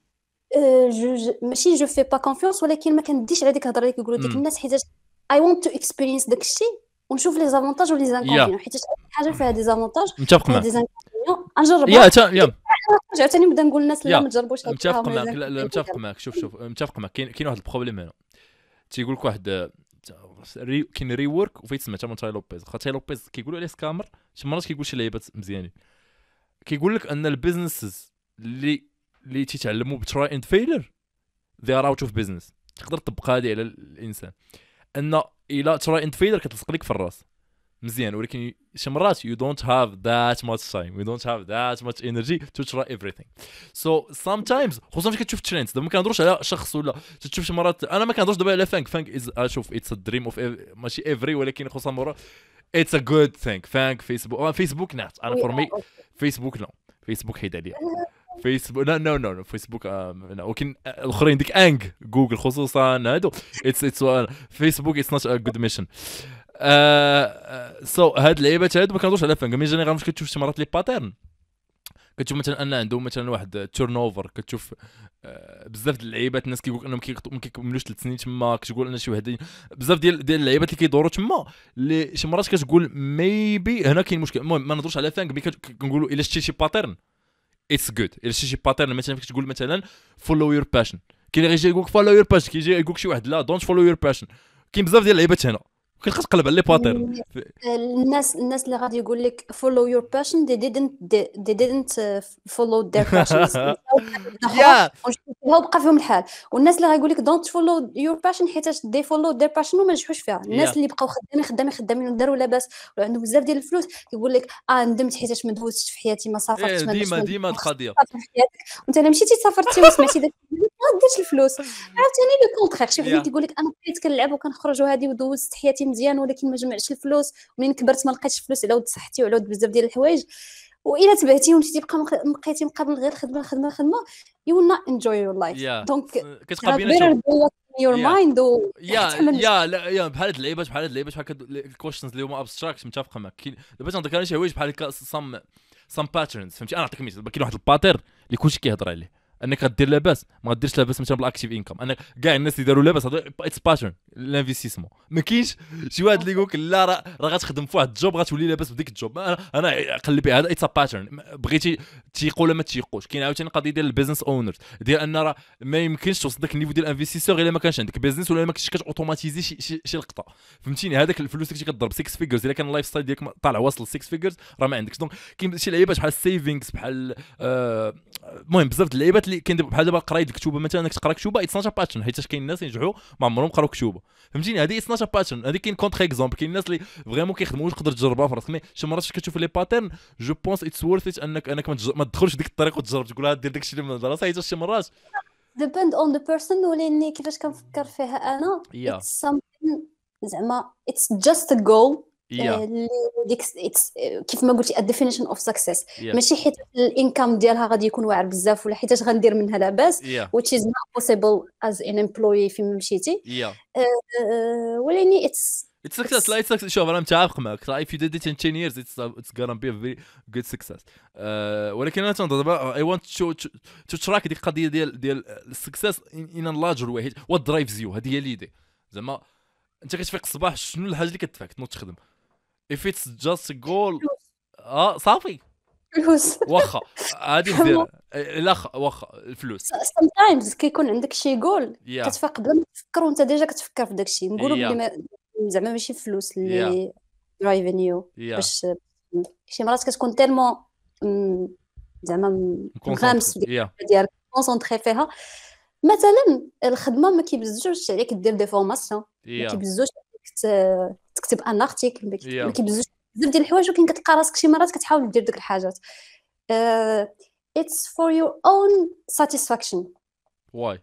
ماشي جو في با كونفيونس ولكن ما كنديش على ديك الهضره اللي كيقولوا ديك الناس حيت اي وونت تو اكسبيرينس داك الشيء ونشوف لي زافونتاج ولي زانكونفينيون حيت حاجه فيها دي زافونتاج متفق فيها معك دي زانكونفينيون نجربها يا عاوتاني نبدا نقول للناس لا يا ما تجربوش هاد متفق معك لا متفق معك شوف متفق معك كاين واحد البروبليم هنا تيقول لك واحد كاين ري ورك وفايت سمعت من تاي لوبيز خاطر لوبيز كيقولوا عليه سكامر شي مرات كيقول شي لعيبات مزيانين كيقول لك ان البيزنسز اللي تيتعلموا بتراي اند فيلر they are out of business تقدر تطبق هذه على الانسان ان الى تراي اند فيلر كتلصق لك في الراس مزيان ولكن شي مرات you don't have that much time you don't have that much energy to try everything so sometimes خصوصا فاش كتشوف تريندز دابا ما كنهضروش على شخص ولا تشوف شي مرات انا ما كنهضرش دابا على فانك از اشوف اتس ا دريم اوف ماشي افري ولكن خصوصا مرات اتس ا جود ثينك فانك فيسبوك نعت انا فور مي فيسبوك نو فيسبوك حيد عليا فيسبوك نو فيسبوك ولكن الاخرين ديك انج جوجل خصوصا هادو اتس فيسبوك اتس نوت ا جود ميشن سو هاد اللعيبات هادو ما كنهضروش على فانك مي جينيرال فاش كتشوف شي مرات لي باترن كتشوف مثلا ان عندهم مثلا واحد تيرن اوفر كتشوف بزاف ديال اللعيبات الناس كيقول انهم ما كيكملوش 3 سنين تما كتقول ان شي واحد بزاف ديال اللعيبات اللي كيدوروا تما اللي شي مرات كتقول ميبي هنا كاين مشكل المهم ما نهضروش على فانك مي كنقولوا الا شتي شي باترن اتس جود الا شتي شي باترن مثلا فاش تقول مثلا فولو يور باشن كاين اللي غيجي يقول لك فولو يور باشن كيجي يقول لك شي واحد لا دونت فولو يور باشن كاين بزاف ديال اللعيبات هنا كتبقى تقلب على لي باترن الناس اللي غادي يقول لك follow your passion they didn't follow their passion يا هو بقى فيهم الحال والناس اللي غايقول لك don't follow your passion حيت they follow their passion وما نجحوش فيها الناس اللي بقاو خدامين وداروا لاباس وعندهم بزاف ديال الفلوس كيقول لك ندمت حيت ما دوزتش في حياتي ما سافرتش ما ديما القضيه وانت الا مشيتي سافرتي وسمعتي داك ما ديرش الفلوس عاوتاني لو كونترير شي واحد كيقول لك انا بقيت كنلعب وكنخرج وهادي ودوزت حياتي مزيان ولكن ما جمعتش الفلوس ومنين كبرت ما لقيتش الفلوس على ود صحتي وعلى ود بزاف ديال الحوايج والا تبعتي ومشيتي بقيتي مقابل غير خدمه you will not enjoy your life دونك كتبقى بينا your mind يا بحال هاد اللعيبات بحال الكويشنز اللي هما ابستراكت متفق معك دابا عندك شي حوايج بحال هكا some patterns فهمتي انا نعطيك مثال كاين واحد الباترن اللي كلشي كيهضر عليه انك غدير لاباس ما غديرش لاباس مثلا بالاكتيف انكم انا كاع الناس اللي داروا لاباس اتس باترن لانفستيسمون ما كاينش شي واحد اللي يقول لك لا راه غتخدم في واحد الجوب غتولي لاباس بديك الجوب انا قلبي هذا اتس باترن بغيتي تيقوا ولا ما تيقوش كاين عاوتاني قضيه ديال البيزنس اونرز ديال ان راه ما يمكنش توصل داك النيفو ديال الانفستيسور الا ما كانش عندك بيزنس ولا ما كنتش كتوتوماتيزي شي لقطه فهمتيني هذاك الفلوس اللي كتضرب 6 فيجرز الا كان اللايف ستايل ديالك طالع واصل 6 فيجرز راه ما عندكش دونك كاين شي لعيبات بحال السيفينغز بحال المهم بزاف د اللعيبات اللي كاين بحال دابا قرايه الكتوبه مثلا انك تقرا كتوبه اتس نوت باترن حيت كاين الناس ينجحوا ما عمرهم قراو كتوبه فهمتيني هذه اتس نوت باترن هذه كاين كونتر اكزامبل كاين الناس اللي فريمون كيخدموا تقدر تجربها في راسك مي شي مرات كتشوف لي باترن جو بونس اتس وورث ات انك ما تدخلش ديك الطريق وتجرب تقول دير داكشي اللي من راسك حيت شي مرات depend on the person ولاني كيفاش كنفكر فيها انا it's something زعما it's just a goal ديك كيف ما قلتي الديفينيشن اوف سكسيس ماشي حيت الانكم ديالها غادي يكون واعر بزاف ولا حيت غندير منها لاباس which is not possible as an employee فين مشيتي ولاني it's success لا it's شوف انا متعاق معك if you did it in 10 years it's gonna be a very good success ولكن انا تنظر دابا I want to track ديك القضيه ديال السكسيس in a larger way what drives you هذه هي ليدي زعما انت كتفيق الصباح شنو الحاجه اللي كتدفعك تنوض تخدم if it's just a goal صافي فلوس واخا هذه مزيان لا واخا الفلوس sometimes كيكون عندك شي جول كتفيق بلا ما تفكر وانت ديجا كتفكر في داكشي نقولوا بلي زعما ماشي فلوس اللي درايفين يو باش شي مرات كتكون تيرمون زعما مغامس ديالك كونسونطري فيها مثلا الخدمه ما كيبزوش عليك دير دي فورماسيون ما كيبزوش تكتب ان ارتيكل ما كيبزوش بزاف ديال الحوايج ولكن كتلقى راسك شي مرات كتحاول دير ديك الحاجات it's for your own satisfaction why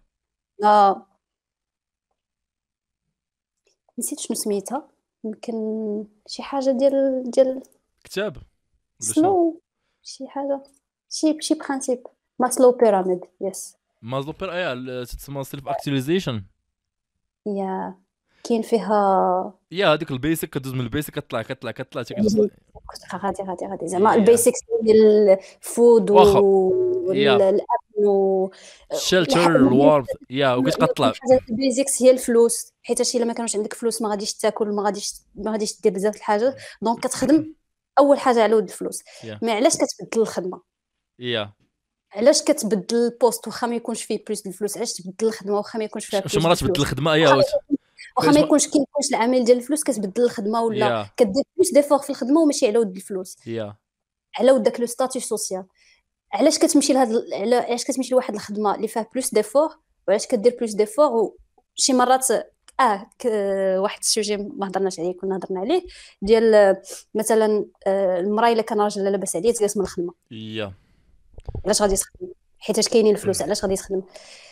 نسيت شنو سميتها يمكن شي حاجه ديال كتاب سلو شي حاجه شي برينسيپ ماسلو بيراميد يس مازلو بير تسمى سيلف اكتواليزيشن. يا كاين فيها يا هذيك البيسك كدوز من البيسك كطلع حتى كتوصل. غادي زعما يا البيسكس ديال الفود واخا يا والاكل شيلتر الوارد يا وكتطلع. الحاجات البيزكس هي الفلوس، حيت الا ما كانوش عندك فلوس ما غاديش تاكل، ما غاديش دير بزاف الحاجات، دونك كتخدم اول حاجه على ود الفلوس. يا مي علاش كتبدل الخدمه؟ يا علاش كتبدل البوست واخا ما يكونش فيه بلوس الفلوس؟ علاش تبدل الخدمه واخا ما يكونش فيها شي بلوس مرات تبدل الفلوس؟ الخدمه يا واخا ما يكونش العامل ديال الفلوس كتبدل الخدمه، ولا يا كدير بلوس ديفور في الخدمه وماشي على ود الفلوس، يا على ود داك لو ستاتيو سوسيال. علاش كتمشي علاش كتمشي لواحد الخدمه اللي فيها بلوس ديفور، وعلاش كدير بلوس ديفور؟ وشي مرات واحد السوجي ما هضرناش عليه كنا هضرنا عليه، ديال مثلا المراه الا كان راجل لاباس عليه تقاس من الخدمه، يا علاش غادي تخدم؟ حيت كاينين الفلوس، علاش غادي تخدم؟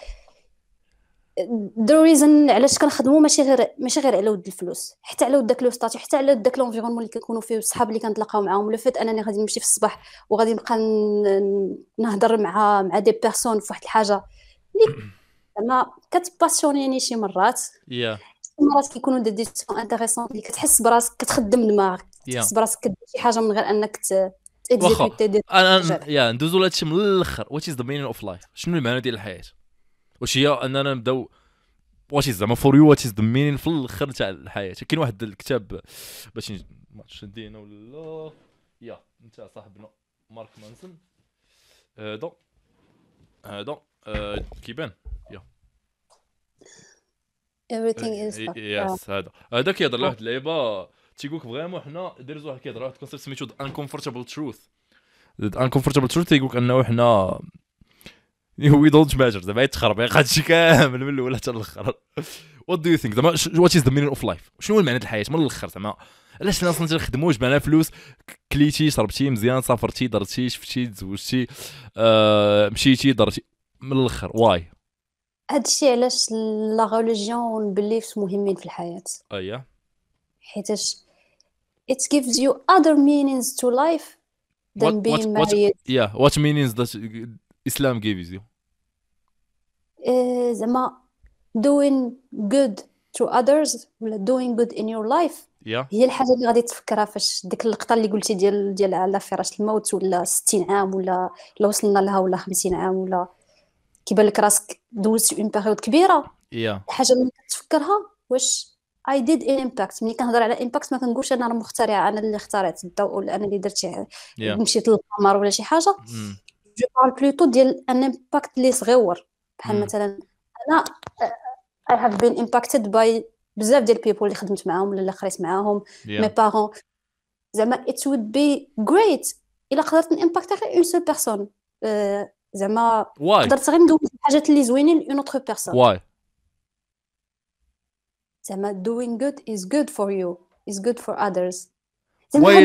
the reason علاش كنخدموا ماشي غير على ود الفلوس، حتى على ود داك لو ستاتيو، حتى على ود داك لونفيرونمون اللي كنكونوا فيه، الصحاب اللي كنتلاقاو معاهم، ولا فات انني غادي نمشي في الصباح وغادي نبقى نهضر مع دي بيرسون في واحد الحاجه اللي زعما كتباسيونيني شي مرات. يا شي مرات كيكونوا دي ديسيسيون انتريسون اللي كتحس براسك كتخدم دماغك، تحس براسك كدير شي حاجه من غير انك واخا دير انا يا ندوزو لهادشي من الاخر. وات از ذا مينين اوف لايف؟ شنو المعنى ديال الحياه؟ واش هي اننا نبداو واش زعما فور يو وات از ذا مينين في الاخر تاع الحياه؟ كاين واحد الكتاب باش ما شدينا ولا يا انت صاحبنا مارك مانسون، هذا كيبان يا everything is يس هذا كيهضر على واحد اللعيبه تيقولك فريمون حنا دايرين واحد كيهضر على واحد الكونسيبت سميتو uncomfortable truth. uncomfortable truth تيقولك انه حنا وي دونت ماتر، زعما يتخرب هادشي كامل من الاول حتى الاخر. وات دو يو ثينك زعما وات از ذا مينين اوف لايف؟ شنو هو المعنى ديال الحياه من الاخر؟ زعما علاش الناس اصلا تخدموا؟ جمعنا فلوس، كليتي، شربتي مزيان، سافرتي، درتي، شفتي، تزوجتي، مشيتي، درتي، من الاخر واي؟ هادشي علاش لا ريليجيون والبليفز مهمين في الحياه، اييه حيتاش it gives you other meanings to life than being married. what meanings does Islam gives you? زعما doing good to others ولا doing good in your life هي الحاجه اللي غادي تفكرها فاش ديك اللقطه اللي قلتي ديال على فراش الموت، ولا 60 عام ولا وصلنا لها، ولا 50 عام، ولا كيبان لك راسك دوزتي اون بيريود كبيره. الحاجه اللي كتفكرها واش I did an impact. ملي كنهضر على impact ما كنقولش انا مخترعه، انا اللي اخترعت الضوء، ولا انا اللي درت مشيت للقمر ولا شي حاجه. جو بارل بلوتو ديال ان impact اللي صغيور، بحال مثلا انا I have been impacted by بزاف ديال people اللي خدمت معاهم ولا اللي قريت معاهم، مي بارون. زعما it would be great الا قدرت نimpacter غير اون سول بيرسون، زعما قدرت غير ندوز الحاجات اللي زوينين لاون اوتر بيرسون. واي زعما doing good is good for you is good for others. زعما واي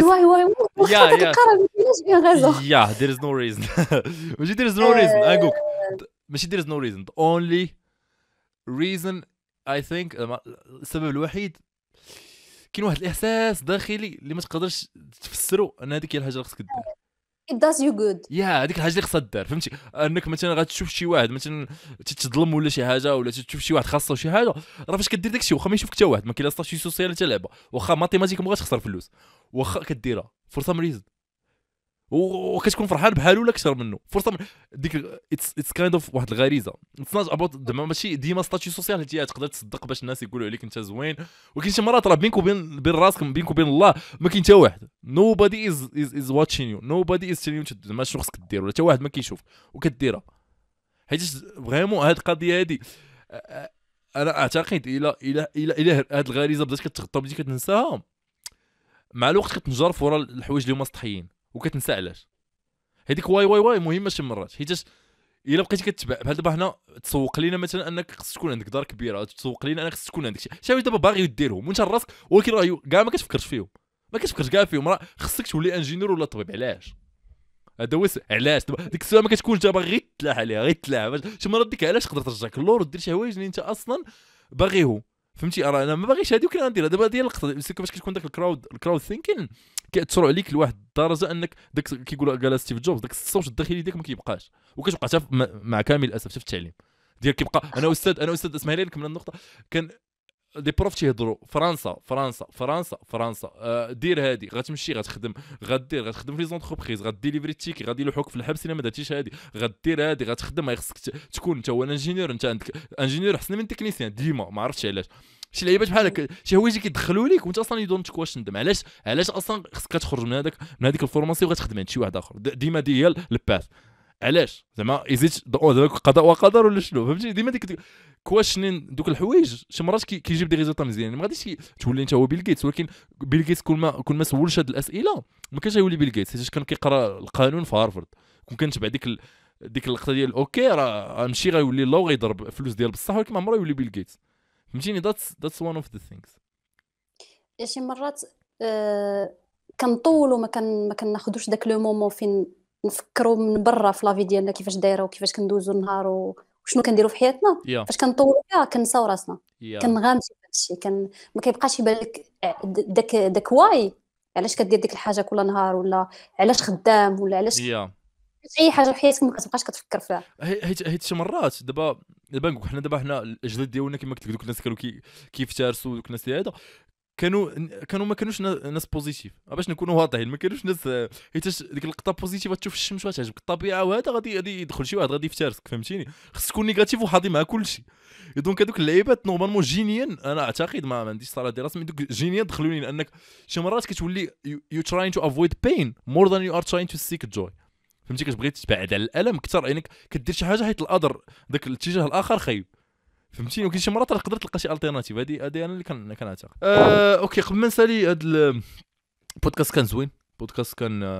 yeah there is no reason ماشي there is no reason أقولك ماشي there is no reason. the only reason I think السبب الوحيد كاين واحد الإحساس داخلي اللي ما تقدرش تفسره أن هذيك هي الحاجة اللي خصك دير. it does you good. هذيك الحاجه اللي خصها دار، فهمتي؟ انك مثلا غتشوف شي واحد مثلا تتظلم ولا شي حاجه، ولا تشوف شي واحد خاصه شي حاجه، راه فاش كدير داكشي واخا ما يشوفك حتى واحد، ما كاين لا ستاتيو سوسيال حتى لعبه، واخا ماتيماتيك ما تخسر فلوس، واخا كديرها فور سام ريزن وكتكون فرحان بحال ولا اكثر منه فور سام ديك اتس كايند اوف واحد الغريزه. اتس نوت اباوت ماشي ديما ستاتيو سوسيال حتى تقدر تصدق باش الناس يقولوا عليك انت زوين، ولكن شي مرات راه بينك وبين راسك، بينك وبين الله ما كاين حتى واحد. nobody is watching you, nobody is telling you زعما شنو خصك دير، ولا حتى واحد ما كيشوف وكديرها. حيت فريمون هاد القضيه هادي انا اعتقد الى هاد الغريزه بدات كتغطى بديتي كتنساها مع الوقت، كتنجرف ورا الحوايج اللي هما سطحيين وكتنسى علاش. هذيك واي مهمه شي مرات، حيت الا بقيتي كتبع بحال دابا حنا تسوق لينا مثلا انك خصك تكون عندك دار كبيره، تسوق لينا انك خصك تكون عندك شي حوايج دابا باغي ديرهم وانت راسك، ولكن راه كاع ما كتفكرش فيهم، راه خصك تولي انجينير ولا طبيب. علاش؟ هذا هو علاش دابا ديك الساعه ما كتكونش دابا غير تلاح عليها، غير تلاح شي مرات ديك علاش تقدر ترجعك اللور ودير شي حوايج اللي انت اصلا باغيهم، فهمتي؟ راه انا ما باغيش هذه وكان نديرها دابا ديال اللقطه باش كتكون داك الكراود ثينكين كيأثروا عليك لواحد الدرجه انك داك كيقول قال ستيف جوبز داك الصوت الداخلي ديالك ما كيبقاش، وكتبقى حتى مع كامل الاسف حتى في التعليم ديالك كيبقى. انا استاذ اسمح لي نكمل النقطه. كان دي بروف تيهضروا فرنسا فرنسا فرنسا فرنسا، دير هادي غتمشي غتخدم، غتخدم في زونتربريز، غديليفري التيكي، غادي يلوحوك في الحبس الا ما درتيش هادي، غدير هادي غتخدم، خصك تكون انت هو انجينيور، انت عندك انجينيور احسن من تكنيسيان ديما، ما عرفتش علاش. شي لعيبات بحال هكا، شي حوايج كيدخلوا ليك وانت اصلا يدونت واش ندم علاش اصلا خصك تخرج من هذيك الفورماسيون وغتخدم عند شي واحد اخر، ديما هي الباث. علاش زعما ايزيت قضاء وقدر ولا شنو، فهمتي؟ ديما ديك كواشنين دوك الحوايج شي مرات كيجيب دي ريزولطا مزيانين. ما غاديش تولي انت هو بيل جيتس، ولكن بيل جيتس كل ما سولش هاد الاسئله ما كانش يولي بيل جيتس، حيت كان كيقرا القانون في هارفرد، كون كنتبع ديك اللقطه ديال اوكي راه غنمشي غيولي الله وغيضرب فلوس ديال بصح، ولكن ما عمره يولي بيل جيتس، فهمتيني؟ ذاتس وان اوف ذا ثينكس. شي مرات كنطولوا ما كناخذوش داك لو مومون فين نفكروا من برا في لافي ديالنا كيفاش دايره وكيفاش كندوزو النهار وشنو كنديروا في حياتنا. فاش كنطولوا فيها كنساو راسنا، كنغامسوا في هادشي، ما كيبقاش يبان لك داك واي علاش كدير ديك الحاجه كل نهار، ولا علاش خدام، ولا علاش اي حاجه في حياتك ما كتبقاش كتفكر فيها. حيت شي مرات دابا نقول حنا الاجداد ديالنا كما قلت لك، دوك الناس كانوا كيفترسوا، دوك الناس هذا كانوا ما كانوش ناس بوزيتيف، باش نكونوا واضحين ما كانوش ناس، حيت ديك اللقطه بوزيتيف تشوف الشمس وتعجبك الطبيعه وهذا غادي يدخل شي واحد غادي يفترسك، فهمتيني؟ خصك تكون نيجاتيف وحاضي مع كلشي. دونك هذوك اللعيبات نورمالمون جينيا انا اعتقد ما عنديش صراحه دراسه، من دوك جينيا دخلوني، لانك شي مرات كتولي يو تراين تو افويد بين مور ذان يو ار تراين تو سيك جوي، فهمتي؟ كتبغي تبعد على الالم اكثر، انك كدير شي حاجه حيت الاذر داك الاتجاه الاخر خايب، فهمتيني؟ ولكن شي مرات تقدر تلقى شي التيرناتيف. هذه انا اللي كنعتقد. اوكي، قبل ما نسالي هذا البودكاست كان زوين، بودكاست كان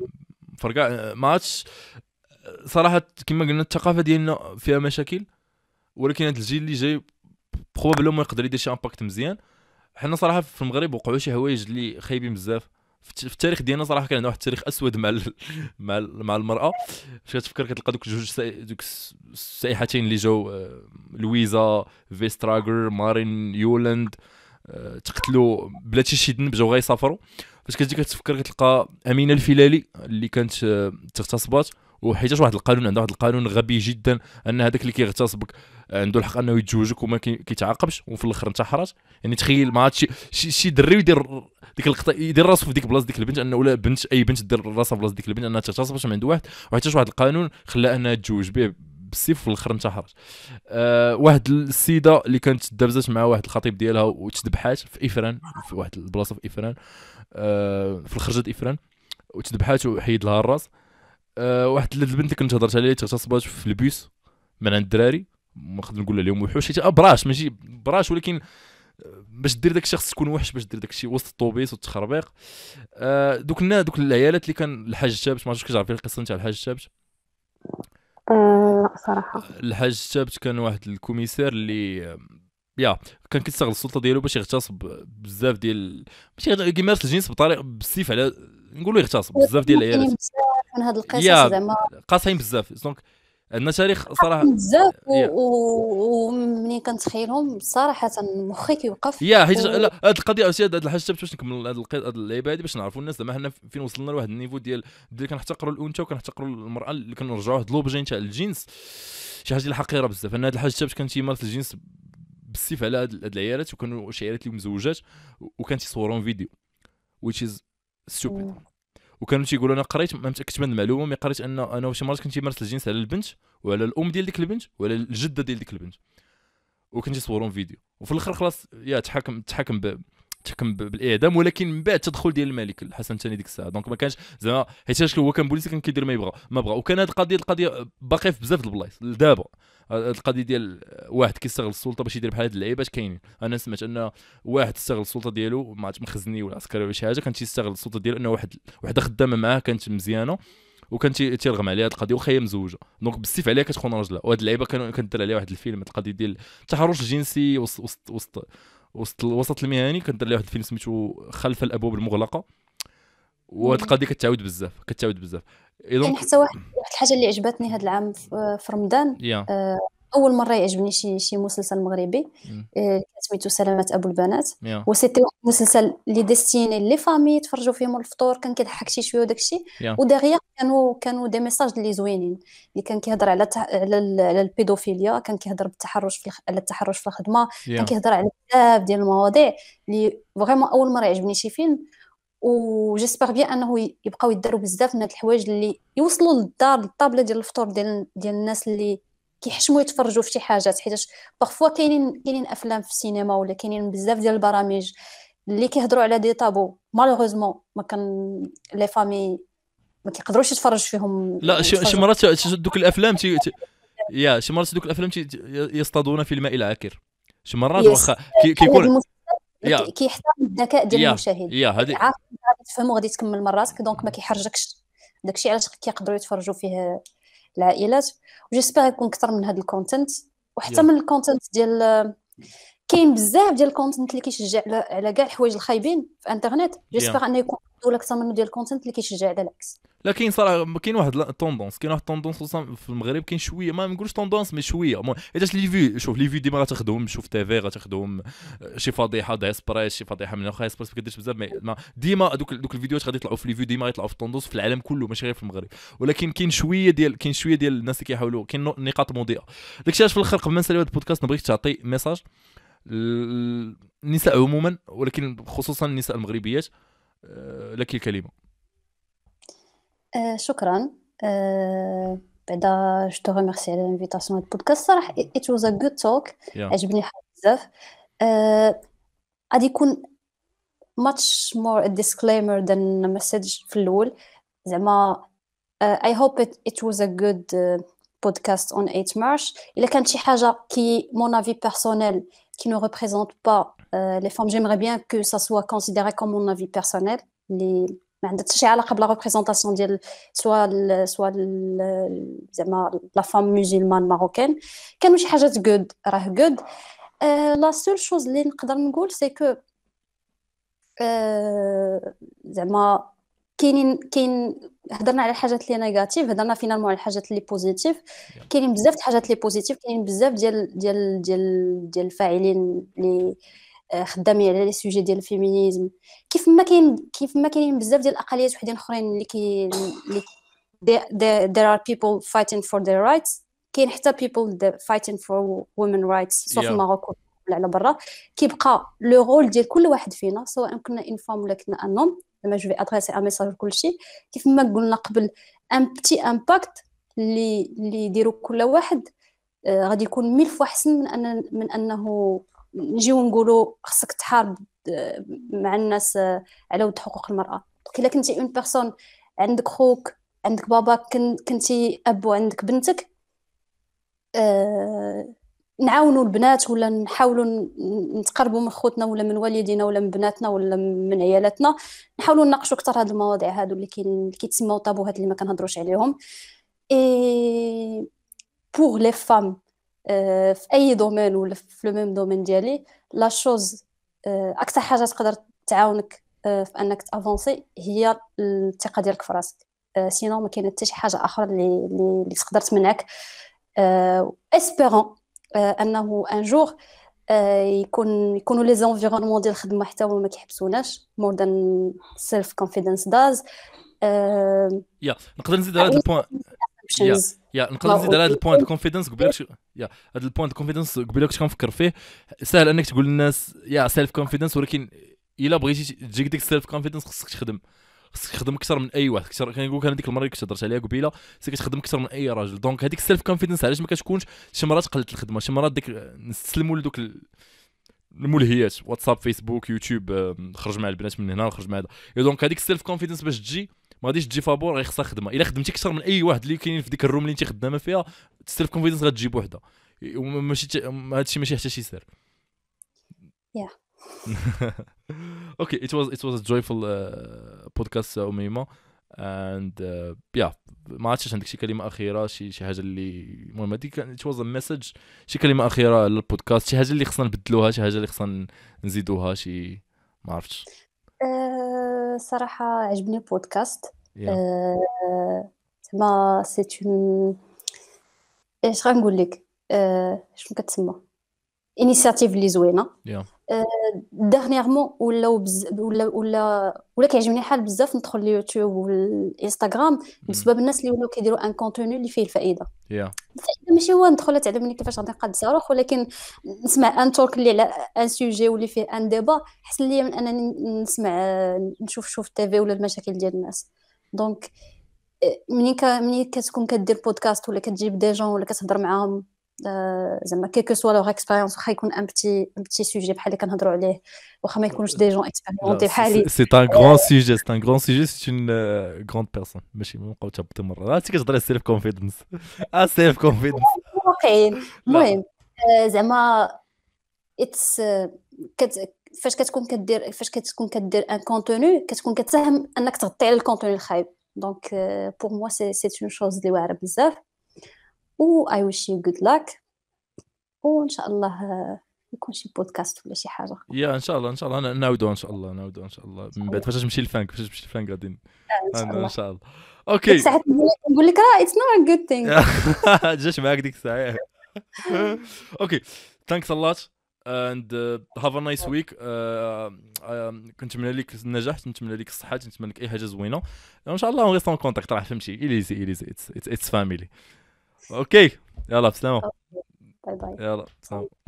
فرقع ما عادش صراحه كما قلنا الثقافه ديالنا فيها مشاكل، ولكن هذا الجيل اللي جاي بروبابلمون يقدر يدير شي امباكت مزيان. حنا صراحه في المغرب وقعوا شي حوايج اللي خايبين بزاف في التاريخ ديالنا، صراحه كان عندنا واحد التاريخ اسود مع المراه. فاش كتفكر كتلقى دوك السائحتين اللي جاو، لويزا فيستراغر، مارين يولاند، تقتلوا بلا شي ذنب، جاو غيسافروا. فاش كتجي كتفكر كتلقى امينه الفيلالي اللي كانت تغتصبات، وحيتاش واحد القانون، عندها واحد القانون غبي جدا ان هذاك اللي كيغتصبك عنده الحق انه يتزوجك وما كيتعاقبش، وفي الاخر انتحرت. يعني تخيل ما عادش شي دري يدير ديك اللقطه، يدير راسو في ديك بلاصه ديك البنت، انه ولا بنت اي بنت دير راسها في بلاصه ديك البنت انها تغتصب باش من عند واحد، وحيتاش واحد القانون خلاها انها تتزوج به بالسيف، في الاخر انتحرت. واحد السيده اللي كانت دابزات مع واحد الخطيب ديالها وتذبحات في افران، في واحد البلاصه في افران، في الخرجه افران، وتذبحات وحيد لها الراس. واحد البنت اللي كنت هضرت عليه تغتصبات في البيس من عند الدراري، ما نقدر نقول لهم وحوش حيت براش ماشي براش، ولكن باش دير داك الشخص تكون وحش، باش دير داك الشيء وسط الطوبيس والتخربيق. دوك العيالات اللي كان الحاج الشابت، ما عرفتش كتعرفي القصه نتاع الحاج الشابت؟ صراحه الحاج الشابت كان واحد الكوميسار اللي كان كيستغل السلطه ديالو باش يغتصب بزاف ديال، ماشي كيمارس الجنس بطريقه بالسيف، على نقولوا يغتصب بزاف ديال العيالات من هاد القصص زعما قاصحين بزاف. دونك عندنا تاريخ صراحه بزاف، ومنين كنتخيلهم صراحه مخي كيوقف. حيت لا هاد القضيه هاد الحاجه باش نكمل هاد اللعيبه هادي باش نعرفوا الناس زعما حنا فين وصلنا لواحد النيفو ديال كنحتقروا الانثى وكنحتقروا المراه، اللي كنرجعوا واحد لوبجي تاع الجنس، شي حاجه اللي حقيره بزاف. ان هاد الحاجه باش كان تيمارس الجنس بالسيف على هاد العيالات، وكانوا شي عيالات اللي مزوجات، وكان تيصورون فيديو which is stupid. وكانوا تيقولوا انا قريت، ما متاكدش من المعلومه، مي قريت ان انا شي مرات كنت تيمارس الجنس على البنت وعلى الام ديال ديك البنت وعلى الجده ديال ديك البنت، وكنت يصورون فيديو، وفي الاخر خلاص تحكم بالاعدام، ولكن من بعد التدخل ديال الملك الحسن الثاني ديك الساعه. دونك ما كانش زعما حيت هو كان بوليسي، كان كيدير ما بغى. وكان هذه القضيه باقيه في بزاف د البلايص لدابا. القضيه ديال واحد كيستغل السلطه باش يدير بحال هاد اللعيبات كاينين. انا سمعت ان واحد استغل السلطه ديالو، ما عرفت مخزني ولا عسكري ولا شي حاجه، كان تيستغل السلطه ديالو انه وحده خدامه معاه كانت مزيانه، وكان تيرغم عليها هاد القضيه، وخا هي مزوجه، دونك بالسيف عليها كتخون راجلها. وهاد اللعيبه كندير عليها واحد الفيلم، القضيه ديال التحرش الجنسي وسط المهني، كندير عليها واحد الفيلم سميتو خلف الابواب المغلقه. وهاد القضيه كتعاود بزاف. يعني حتى واحد الحاجه اللي عجبتني هاد العام في رمضان، اول مره يعجبني شي مسلسل مغربي سميتو سلامات ابو البنات. يا وسيتي واحد المسلسل اللي ديستيني لي فامي يتفرجوا فيهم الفطور، كان كيضحك شي شويه وداكشي. يا ودغيا كانوا دي ميساج اللي زوينين، اللي كان كيهضر على البيدوفيليا، كان كيهضر بالتحرش على التحرش في الخدمه، كان يا كيهضر على بزاف ديال المواضيع اللي فريمون اول مره يعجبني شي فيلم. وجيسبر بيان انه يبقاو يداروا بزاف من هاد الحوايج اللي يوصلوا للدار للطابله ديال الفطور ديال الناس اللي كيحشموا يتفرجوا في شي حاجات. حيتاش بارفوا كاينين افلام في السينما ولا كاينين بزاف ديال البرامج اللي كيهضروا على دي طابو مالوغوزمون ما كان لي فامي ما كيقدروش يتفرج فيهم لا شي يتفرجوا. مرات دوك الافلام يا شي مرات دوك الافلام يصطادون في الماء العكر. شي مرات يس واخا هذا كيكون المسلسل يا كيحترم الذكاء ديال يا المشاهد، يا هذه عارف غادي تفهم وغادي تكمل من راسك، دونك ما كيحرجكش. داكشي علاش كيقدروا يتفرجوا فيه العائلات. وجيسبر يكون اكثر من هذا الكونتنت، وحتى يا من الكونتنت ديال كاين بزاف ديال الكونتنت اللي كيشجع على كاع الحوايج الخايبين في انترنت. يا جيسبر انه يكون دول اكثر منه ديال الكونتنت اللي كيشجع على العكس. لكن صراحه كاين واحد التوندونس خصوصا في المغرب. كاين شويه ما نقولش توندونس مي شويه حيتاش لي في شوف لي في ديما غتاخذهم شوف تيفي غتاخذهم شي فضيحه دايسبريس شي فضيحه من اخا اسبريس ما كديرش بزاف ما ديما دوك الفيديوهات غادي يطلعوا في لي فيو ديما يطلعوا في التوندونس في العالم كله ماشي غير في المغرب. ولكن كاين شويه ديال الناس اللي كيحاولوا كاين نقاط مضيئه. داكشي علاش في الاخر قبل ما نساليو هذا البودكاست نبغيك تعطي ميساج النساء عموما ولكن خصوصا النساء المغربيات. لك الكلمه. شكرا. بعدا جو تو ريميرسي على الانفيتاسيون هاد البودكاست. صراحه it was a good talk. يا عجبني بزاف. غادي يكون much more a disclaimer than a message في الاول. زعما I hope it was a good podcast on 8 March. إلا كانت شي حاجة qui mon avis personnel qui ne représente pas les femmes, j'aimerais bien que ça soit considéré comme mon avis personnel اللي ما عندها حتى شي علاقة بلا représentation ديال سوا زعما la femme musulmane marocaine. كانوا شي حاجات good راه good. la seule chose اللي نقدر نقول c'est que زعما كاين هضرنا على الحاجات اللي نيجاتيف، هضرنا فينالمون على الحاجات اللي بوزيتيف. كاينين بزاف د الحاجات اللي بوزيتيف، كاينين بزاف ديال الفاعلين اللي خدامين على لي سوجي ديال الفيمينيزم. كيف ما كاينين بزاف ديال الاقليات وحدين اخرين اللي there are people fighting for their rights. كاين حتى people fighting for women rights سواء في المغرب ولا على برا. كيبقى لو رول ديال كل واحد فينا سواء كنا ان فام ولا كنا ان نوم. زعما جو في ادريسي ان ميساج لكل شيء. كيف ما قلنا قبل ان بتي امباكت اللي يديروا كل واحد غادي يكون 1000 fois احسن من انه نجيو نقولوا خصك تحارب مع الناس على ود حقوق المراه. الا كنتي اون بيرسون عندك خوك عندك باباك كنتي اب وعندك بنتك نعاونوا البنات ولا نحاولوا نتقربوا من خوتنا ولا من والدينا ولا من بناتنا ولا من عيالاتنا. نحاولوا نناقشوا اكثر هاد المواضيع هادو اللي كيتسموا طابوهات اللي ما كنهضروش عليهم. اي بور لي فام في اي دومين ولا في لو ميم دومين ديالي لا شوز اكثر حاجه تقدر تعاونك في انك تافونسي هي الثقه ديالك في راسك. سينو ما كاين حتى شي حاجه اخرى اللي تقدر تمنعك. اسبيرون انه ان جور يكونوا لي زونفيرونمون ديال الخدمه حتى هما ما كيحبسوناش مور ذان سيلف كونفيدنس داز. يا نقدر نزيد على هذا البوين. نقدر نزيد على هذا البوين دو كونفيدنس قبيلك. هذا البوين دو كونفيدنس قبيلك كنت كنفكر فيه. سهل انك تقول للناس سيلف كونفيدنس ولكن الا بغيتي تجيك ديك السيلف كونفيدنس خصك تخدم اكثر من اي واحد. كنقول لك انا ديك المره اللي كنت هضرت عليها قبيله خصك تخدم اكثر من اي راجل. دونك هذيك السيلف كونفيدنس علاش ما كتكونش شي مرات قلت الخدمه شي مرات ديك نستسلموا لدوك الملهيات واتساب فيسبوك يوتيوب خرج مع البنات من هنا خرج مع هذا. دونك هذيك السيلف كونفيدنس باش تجي ما غاديش تجي فابور غير خصها خدمه. الا خدمتي اكثر من اي واحد اللي كاين في ديك الروم اللي انت خدامه فيها السيلف كونفيدنس غتجي بوحدها. ماشي هادشي ماشي حتى شي سر. Okay, it was a joyful podcast أميمة and ما عرفتش عندك شي كلمة أخيرة شي حاجة اللي المهم هذيك it was a message شي كلمة أخيرة للبودكاست شي حاجة اللي خصنا نبدلوها شي حاجة اللي خصنا نزيدوها شي ما عرفتش. صراحة عجبني البودكاست. زعما سيت اون ايش غنقول لك شنو كتسمى انيشياتيف اللي زوينه. يا ديرنييرمون ولا كيعجبني حال بزاف ندخل اليوتيوب والانستغرام بسبب الناس اللي ولاو كيديروا ان كونتوني اللي فيه الفائده. يا الفائده ماشي هو ندخل تعلمني كيفاش غادي نقاد صاروخ، ولكن نسمع ان تولك اللي على ان سوجي واللي فيه ان ديبا احسن ليا من انني نسمع نشوف التيفي ولا المشاكل ديال الناس. دونك منين كتكون كدير بودكاست ولا كتجيب دي جون ولا كتهضر معاهم زعما كيكو سوا لوغ اكسبيريونس، واخا يكون ان بتي سوجي بحال اللي كنهضروا عليه، واخا ما يكونوش دي جون اكسبيريونتي بحالي. سي ان غران سوجي، سي ان غران سوجي، سي اون غراند بيرسون، ماشي ما نبقاو تهبطي مره. انت كتهضري على السيلف كونفيدنس، السيلف كونفيدنس واقعين. المهم زعما اتس فاش كتكون كدير ان كونتوني كتكون كتساهم انك تغطي على الكونتوني الخايب. دونك بور موا سي اون شوز اللي واعره بزاف. و اي ويش يو جود لاك، وان شاء الله يكون شي بودكاست ولا شي حاجه. يا ان شاء الله، ان شاء الله نعاودوا، ان شاء الله نعاودوا، ان شاء الله من بعد فاش تمشي الفانك، فاش تمشي الفانك غادي ان شاء الله. اوكي ساعات نقول لك راه اتس نوت ا جود ثينغ. جاش معاك ديك الساعه. اوكي ثانكس ا لوت and have a nice week. كنتمنى لك النجاح، نتمنى لك الصحه، نتمنى لك اي حاجه زوينه ان شاء الله. ونغيستون كونتاكت، راه فهمتي اليزي اتس فاميلي. اوكي يلا بسلامه. باي باي. يلا سلام.